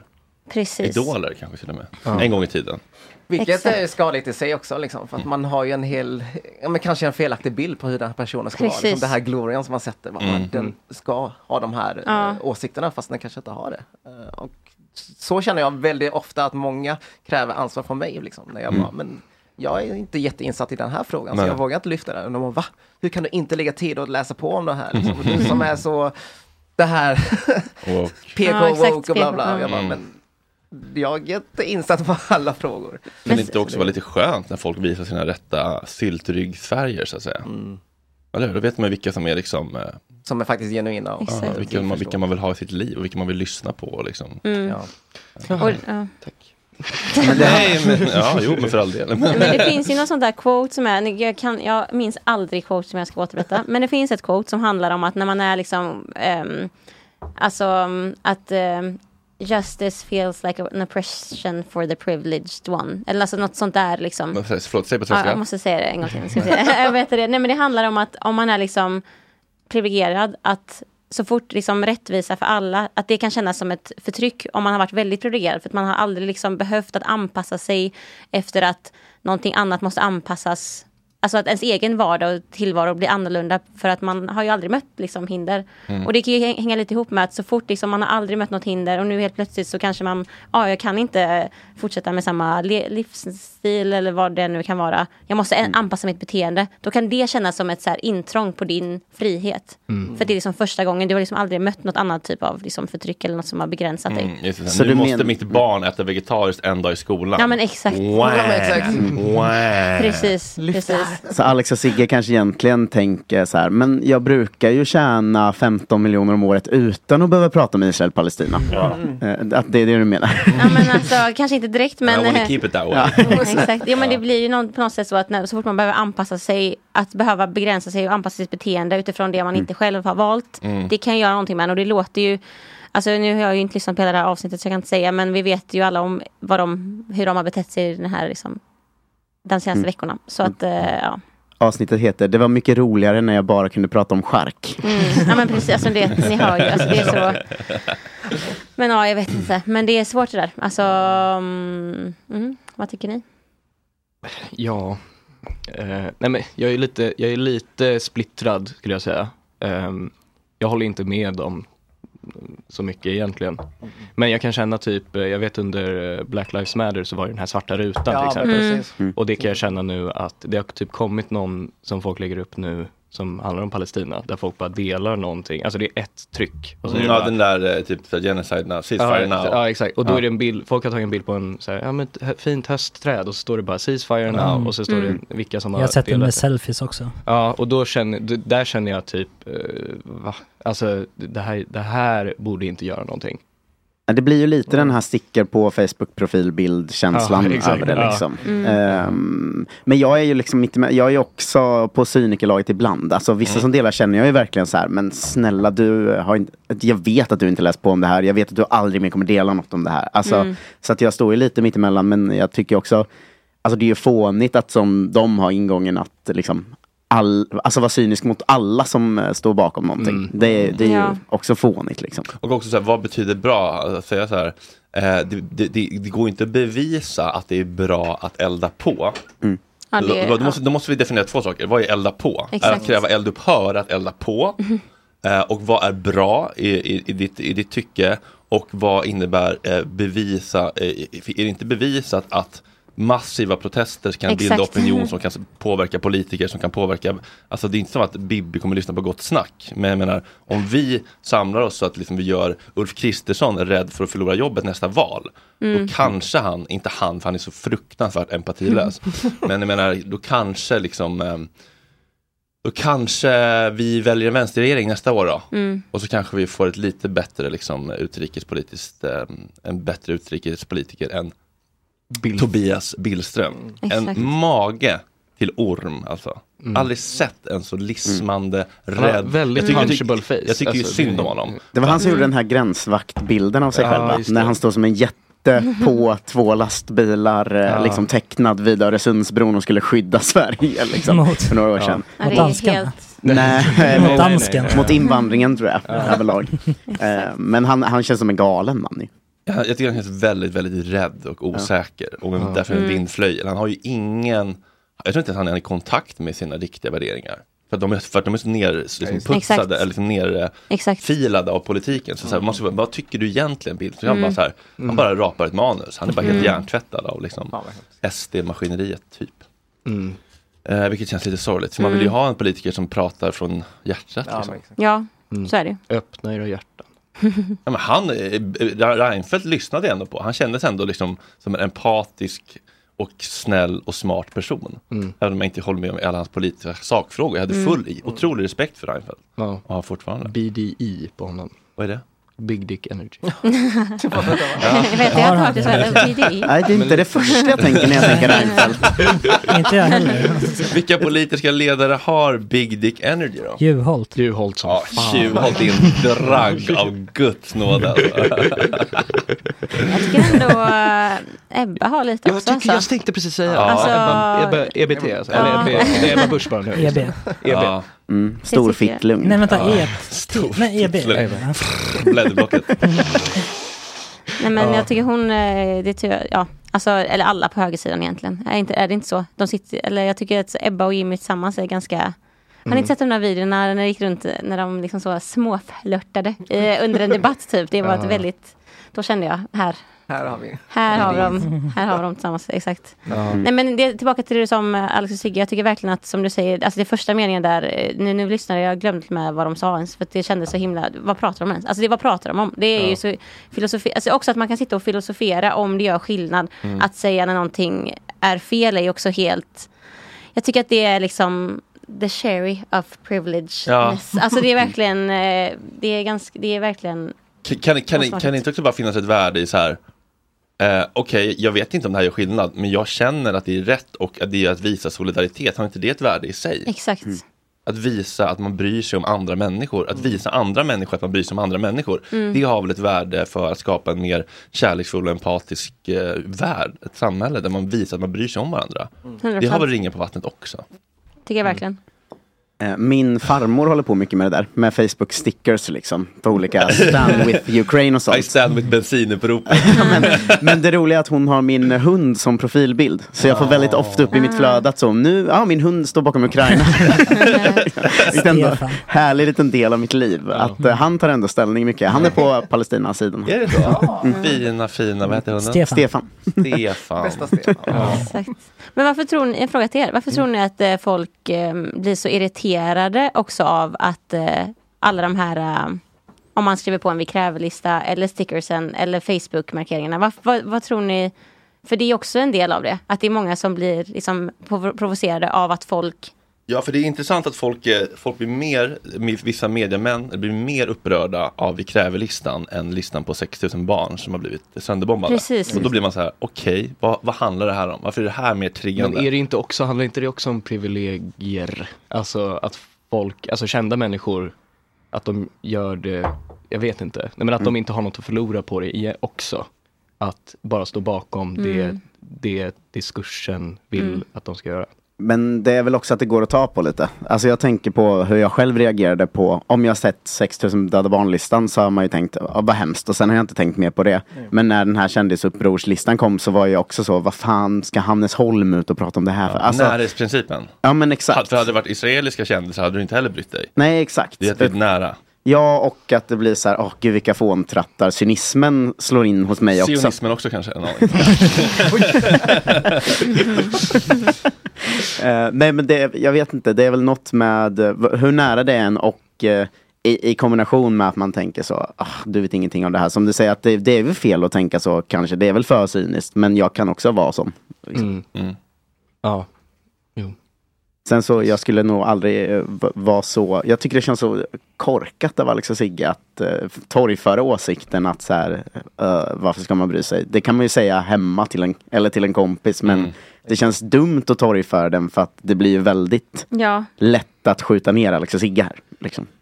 Precis. idoler kanske till och med. Ja. En gång i tiden. Vilket Exakt. är skadligt i sig också, liksom, för att man har ju en hel, ja, men kanske en felaktig bild på hur den här personen ska Precis. vara. Liksom det här glorian som man sätter, vad Mm. den ska ha de här Ja. eh, åsikterna fast den kanske inte har det. Eh, och så känner jag väldigt ofta att många kräver ansvar från mig, liksom, när jag Mm. bara, men jag är inte jätteinsatt i den här frågan, Nej. så jag vågar inte lyfta den. Och de bara, va? Hur kan du inte lägga tid och läsa på om det här? Liksom? Du som är så, det här Woke. P K, Ja, exakt, woke och bla bla. P K, Jag bara, mm. men jag är inte insatt på alla frågor. Men det inte också vara lite skönt när folk visar sina rätta syltryggsfärger så att säga. Mm. Eller hur? Då vet man vilka som är liksom eh, Som är faktiskt genuina. Och, ja, vilka, man, vilka man vill ha i sitt liv och vilka man vill lyssna på liksom. Mm. Ja. Och, ja. Nej, men ja, jo, men för all del. Men det finns ju något sånt där quote som är, jag, kan, jag minns aldrig quote som jag ska återberätta, men det finns ett quote som handlar om att när man är liksom, um, alltså um, att um, justice feels like an oppression for the privileged one. Eller alltså något sånt där liksom. Men, förlåt, säg på Ja, svenska. jag måste säga det en gång till. Ska jag säga. Jag vet det. Nej, men det handlar om att om man är liksom privilegierad, att så fort liksom rättvisa för alla, att det kan kännas som ett förtryck om man har varit väldigt privilegierad, för att man har aldrig liksom behövt att anpassa sig efter att någonting annat måste anpassas. Alltså att ens egen vardag och tillvaro blir annorlunda, för att man har ju aldrig mött liksom hinder. Mm. Och det kan ju hänga lite ihop med att så fort liksom man har aldrig mött något hinder och nu helt plötsligt så kanske man, ja, jag kan inte fortsätta med samma le- livsstil eller vad det nu kan vara. Jag måste en- anpassa mitt beteende. Då kan det kännas som ett så här intrång på din frihet. Mm. För det är liksom första gången, du har liksom aldrig mött något annat typ av liksom förtryck eller något som har begränsat dig. Mm, just det. Så nu du måste men- mitt barn äta vegetariskt en dag i skolan. Ja, men exakt. Wow. Ja, men exakt. Wow. Precis, precis. Så Alex och Sigge kanske egentligen tänker så här, men jag brukar ju tjäna femton miljoner om året utan att behöva prata med Israel-Palestina. Ja. Eh, Att det är det du menar. Ja, men alltså, kanske inte direkt, men... I wanna keep it that way. Ja. Exakt. Ja, men det blir ju någon, på något sätt så att när, så fort man behöver anpassa sig, att behöva begränsa sig och anpassa sitt beteende utifrån det man inte själv har valt, Mm. det kan ju göra någonting med en, och det låter ju, alltså nu har jag ju inte lyssnat på hela det här avsnittet så jag kan inte säga, men vi vet ju alla om vad de, hur de har betett sig i den här liksom, de senaste Mm. veckorna. Så att, eh, ja. Avsnittet heter "Det var mycket roligare när jag bara kunde prata om chark". Mm. Ja, men precis, alltså det, ni hör ju, alltså det är så. Men ja, jag vet inte, men det är svårt det där. Alltså, mm, mm, vad tycker ni? Ja, eh, nej men jag är lite, jag är lite splittrad skulle jag säga. Eh, jag håller inte med om så mycket egentligen. Men jag kan känna typ, eh, jag vet under eh, Black Lives Matter så var det den här svarta rutan Ja, till exempel. men precis. Mm. Och det kan jag känna nu att det har typ kommit någon som folk lägger upp nu som handlar om Palestina, där folk bara delar någonting. Alltså det är ett tryck. Och så är det Ja, bara- den där eh, typ så genocide now, ceasefire ja, now. Ja, exakt. Och då Ja. är det en bild, folk har tagit en bild på en så här, ja, men ett hö- fint höstträd och så står det bara ceasefire now Mm. och så står Mm. det vilka som Jag har har sett det delat med selfies också. Ja, och då känner, d- där känner jag typ, eh, va? Alltså det här, det här borde inte göra någonting. Ja, det blir ju lite den här sticker på Facebook-profilbild-känslan Ja, exakt. över det Ja. liksom. Mm. Ehm, men jag är ju liksom inte med, jag är ju också på cynikerlaget ibland. Alltså vissa Mm. som delar känner jag ju verkligen så här, men snälla du har inte, jag vet att du inte läst på om det här, jag vet att du aldrig mer kommer dela något om det här. Alltså, Mm. så att jag står ju lite mitt emellan, men jag tycker också, alltså det är ju fånigt att som de har ingången att liksom All, alltså vara cynisk mot alla som eh, står bakom någonting. Mm. Det, det är Ja. ju också fånigt liksom. Och också så här, vad betyder bra? Att säga så här, eh, det, det, det, det går inte att bevisa att det är bra att elda på. Mm. Ja, det, då, då, måste, då måste vi definiera två saker. Vad är elda på? Exakt. Är att kräva eldupphör att elda på? Eh, och vad är bra i, i, i, ditt, i ditt tycke? Och vad innebär eh, bevisa? Eh, är det inte bevisat att massiva protester kan Exakt. bilda opinion som kan påverka politiker, som kan påverka, alltså det är inte som att Bibi kommer lyssna på gott snack, men jag menar, om vi samlar oss så att liksom vi gör Ulf Kristersson rädd för att förlora jobbet nästa val, Mm. då kanske han, inte han för han är så fruktansvärt empatilös, men jag menar, då kanske liksom eh, då kanske vi väljer en vänsterregering nästa år då. Mm. Och så kanske vi får ett lite bättre liksom utrikespolitiskt, eh, en bättre utrikespolitiker än Bill. Tobias Billström. Exakt. En mage till orm alltså. Mm. Aldrig sett en så lismande, Han har rädd. väldigt jag tycker, jag punchable tycker, face. jag tycker ju Alltså, synd det- om honom. Det var han som Mm. gjorde den här gränsvaktbilden av sig Ja, själv, va? just När det. han står som en jätte på två lastbilar eh, Ja. liksom tecknad vid Öresundsbron och skulle skydda Sverige liksom, Mot- för några år Ja. sedan. Ja, Mot det är danskarna. helt... Nej, Mot mot, dansken. mot invandringen tror jag överlag. Eh, men han, han känns som en galen man ju. Jag, jag tycker han känns väldigt, väldigt rädd och osäker. Ja. Och ja. därför en vindflöjel. Han har ju ingen... Jag tror inte att han är i kontakt med sina riktiga värderingar. För att de är, för att de är så ner, liksom putsade eller liksom nerfilade av politiken. Så, så här, måste, vad tycker du egentligen, Bill? Så mm. bara så här, han bara rapar ett manus. Han är bara helt mm. hjärntvättad av liksom, S D-maskineriet typ. Mm. Eh, vilket känns lite sorgligt. För mm. man vill ju ha en politiker som pratar från hjärtat. Ja, liksom. ja mm. så är det. Öppna era hjärtan. Ja, men han, Reinfeldt lyssnade ändå på. Han kändes ändå liksom som en empatisk och snäll och smart person. Mm. Även om jag inte håller med om alla hans politiska sakfrågor. Jag hade full mm. otrolig respekt för Reinfeldt. Ja. Och har fortfarande. B D E på honom. Vad är det? Big Dick Energy. ja. Jag vet, jag har faktiskt varit B D E. Nej, det är inte det första jag tänker när jag tänker Reinfeldt. Inte jag heller. Vilka politiska ledare har Big Dick Energy då? Juholt. Juholt som ja, fan. Juholt är en drag av Guds nåd. Jag tycker ändå äh, Ebba har lite också. Jag, tycker, jag tänkte precis säga ja. alltså, Ebba, Ebba, E B T alltså. Ja. Eller det är Ebba Busch bara nu. E B. E B. Ja. Mm, stor fittlugn. Nej, vänta, ja. E. Nej, E B. Blädderblocket. Nej, men ja. jag tycker hon, det tycker jag, ja, alltså, eller alla på högersidan egentligen. Är, inte, är det inte så? De sitter, eller jag tycker att Ebba och Jimmy tillsammans är ganska... Mm. Har ni inte sett de där videorna när de gick runt, när de liksom så småflörtade eh, under en debatt typ? Det var ett väldigt, då kände jag, här... Här har vi. Här har de, här har vi dem tillsammans, exakt. Mm. Nej, men det, tillbaka till det som Alex och Sigge, jag tycker verkligen att, som du säger, alltså det första meningen där, nu, nu lyssnade jag, glömde med vad de sa ens, för att det kändes så himla, vad pratar de ens? Alltså det, vad pratar de om? Det är ja. ju så filosofi, alltså också att man kan sitta och filosofera om det gör skillnad. Mm. Att säga när någonting är fel är ju också helt, jag tycker att det är liksom the cherry of privilege. Ja. Alltså det är verkligen, det är ganska, det är verkligen... Kan, kan, kan, kan det inte också bara finnas ett värde i så här, eh, okej, okay, jag vet inte om det här gör skillnad, men jag känner att det är rätt och att det är att visa solidaritet. Har inte det ett värde i sig? Exakt. Mm. Att visa att man bryr sig om andra människor. Att visa andra människor att man bryr sig om andra människor. Mm. Det har väl ett värde för att skapa en mer kärleksfull och empatisk eh, värld. Ett samhälle där man visar att man bryr sig om varandra. Mm. Det har väl ringen på vattnet också. Tycker jag verkligen. Mm. Min farmor håller på mycket med det där. Med Facebook stickers liksom. På olika stand with Ukraine och sånt. I stand with bensinupprop. men, men det roliga är att hon har min hund som profilbild. Så jag får väldigt ofta upp i mitt flöde att så nu, ja min hund står bakom Ukraina. Det är ändå härlig liten del av mitt liv. Att uh, han tar ändå ställning mycket. Han är på Palestina-sidan. Är det så? Mm. Fina, fina, vad heter hunden? Stefan. Stefan. Stefan. Bästa Stefan. Ja. Exakt. Men varför tror ni, en fråga till er. Varför tror ni att eh, folk eh, blir så irriterade också av att eh, alla de här, eh, om man skriver på en vi kräver-lista eller stickersen eller Facebook-markeringarna. Vad, vad, vad tror ni, för det är också en del av det, att det är många som blir liksom provocerade av att folk... Ja, för det är intressant att folk, folk blir mer, vissa mediamän blir mer upprörda av vi kräver-listan än listan på sex tusen barn som har blivit sönderbombade. Precis. Och då blir man så här, okej, okay, vad, vad handlar det här om? Varför är det här mer triggande? Men är det inte också, handlar inte det också om privilegier? Alltså att folk, alltså kända människor, att de gör det, jag vet inte, nej, men att mm. de inte har något att förlora på det också. Att bara stå bakom mm. det, det diskursen vill mm. att de ska göra. Men det är väl också att det går att ta på lite. Alltså jag tänker på hur jag själv reagerade på, om jag sett sex tusen döda barnlistan så har man ju tänkt, ja, vad hemskt. Och sen har jag inte tänkt mer på det. Mm. Men när den här kändisupprorslistan kom så var jag också så, vad fan ska Hannes Holm ut och prata om det här för? Ja, alltså, närhetsprincipen. Ja men exakt. För hade det varit israeliska kändisar hade du inte heller brytt dig. Nej exakt. Det är typ nära. Ja, och att det blir så här, åh gud vilka fåntrattar. Cynismen slår in hos mig också. Sionismen också kanske. En uh, nej men det, jag vet inte, det är väl något med uh, hur nära det är en och uh, i, i kombination med att man tänker så, ah, du vet ingenting om det här. Som du säger, att det, det är väl fel att tänka så kanske. Det är väl för cyniskt, men jag kan också vara som. Liksom. Mm. Mm. Ja, jo. Sen så, jag skulle nog aldrig uh, vara så... Jag tycker det känns så korkat av Alex och Sigge att uh, torgföra åsikten att så här, uh, varför ska man bry sig? Det kan man ju säga hemma till en, eller till en kompis, men mm. det känns dumt att torgföra den för att det blir ju väldigt ja. lätt att skjuta ner Alex och Sigge här. Liksom.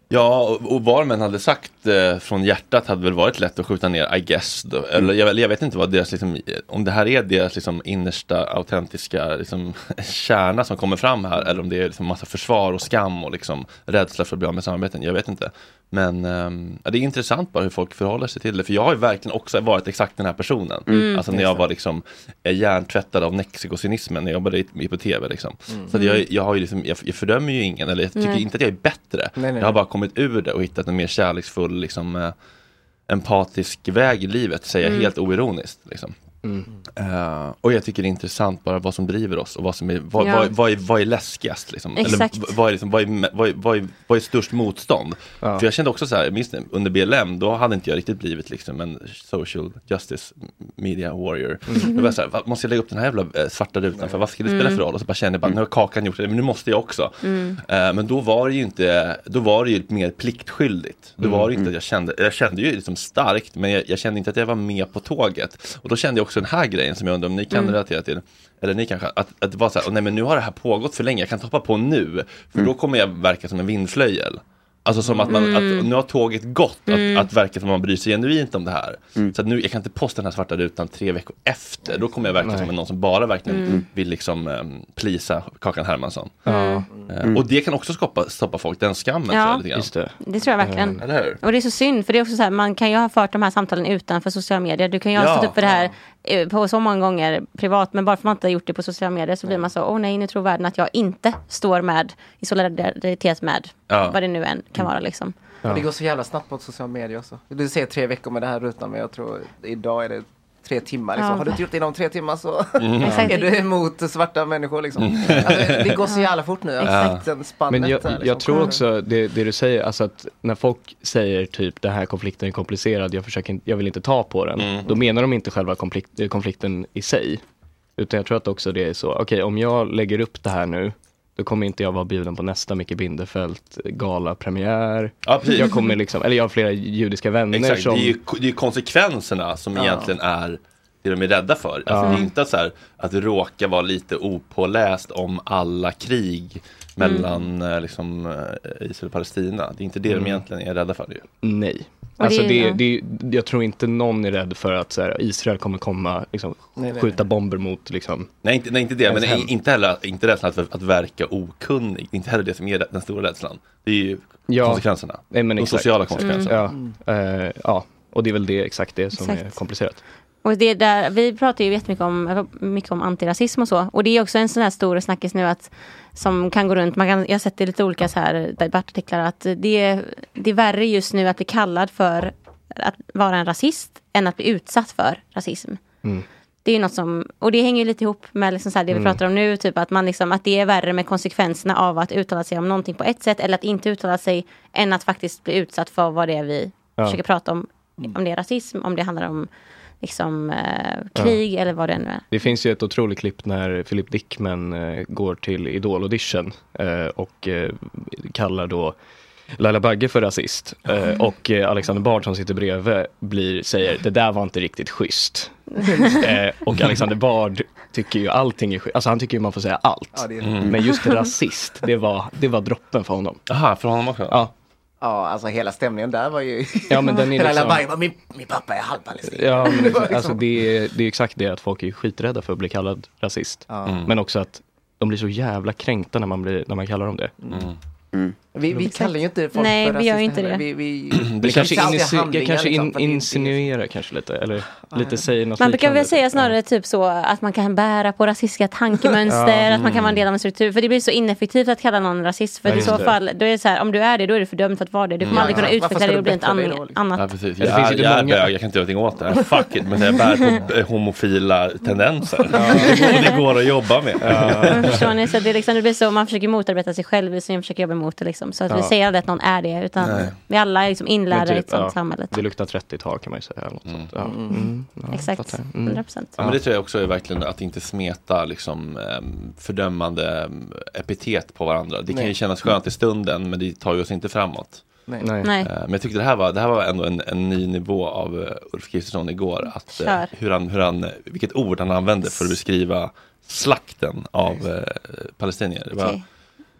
Ja, och, och vad man hade sagt eh, från hjärtat hade väl varit lätt att skjuta ner, I guess. Då. Eller jag, jag vet inte vad deras, liksom, om det här är deras liksom, innersta, autentiska liksom, kärna som kommer fram här, eller om det är liksom, massa försvar och skam och liksom, rädsla för att bli av med samarbeten. Jag vet inte. Men um, ja, det är intressant bara hur folk förhåller sig till det. För jag har ju verkligen också varit exakt den här personen. Mm. Alltså när jag var liksom hjärntvättad av nexikocynismen när jag jobbade i på tv liksom. Mm. Så att jag, jag har ju liksom, jag, jag fördömer ju ingen, eller jag tycker nej. inte att jag är bättre. Nej, nej. Jag har bara kommit ur det och hittat en mer kärleksfull liksom, eh, empatisk väg i livet, säger jag mm. helt oironiskt liksom. Mm. Uh, och jag tycker det är intressant bara vad som driver oss och vad som är vad, ja. vad, vad, är, vad är läskigast liksom. Eller vad är, liksom, vad, är, vad, är, vad, är, vad är störst motstånd ja. För jag kände också så här, minst under B L M då hade inte jag riktigt blivit liksom en social justice media warrior. Mm. Jag var så här, måste jag lägga upp den här jävla svarta rutan för vad ska det spela för roll? Och så bara kände jag bara, nu har kakan gjort det, men nu måste jag också. Mm. Uh, men då var det ju inte, då var det ju mer pliktskyldigt. Då var det inte att jag kände, jag kände ju liksom starkt, men jag, jag kände inte att jag var med på tåget. Och då kände jag också den här grejen som jag undrar om ni kan mm. relatera till, eller ni kanske, att, att det var så här, nej men nu har det här pågått för länge, jag kan hoppa på nu, för mm. då kommer jag verka som en vindflöjel. Alltså som att, man, mm. att nu har tåget gått mm. att, att verka som att man bryr sig genuint om det här. Mm. Så att nu, jag kan inte posta den här svarta rutan tre veckor efter. Då kommer jag verka Nej. som någon som bara verkligen mm. vill liksom um, plisa Kakan Hermansson. Mm. Uh, och det kan också stoppa, stoppa folk, den skammen. Ja, tror jag, lite grann. Just det. Det tror jag verkligen. Mm. Eller hur? Och det är så synd, för det är också så här, man kan ju ha fört de här samtalen utanför sociala medier. Du kan ju ha ja. stått upp för det här på så många gånger privat, men bara för att man inte har gjort det på sociala medier så blir man så, åh nej, nu tror världen att jag inte står med i solidaritet med ja. vad det nu än kan vara liksom. Ja. Det går så jävla snabbt på sociala medier också. Du ser tre veckor med det här rutan, men jag tror idag är det tre timmar. Liksom. Ja. Har du inte gjort det inom tre timmar så mm. är du emot svarta människor. Liksom. Alltså, det går så jävla fort nu. Ja. Men jag, där, liksom. jag tror också det, det du säger, alltså att när folk säger typ den här konflikten är komplicerad, jag, försöker, jag vill inte ta på den. Mm. Då menar de inte själva konflikt, konflikten i sig. Utan jag tror att också det är så, okej okay, om jag lägger upp det här nu, då kommer inte jag vara bjuden på nästa Micke Bindefeld gala-premiär. Ja, jag kommer liksom, eller jag har flera judiska vänner. Exakt, som... det är ju det är ju konsekvenserna som ja. egentligen är det de är rädda för. Alltså, ja. Det är inte så här att råka vara lite opåläst om alla krig mellan mm. liksom, Israel och Palestina. Det är inte det mm. de egentligen är rädda för. Det. Nej. Alltså det, det, det, jag tror inte någon är rädd för att så här, Israel kommer komma liksom, nej, nej, skjuta nej. bomber mot liksom, nej, inte, nej, inte det, men hem. inte heller inte rädslan att, att verka okunnig. Inte heller det som är den stora rädslan. Det är ju ja. konsekvenserna. Nej, men de exakt, sociala exakt. konsekvenserna. Mm. Ja. Uh, ja, och det är väl det exakt det som exakt. är komplicerat. Och det där, vi pratar ju jättemycket om, mycket om antirasism och så. Och det är också en sån här stor snackis nu att, som kan gå runt. Man kan, jag har sett i lite olika så här debattartiklar att det är, det är värre just nu att bli kallad för att vara en rasist än att bli utsatt för rasism. Mm. Det är ju något som, och det hänger ju lite ihop med liksom så här det vi mm. pratar om nu, typ att man liksom, att det är värre med konsekvenserna av att uttala sig om någonting på ett sätt eller att inte uttala sig än att faktiskt bli utsatt för vad det är vi ja. försöker prata om. Om det är rasism, om det handlar om liksom eh, krig ja. eller vad det nu är. Det finns ju ett otroligt klipp när Philip Dickman eh, går till Idol-audition eh, och eh, kallar då Laila Bagge för rasist. Eh, och eh, Alexander Bard som sitter bredvid blir, säger, det där var inte riktigt schysst. eh, och Alexander Bard tycker ju allting är schysst. Alltså han tycker ju man får säga allt. Ja, det är mm. Men just rasist, det var, det var droppen för honom. Aha, för honom också? Ja. Ja, alltså hela stämningen där var ju... Ja, men den är liksom... bara, min, min pappa är halvpalestin. Ja, men liksom, alltså det är, det är exakt det att folk är skiträdda för att bli kallad rasist. Mm. Men också att de blir så jävla kränkta när man, blir, när man kallar dem det. Mm. Mm. Vi, vi kallar ju inte folk Nej, för rasist. Nej, vi gör ju inte det. Vi, vi, det kanske, insi- kanske in, liksom, insinuerar kanske lite. Eller ah, lite säger något man brukar väl säga snarare ja. typ så att man kan bära på rasistiska tankemönster. ja. Att man kan vara en del av en struktur. För det blir så ineffektivt att kalla någon rasist. För ja, i så det. fall, då är det så här, om du är det, då är du fördömd för att vara det. Du kommer mm. aldrig kunna ja. utveckla det och bli ett an- annat. Ja, precis. Jag, jag, jag är bög, jag kan inte göra någonting åt det. Fuck it, men jag bär på homofila tendenser. Ja. Och det går att jobba med. Ja. Förstår ni? Så det, är liksom, det blir så, man försöker motarbeta sig själv så man försöker jobba emot det liksom. Så att ja. vi säger aldrig att någon är det, utan Nej. vi alla är liksom inlärda typ, i ett sånt ja, samhälle. Det luktar trettiotal kan man ju säga. Eller något mm. sånt. Ja. Mm. Mm. Ja, exakt, hundra procent. Ja, men det tror jag också är verkligen att inte smeta liksom, fördömande epitet på varandra. Det kan Nej. ju kännas skönt i stunden, men det tar ju oss inte framåt. Nej. Nej. Men jag tyckte det här var, det här var ändå en, en ny nivå av Ulf Kristersson igår. Att, hur han, hur han, vilket ord han använde för att beskriva slakten av eh, palestinier. Det var, okay.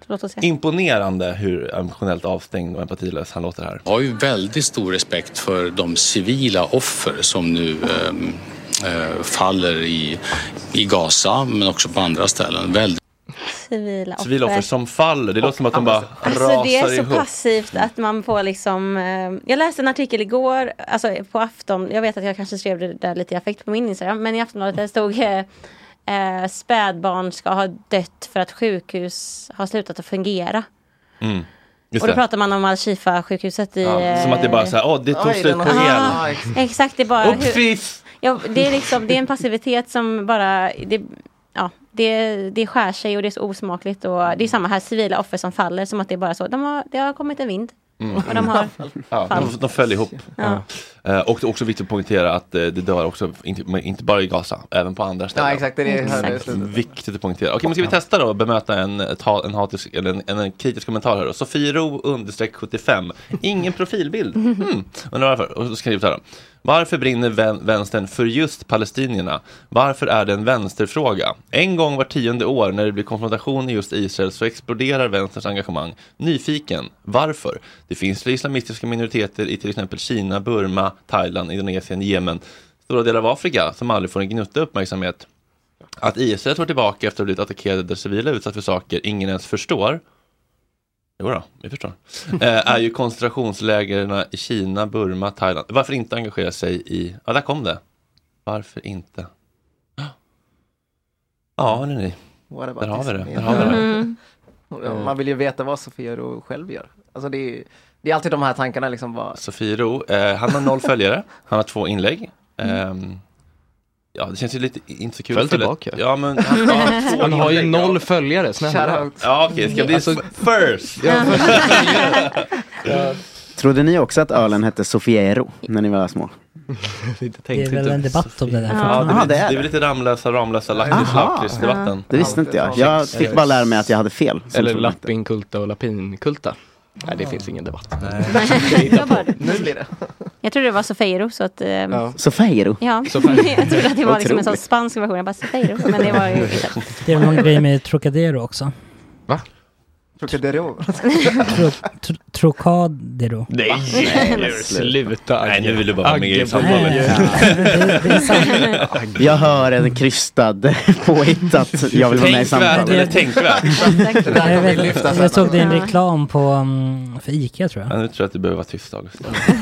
Låt oss se. Imponerande hur emotionellt avstängd och empatilös han låter här. Jag har ju väldigt stor respekt för de civila offer som nu ähm, äh, faller i, i Gaza, men också på andra ställen. Väldigt Civila offer. Civila offer som faller. Det låter som att de bara alltså, rasar det är så ihop. passivt att man får liksom... Eh, jag läste en artikel igår, alltså på Afton. Jag vet att jag kanske skrev det där lite i affekt på min Instagram. Men i Aftonbladet det stod eh, eh, spädbarn ska ha dött för att sjukhus har slutat att fungera. Mm. Och då pratar man om Al-Shifa-sjukhuset i... Ja, som att det bara är så här, åh, det tog slut på el. Ah, exakt, det är bara... Hur, ja, det är liksom, det är en passivitet som bara... Det, ja, det, det skär sig och det är så osmakligt. Och det är samma här, civila offer som faller, som att det är bara så. De har, det har kommit en vind. Mm. Och de har ja, de, de följer ihop. Ja. Uh, och också viktigt att poängtera att uh, det dör också, inte, inte bara i Gaza, även på andra ställen. Ja, exakt. Det är exakt. Viktigt att poängtera. Okej, men ska vi testa då och bemöta en, en, hatisk, eller en, en, en kritisk kommentar här då. Sofiero understreck sjuttiofem. Ingen profilbild. Mm. Undrar varför. Och så skriver vi här då. Varför brinner vän, vänstern för just palestinierna? Varför är det en vänsterfråga? En gång var tionde år när det blir konfrontation i just Israel så exploderar vänsterns engagemang. Nyfiken. Varför? Det finns islamistiska minoriteter i till exempel Kina, Burma, Thailand, Indonesien, Jemen, stora delar av Afrika som aldrig får en gnutta uppmärksamhet. Att Israel tar tillbaka efter att ha blivit attackerade där civila utsatt för saker ingen ens förstår. Jo då, vi förstår. Eh, är ju koncentrationslägren i Kina, Burma, Thailand. Varför inte engagera sig i... Ja, där kom det. Varför inte? Ja, hörni ni. Där har vi det. Där har vi det. Mm. Man vill ju veta vad Sofiero själv gör. Alltså det är, det är alltid de här tankarna liksom. Vad... Sofiero, eh, han har noll följare. Han har två inlägg. Mm. Eh, Ja, det känns ju lite inte så kul. Följ tillbaka. Ja, men han, han, han har ju noll följare. Snälla. Ja, okej. Okay, ska bli alltså, first. Ja. Ja. Trodde ni också att ölen hette Sofiero när ni var små? Det är väl en debatt om det där. Ja, det, är, det, är. det är väl lite Ramlösa, Ramlösa, Lakrits, Lakrits-debatten. Det visste inte jag. Jag fick bara lära mig att jag hade fel. Eller Lappinkulta och Lapinkulta. Nej, det finns ingen debatt. Nu blir det. Jag tror det var Sofiero så att... Um... Ja. Sofiero? Ja, Sofiero. Jag trodde att det var liksom en sån spansk version. Jag bara Sofiero, men det var ju inte. Det är någon grej med Trocadero också. Va? Trocadero? Tro, tro, Trocadero. Nej, nej, sluta. Nej, nu vill du bara vara med i samtalet. Jag hör en krystad påhittat. Jag vill vara med i samtalet. Eller tänkvärt. jag, vet, jag såg det en reklam på um, för Ica, tror jag. Ja, nu tror jag att det behöver vara tyst, August.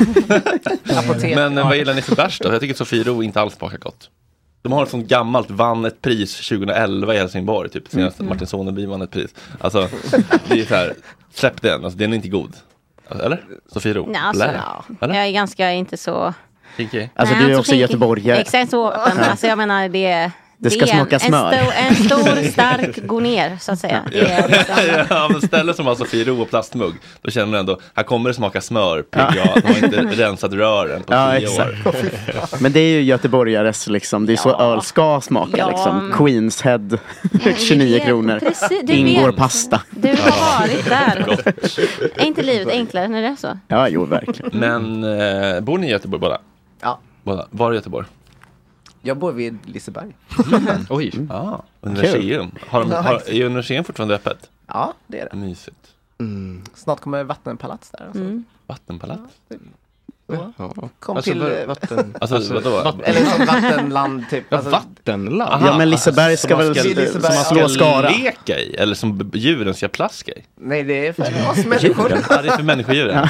Men vad gillar ni för bärs då? Jag tycker att Sofiero inte alls smakar gott. De har ett sånt gammalt, vann ett pris tjugoelva i Helsingborg, typ senast mm. Martin Soneby vann ett pris. Alltså, det är så här, släpp den, alltså den är inte god. Eller? Sofiero? Nej, alltså, eller? Jag är ganska inte så... Kinky. Alltså Nej, du är så också kinky. göteborgare. Exakt så, men alltså jag menar det... Det ska det är smaka en, smör. En stor, en stor stark går ner, så att säga. Ja, liksom... ja men stället som har Sofiero och plastmugg, då känner man ändå, här kommer det smaka smör, P G A. De har inte rensat rören på ja, tio exakt. år. Men det är ju göteborgares, liksom, det är så ja. öl ska smaka, ja. liksom. Queens Head, tjugonio kronor. Precis, ingår vet. Pasta. Du har varit där. Är inte livet enklare när det är så? Ja, jo, verkligen. Men eh, bor ni i Göteborg båda? Ja. Båda. Var i Göteborg? Jag bor vid Liseberg. Mm. Oj, mm. ah, universium. Har de, har, är universium fortfarande öppet? Ja, det är det. Mysigt. Mm. Snart kommer vattenpalats där. Alltså. Mm. Vattenpalats? Ja, Ja. Kom alltså, till vatten. Alltså, alltså vadå? Vatten. Eller som vattenland typ. Ja, alltså, vattenland. Aha, ja, men Liseberg ska väl som man ska Skara. Leka i eller som djuren ska plaska i. Nej, det är för oss människor. Ja, det är för människodjuren.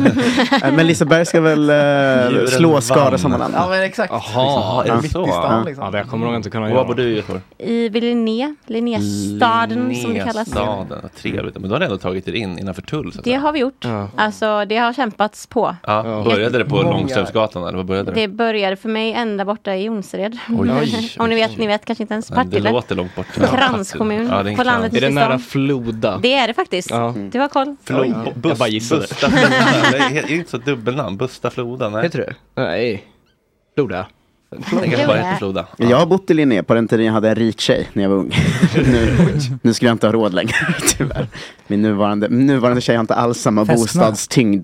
Ja. Men Liseberg ska väl uh, slå Skara sammanhang. Ja, men exakt. Jaha, är det så? Stan, liksom. Ja, det kommer nog inte kunna göra. Var bor du i Göteborg? I Linné, Linnéstaden som det kallas. Linnéstaden, trevligt. Men då har ni ändå tagit er in innanför tull. Så det har vi gjort. Ja. Alltså, det har kämpats på. Ja, började det på Långströmsgatan eller vad började det? Det började för mig ända borta i Jonsered. Oj, om ni vet, ni vet kanske inte ens Partille. Det låter långt bort. Kranskommun ja, är på landet. Är det nära Floda? Det är det faktiskt. Ja. Du har koll. Floda. Ja. Bust, jag bara gissade. Busta Floda. Det är inte så dubbelnamn. Busta Floda, nej. Heter det? Nej. Floda. Jag bara heter Floda. Ja. Jag har bott i Linné på den tiden jag hade en rik tjej när jag var ung. nu, nu skulle jag inte ha råd längre, tyvärr. Min nuvarande, nuvarande tjej har inte alls samma fästmö. bostadstyngd.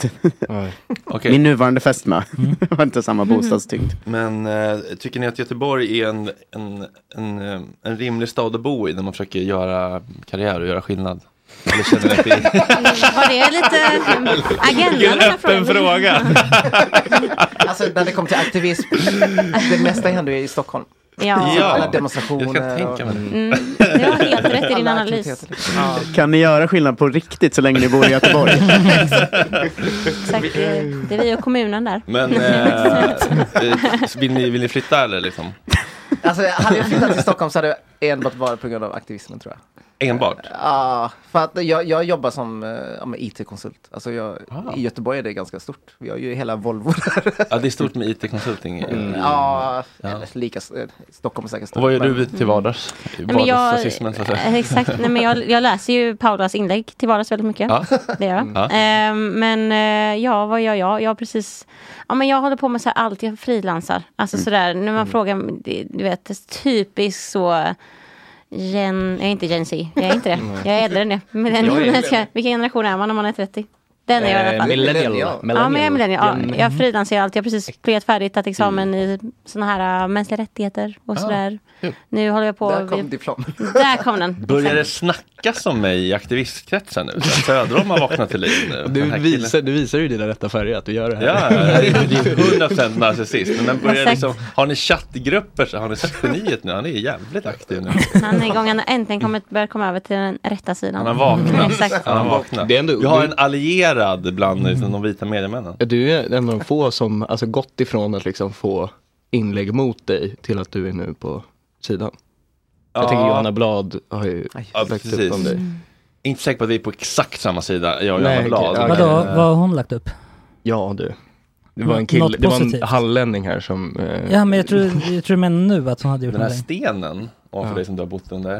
Okay. Min nuvarande fästmö mm. har inte samma bostadstyngd. Men äh, tycker ni att Göteborg är en, en, en, en rimlig stad att bo i när man försöker göra karriär och göra skillnad? Eller känner att det är... Var det lite agendan? Vilken öppen fråga. Alltså när det kommer till aktivism, det mesta händer ju i Stockholm. Ja. Ja, alla demostrationer. jag kan tänka mig. Och... Mm, du har helt rätt i din analys. Ja. Kan ni göra skillnad på riktigt så länge ni bor i Göteborg? Exakt, det, det är vi och kommunen där. Men äh, vill, ni, vill ni flytta eller liksom? Alltså hade jag flyttat till Stockholm så hade jag enbart varit på grund av aktivismen, tror jag. Enbart? Ja, för att jag, jag jobbar som ja, med I T-konsult. Alltså jag, ah. i Göteborg är det ganska stort. Vi har ju hela Volvo där. Ja, det är stort med I T-konsulting. Mm. Ja, ja. Eller lika Stockholm är säkert stort. Och vad gör men... du till vardags? Nej, men jag, exakt, nej, men jag, jag läser ju Paulas inlägg till vardags väldigt mycket. Ja. Det gör jag. Ja. Eh, men eh, ja, vad gör jag? Jag har precis... Ja, men jag håller på med så här allt. Jag frilansar. Alltså mm. sådär, när man mm. frågar, du vet, typiskt så... Gen, jag är inte Gen Z, jag är inte det. Jag är äldre än det. Millennium, vilken generation är man när man är trettio? Den är jag i alla fall. Millennial. Ja, men jag är millennial. Ja, jag frilansar allt. Jag har precis pluggat färdigt, tagit examen mm. i såna här uh, mänskliga rättigheter och sådär. Ah, nu håller jag på... Där kom diplom. Där kom den. Börjar det snackas om mig i aktivistkretsen nu? Söderholm har vaknat till liv nu. Du visar, du visar ju dina rätta färger att du gör det här. Ja, det är hundra procent narcissist. Men börjar liksom, har ni chattgrupper så har ni sett geniet nu? Han är jävligt aktiv nu. Han är igång, han har äntligen kommit, börjat komma över till den rätta sidan. Han har vaknat. Exakt. Han har vaknat. Det är ändå, jag har en allierad bland liksom, de vita mediemännen. Du är en av de få som alltså, gått ifrån att liksom, få inlägg mot dig till att du är nu på sidan. Jag ja. tänker Johanna Blad har ju ja, lagt upp om dig. Mm. Inte säker på att vi är på exakt samma sida, jag och Johanna Blad. Okay. Vadå, vad har hon lagt upp? Ja, du. Det var en kille, det var en hallänning här som... Eh... Ja, men jag tror, jag tror men nu att hon hade gjort den här någonting. Stenen, och för ja. dig som du har bott under.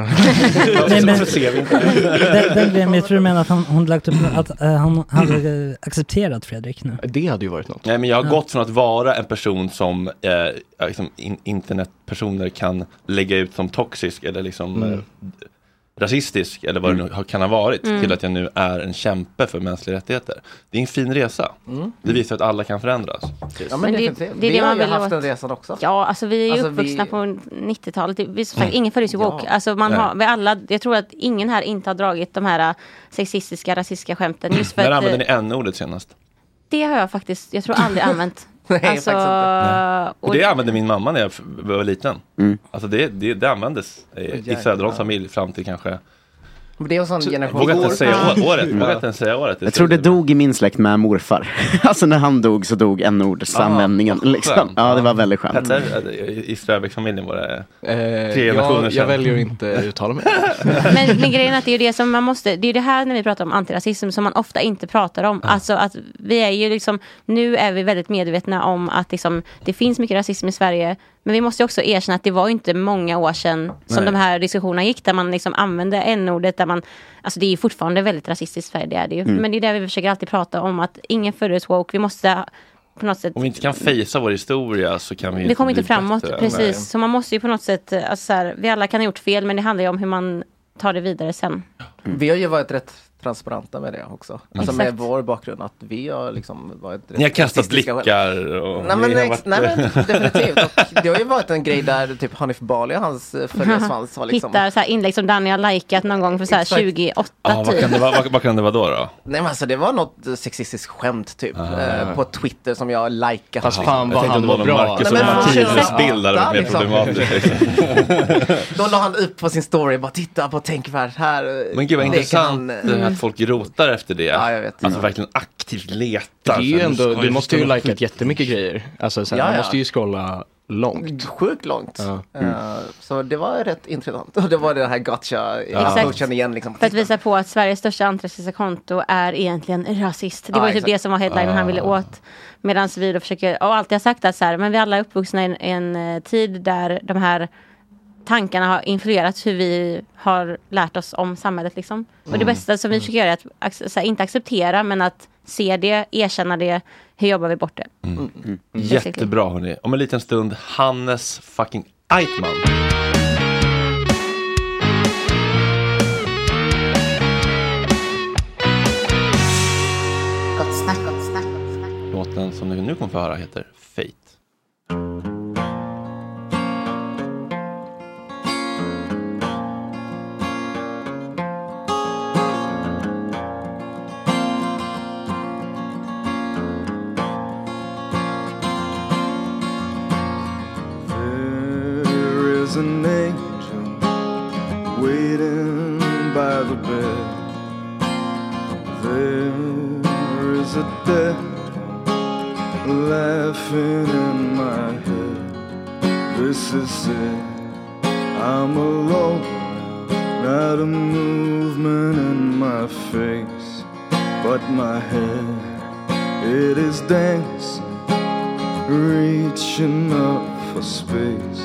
Nej, men, ser vi inte. den, den, jag tror du menar att hon, hon lagt upp att uh, hon hade accepterat Fredrik nu. Det hade ju varit något. Nej, men jag har ja. gått från att vara en person som eh, liksom in, internetpersoner kan lägga ut som toxisk eller liksom mm. eh, rasistisk eller vad mm. det nu kan ha varit mm. till att jag nu är en kämpe för mänskliga rättigheter. Det är en fin resa. Mm. Det visar att alla kan förändras. Ja, men, men det, det, det, vi har ju haft den resan också. Ja, alltså vi är ju alltså uppvuxna vi... på nittiotalet. Vi, sagt, mm. Ingen föddes ju woke. Ja. Alltså man har, vi alla, jag tror att ingen här inte har dragit de här sexistiska, rasistiska skämten. Just för När att, använde ni n-ordet senast? Det har jag faktiskt, jag tror aldrig använt. Nej, alltså, Nej. Och det använde min mamma när jag var liten. Mm. Alltså det, det, det användes i, i Söderholms familj fram till kanske... Det är en sån generation. Vågar inte säga året. Vågar inte säga året. Jag tror det dog i min släkt med morfar. Alltså när han dog så dog en ordsanvändningen. Liksom. Ja, det var väldigt skönt. Petter, i Ströbeck-familjen var det eh, tre generationer jag, jag väljer att inte uttala mig. men, men grejen är att det är det som man måste, det är det här när vi pratar om antirasism som man ofta inte pratar om. Mm. Alltså att vi är ju liksom, nu är vi väldigt medvetna om att liksom, det finns mycket rasism i Sverige. Men vi måste också erkänna att det var inte många år sedan som Nej. de här diskussionerna gick där man liksom använde n-ordet där man, alltså det är ju fortfarande väldigt rasistiskt i Sverige, det är det ju. Mm. Men det är där vi försöker alltid prata om att ingen föddes woke, vi måste på något sätt... Om vi inte kan fejsa vår historia så kan vi inte Vi kommer inte framåt, bättre. precis. Nej. Så man måste ju på något sätt, alltså så här, vi alla kan ha gjort fel men det handlar ju om hur man tar det vidare sen. Mm. Vi har ju varit rätt transparenta med det också. Alltså med vår bakgrund att vi har liksom varit... Ni har kastat blickar och... Nej men, har varit... nej, men definitivt. Och det har ju varit en grej där typ Hanif Bali och hans följarsvans var liksom... Hittar så här inlägg som Danny har likat någon gång för så här tjugoåtta ah, typ. Vad kan, det vara, vad, vad kan det vara då då? Nej men alltså det var något sexistiskt skämt typ. Eh, på Twitter som jag likat. Fast fan vad han var bra. Marcus och Mattias bildade var mer problematiskt. Då la han upp på sin story bara titta på tänkvärt här. Men gud vad intressant han, att folk rotar efter det. Ja, jag vet. Alltså verkligen aktivt letar. Det är ju ändå, du måste ju likat jättemycket grejer. Alltså så här, ja, man ja. måste ju scrolla långt. Sjukt långt. Ja. Mm. Uh, så det var rätt intressant. Och det var det här gotcha. Exakt. Igen, liksom. För att visa på att Sveriges största antirasistiska konto är egentligen rasist. Det var ju typ det som var headline ah. han ville åt. Medan vi då försöker, och alltid har sagt att så här, men vi alla är uppvuxna i en, en uh, tid där de här tankarna har influerat hur vi har lärt oss om samhället liksom. Mm. Och det bästa som vi försöker göra är att så här, inte acceptera men att se det, erkänna det, hur jobbar vi bort det. Mm. Mm. Mm. Jättebra hörni. Om en liten stund Hannes fucking Eitman. Gott snack, gott snack. Låten som ni nu kommer få höra heter Fate. There's an angel waiting by the bed. There is a dead laughing in my head. This is it, I'm alone, not a movement in my face, but my head, it is dancing, reaching up for space.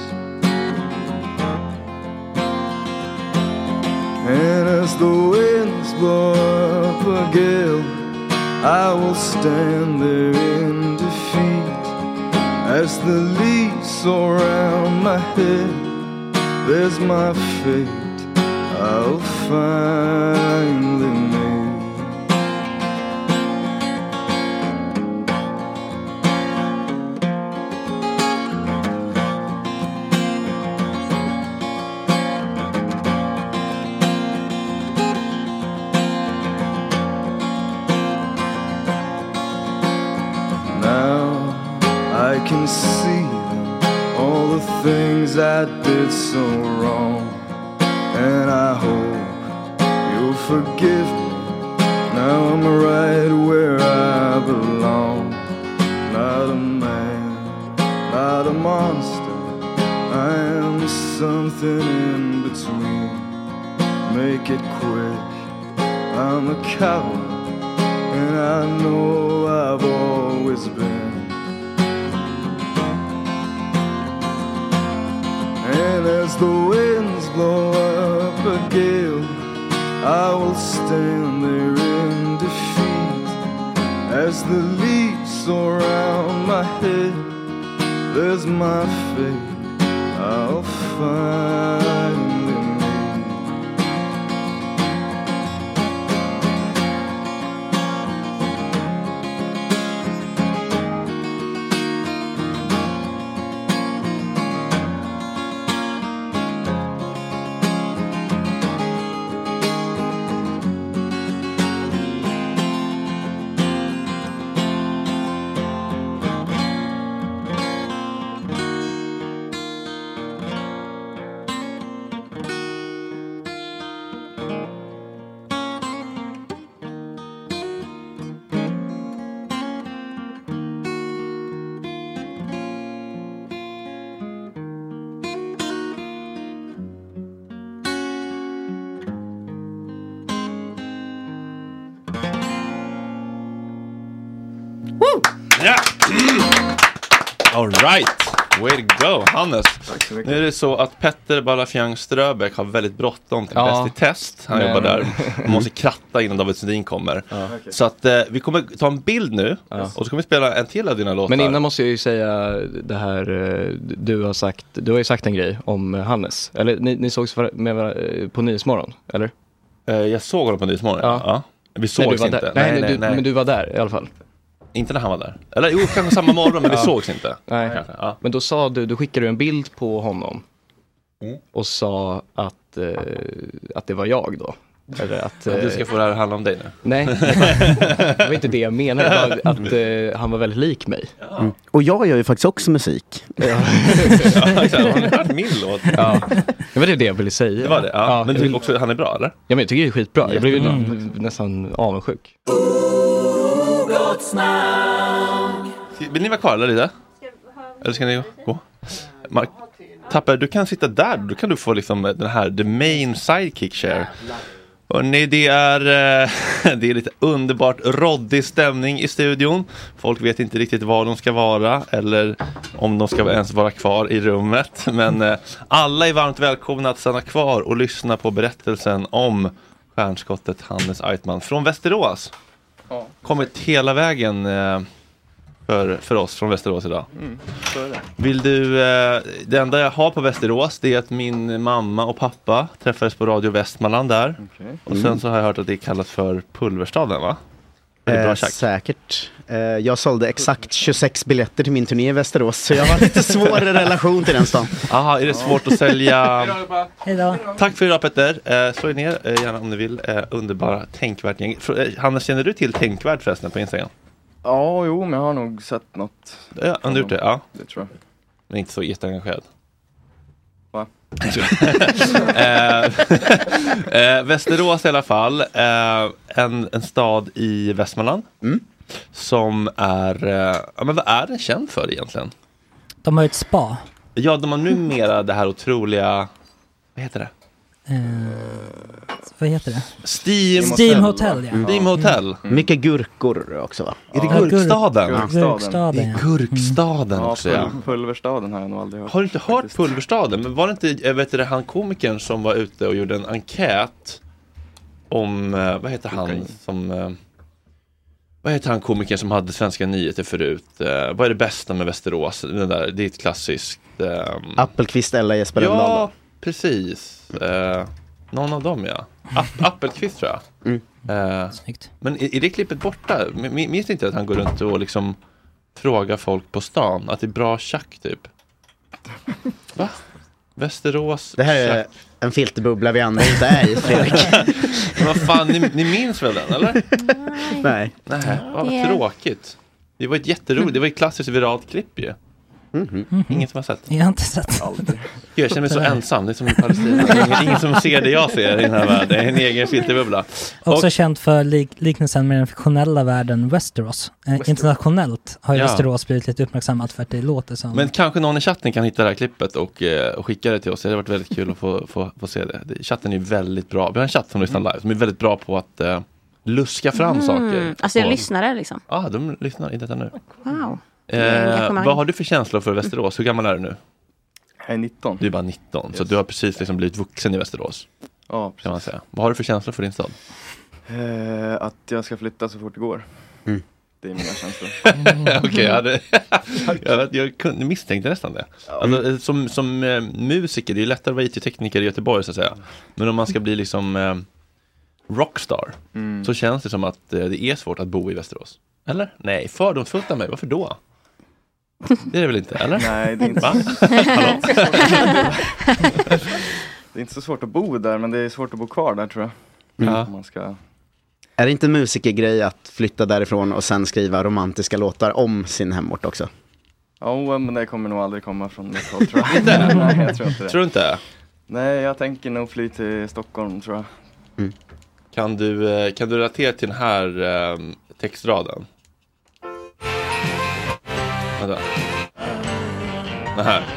And as the winds blow up a gale, I will stand there in defeat. As the leaves surround my head, there's my fate, I'll finally make. I can see all the things I did so wrong, and I hope you'll forgive me. Now I'm right where I belong. Not a man, not a monster, I am something in between. Make it quick, I'm a coward, and I know I've always been. And as the winds blow up a gale, I will stand there in defeat. As the leaves surround my head, there's my fate, I'll finally make. Ja! All right. Way to go, Hannes. Nu är det så att Petter Balafjang Ströbeck har väldigt bråttom till Ja. Bäst i test. Han Men- jobbar där. Man måste kratta innan David Sundin kommer. Ja. Så att eh, vi kommer ta en bild nu. Ja. Och så kommer vi spela en till av dina låtar. Men innan måste jag ju säga det här, eh, du har sagt, du har ju sagt en grej om eh, Hannes. Eller ni, ni sågs var- med, var- på Nyhetsmorgon, eller? Eh, jag såg honom på Nyhetsmorgon, ja. ja. Vi Nej, sågs du var inte. där. Nej, nej, du, men du var där i alla fall. Inte när han var där. Eller jo, kanske samma morgon, men vi Ja. sågs inte. Nej. Kanske, ja. Men då sa du, du skickade en bild på honom Mm. och sa att, eh, att det var jag då. Eller att, Men du ska få det här att handla om dig nu. Nej, det var inte det jag menade. Det var att eh, han var väldigt lik mig. Mm. Och jag gör ju faktiskt också musik. Ja. Ja, exakt. Har ni hört min låt? Ja. Det var det det jag ville säga. Det var det, ja. Men du jag tycker också han är bra, eller? Ja, men jag tycker det är skitbra. Jag blev ju Mm. nästan avundsjuk. Vill ni vara kvar eller lite? Eller ska ni gå? Mark, Tapper, du kan sitta där. Då kan du få liksom den här the main sidekick share. Och nej, det är eh, det är lite underbart roddig stämning i studion. Folk vet inte riktigt var de ska vara eller om de ska ens vara kvar i rummet. Men eh, alla är varmt välkomna att stanna kvar och lyssna på berättelsen om stjärnskottet Hannes Eitman från Västerås. Ja. Kommit hela vägen eh, för, för oss från Västerås idag. Mm, så är det. Vill du, eh, det enda jag har på Västerås det är att min mamma och pappa träffades på Radio Västmanland där. Okay. Och sen så har jag hört att det kallas för Pulverstaden, va? Är det bra Eh, tjack? säkert. Eh, jag sålde exakt tjugosex biljetter till min turné i Västerås, så jag har lite svårare relation till den stan. Aha, är det svårt att sälja? Hejdå. Tack för idag, Petter. Eh, slå er ner eh, gärna om ni vill. Eh, underbara Tänkvärt gäng. Fr- eh, Hannes, känner du till Tänkvärt förresten på Instagram? Ja, jo, men jag har nog sett något. Ja, har du gjort det? Ja. Det tror jag. Men inte så jätteengagerad. Va? eh, eh, Västerås i alla fall. Eh, en, en stad i Västmanland. Mm. Som är... Eh, ja, men vad är den känd för egentligen? De har ett spa. Ja, de har numera det här otroliga... Vad heter det? Eh, vad heter det? Steam, Steam Hotel, ja. Mm. Steam Hotel. Mm. Mm. Mycket gurkor också, va? Är det Ja, Gurkstaden? Gurkstaden. Gurkstaden, Det är ja. Gurkstaden Ja, också, ja. pul- Pulverstaden har jag nog aldrig hört. Har du inte hört Pulverstaden? Men var det inte, jag vet inte, han komikern som var ute och gjorde en enkät om, eh, vad heter han som... Eh, vad heter han komikern som hade Svenska nyheter förut? Eh, vad är det bästa med Västerås? Den där, det är ett klassiskt... Eh, Appelqvist eller Jesper Rönndahl. Ja, precis. Eh, någon av dem, ja. App- Appelqvist, tror jag. Mm. Eh, men är, är det klippet borta? M- minns inte att han går runt och liksom frågar folk på stan att det är bra tjack, typ? Va? Västerås Det här är tjack. en filterbubbla vi andra inte är i, Fredrik. Men vad fan, ni, ni minns väl den, eller? Nej. Nej, vad Det- tråkigt. Det var ett jätteroligt, det var ett klassiskt viralt klipp ju. Mm-hmm. Ingen som har sett. Jag har inte sett. Jag känner mig så ensam, det är som i Palestina. Ingen, ingen som ser det jag ser i den här världen. Det är en egen filterbubbla. Också Och- känt för lik- liknelsen med den fiktionella världen Westeros. Eh, internationellt har ju Ja. Västerås blivit lite uppmärksammat för att det låter som... Men kanske någon i chatten kan hitta det här klippet och, eh, och skicka det till oss. Det hade varit väldigt kul att få, få, få se det. det. Chatten är ju väldigt bra. Vi har en chatt som lyssnar live som är väldigt bra på att eh, luska fram Mm. saker. Alltså jag på- lyssnare liksom. Ja, ah, de lyssnar i detta nu. Wow. Det är Eh, engagemang. vad har du för känslor för Västerås? Hur gammal är du nu? Jag är nitton. Du är bara nitton, så Yes. du har precis liksom blivit vuxen i Västerås. Ja, kan man säga. Vad har du för känslor för din stad? Eh, att jag ska flytta så fort det går. Mm. Det är mina känslor. Okej, jag, hade, jag, vet, jag kunde, misstänkte nästan det. Alltså, eh, som som eh, musiker, det är lättare att vara I T-tekniker i Göteborg så att säga. Men om man ska bli liksom eh, rockstar Mm. så känns det som att eh, det är svårt att bo i Västerås. Eller? Nej, fördomsfullt av mig. Varför då? Det är det väl inte, eller? Nej, det är inte Va? så Hallå? Det är inte så svårt att bo där, men det är svårt att bo kvar där, tror jag. Mm. Om man ska... Är det inte musikergrej att flytta därifrån och sen skriva romantiska låtar om sin hemort också? Ja, men det kommer nog aldrig komma från mitt håll, tror jag. Inte? Nej, jag tror inte det. Tror du inte? Nej, jag tänker nog fly till Stockholm, tror jag. Mm. Kan du, eh, kan du relatera till den här eh, textraden? Vänta. Den här.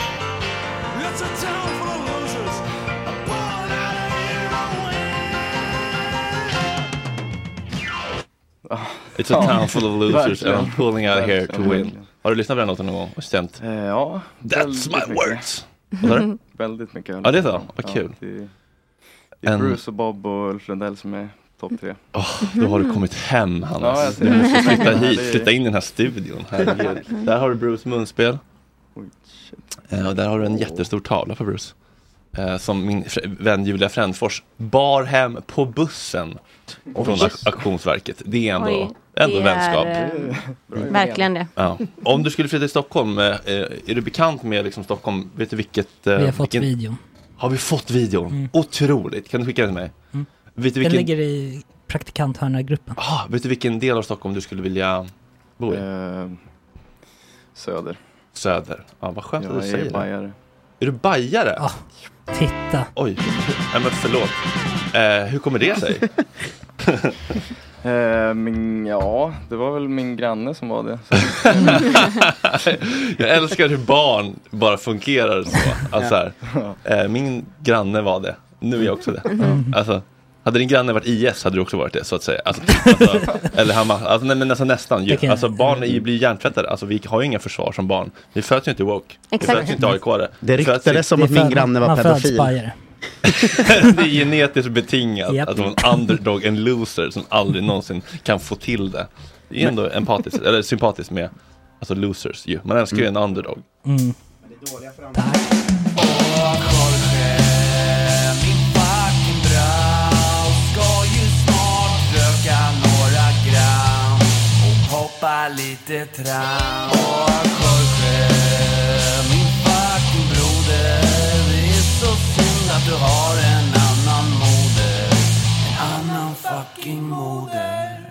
It's a town full of losers and I'm pulling out here to win. Har du lyssnat på den låten någon gång och stämt? Eh, ja. That's my mycket. words. Vad sa du? Väldigt mycket. Ja, det är så. Vad kul. Ja, det, det är En- Bruce och Bob och Ulf Lundell som är topp tre. Oh, då har du kommit hem, Hannes. Ja, jag ser du det. måste flytta Ja, hit, det är- flytta in i den här studion. Herregud. Där har du Bruce munspel. Oj, shit. Eh, och där har du en jättestor tavla på Bruce. Eh, som min fr- vän Julia Frändfors bar hem på bussen från ak- auktionsverket. Det är ändå, Oj, ändå det vänskap. är, eh, verkligen det. Ja. Om du skulle flytta till Stockholm, eh, är du bekant med liksom Stockholm? Vet du vilket... Eh, Vi har fått vilken... videon. Har vi fått videon? Mm. Otroligt. Kan du skicka den till mig? Mm. Vet du Den vilken... ligger i praktikanthörnargruppen. Ah, vet du vilken del av Stockholm du skulle vilja bo i? Eh, söder. Söder. Ja, vad skönt att Jag du är säger det. bajare. Är du bajare? Ja, titta. Oj, nej men förlåt. Eh, hur kommer det sig? Eh, min, ja, det var väl min granne som var det. Så. Jag älskar hur barn bara fungerar så. Alltså, så här, eh, min granne var det. Nu är jag också det. Alltså, hade din granne varit I S hade du också varit det, så att säga. Alltså, alltså, eller han, alltså, nej, men alltså, nästan ju. Okej. Alltså, barn är, blir hjärntvättade. Alltså, vi har ju inga försvar som barn. Vi föds ju inte woke. Vi Exakt. föds ju inte A I K-are. Det Vi föds ju- ryktades som att Det är min för- granne var man föds pedofil. bajare. Det är genetiskt betingat Japp. att vara en underdog, en loser som aldrig någonsin kan få till det. Det är ändå empatiskt, eller sympatiskt med alltså losers ju. Man älskar ju en underdog. Mm. Tack. Hoppa lite tram. Åh, Jorge, min fucking broder. Det är så synd att du har en annan moder. En annan fucking moder.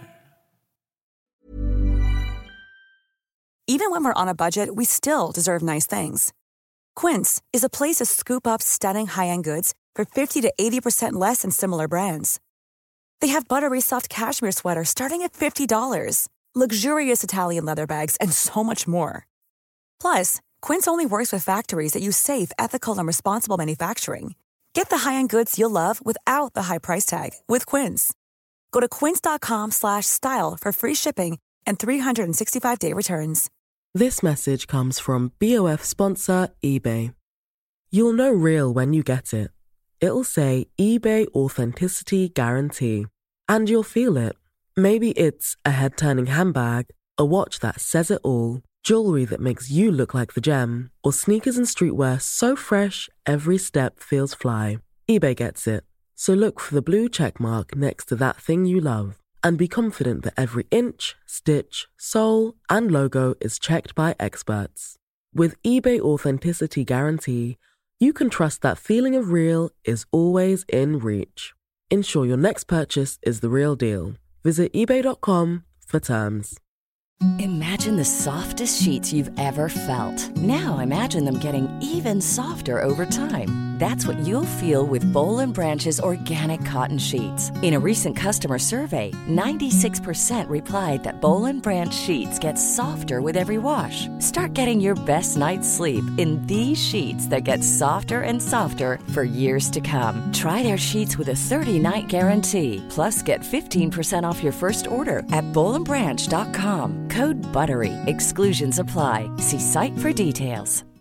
Even when we're on a budget, we still deserve nice things. Quince is a place to scoop up stunning high-end goods for fifty to eighty percent less than similar brands. They have buttery soft cashmere sweaters starting at fifty dollars, luxurious Italian leather bags, and so much more. Plus, Quince only works with factories that use safe, ethical, and responsible manufacturing. Get the high-end goods you'll love without the high price tag with Quince. Go to quince.com slash style for free shipping and three sixty-five day returns. This message comes from B O F sponsor eBay. You'll know real when you get it. It'll say eBay Authenticity Guarantee. And you'll feel it. Maybe it's a head-turning handbag, a watch that says it all, jewelry that makes you look like the gem, or sneakers and streetwear so fresh every step feels fly. eBay gets it. So look for the blue check mark next to that thing you love and be confident that every inch, stitch, sole, and logo is checked by experts. With eBay Authenticity Guarantee, you can trust that feeling of real is always in reach. Ensure your next purchase is the real deal. Visit ebay dot com for terms. Imagine the softest sheets you've ever felt. Now imagine them getting even softer over time. That's what you'll feel with Boll and Branch's organic cotton sheets. In a recent customer survey, ninety-six percent replied that Boll and Branch sheets get softer with every wash. Start getting your best night's sleep in these sheets that get softer and softer for years to come. Try their sheets with a thirty-night guarantee. Plus, get fifteen percent off your first order at boll and branch dot com. Code BUTTERY. Exclusions apply. See site for details.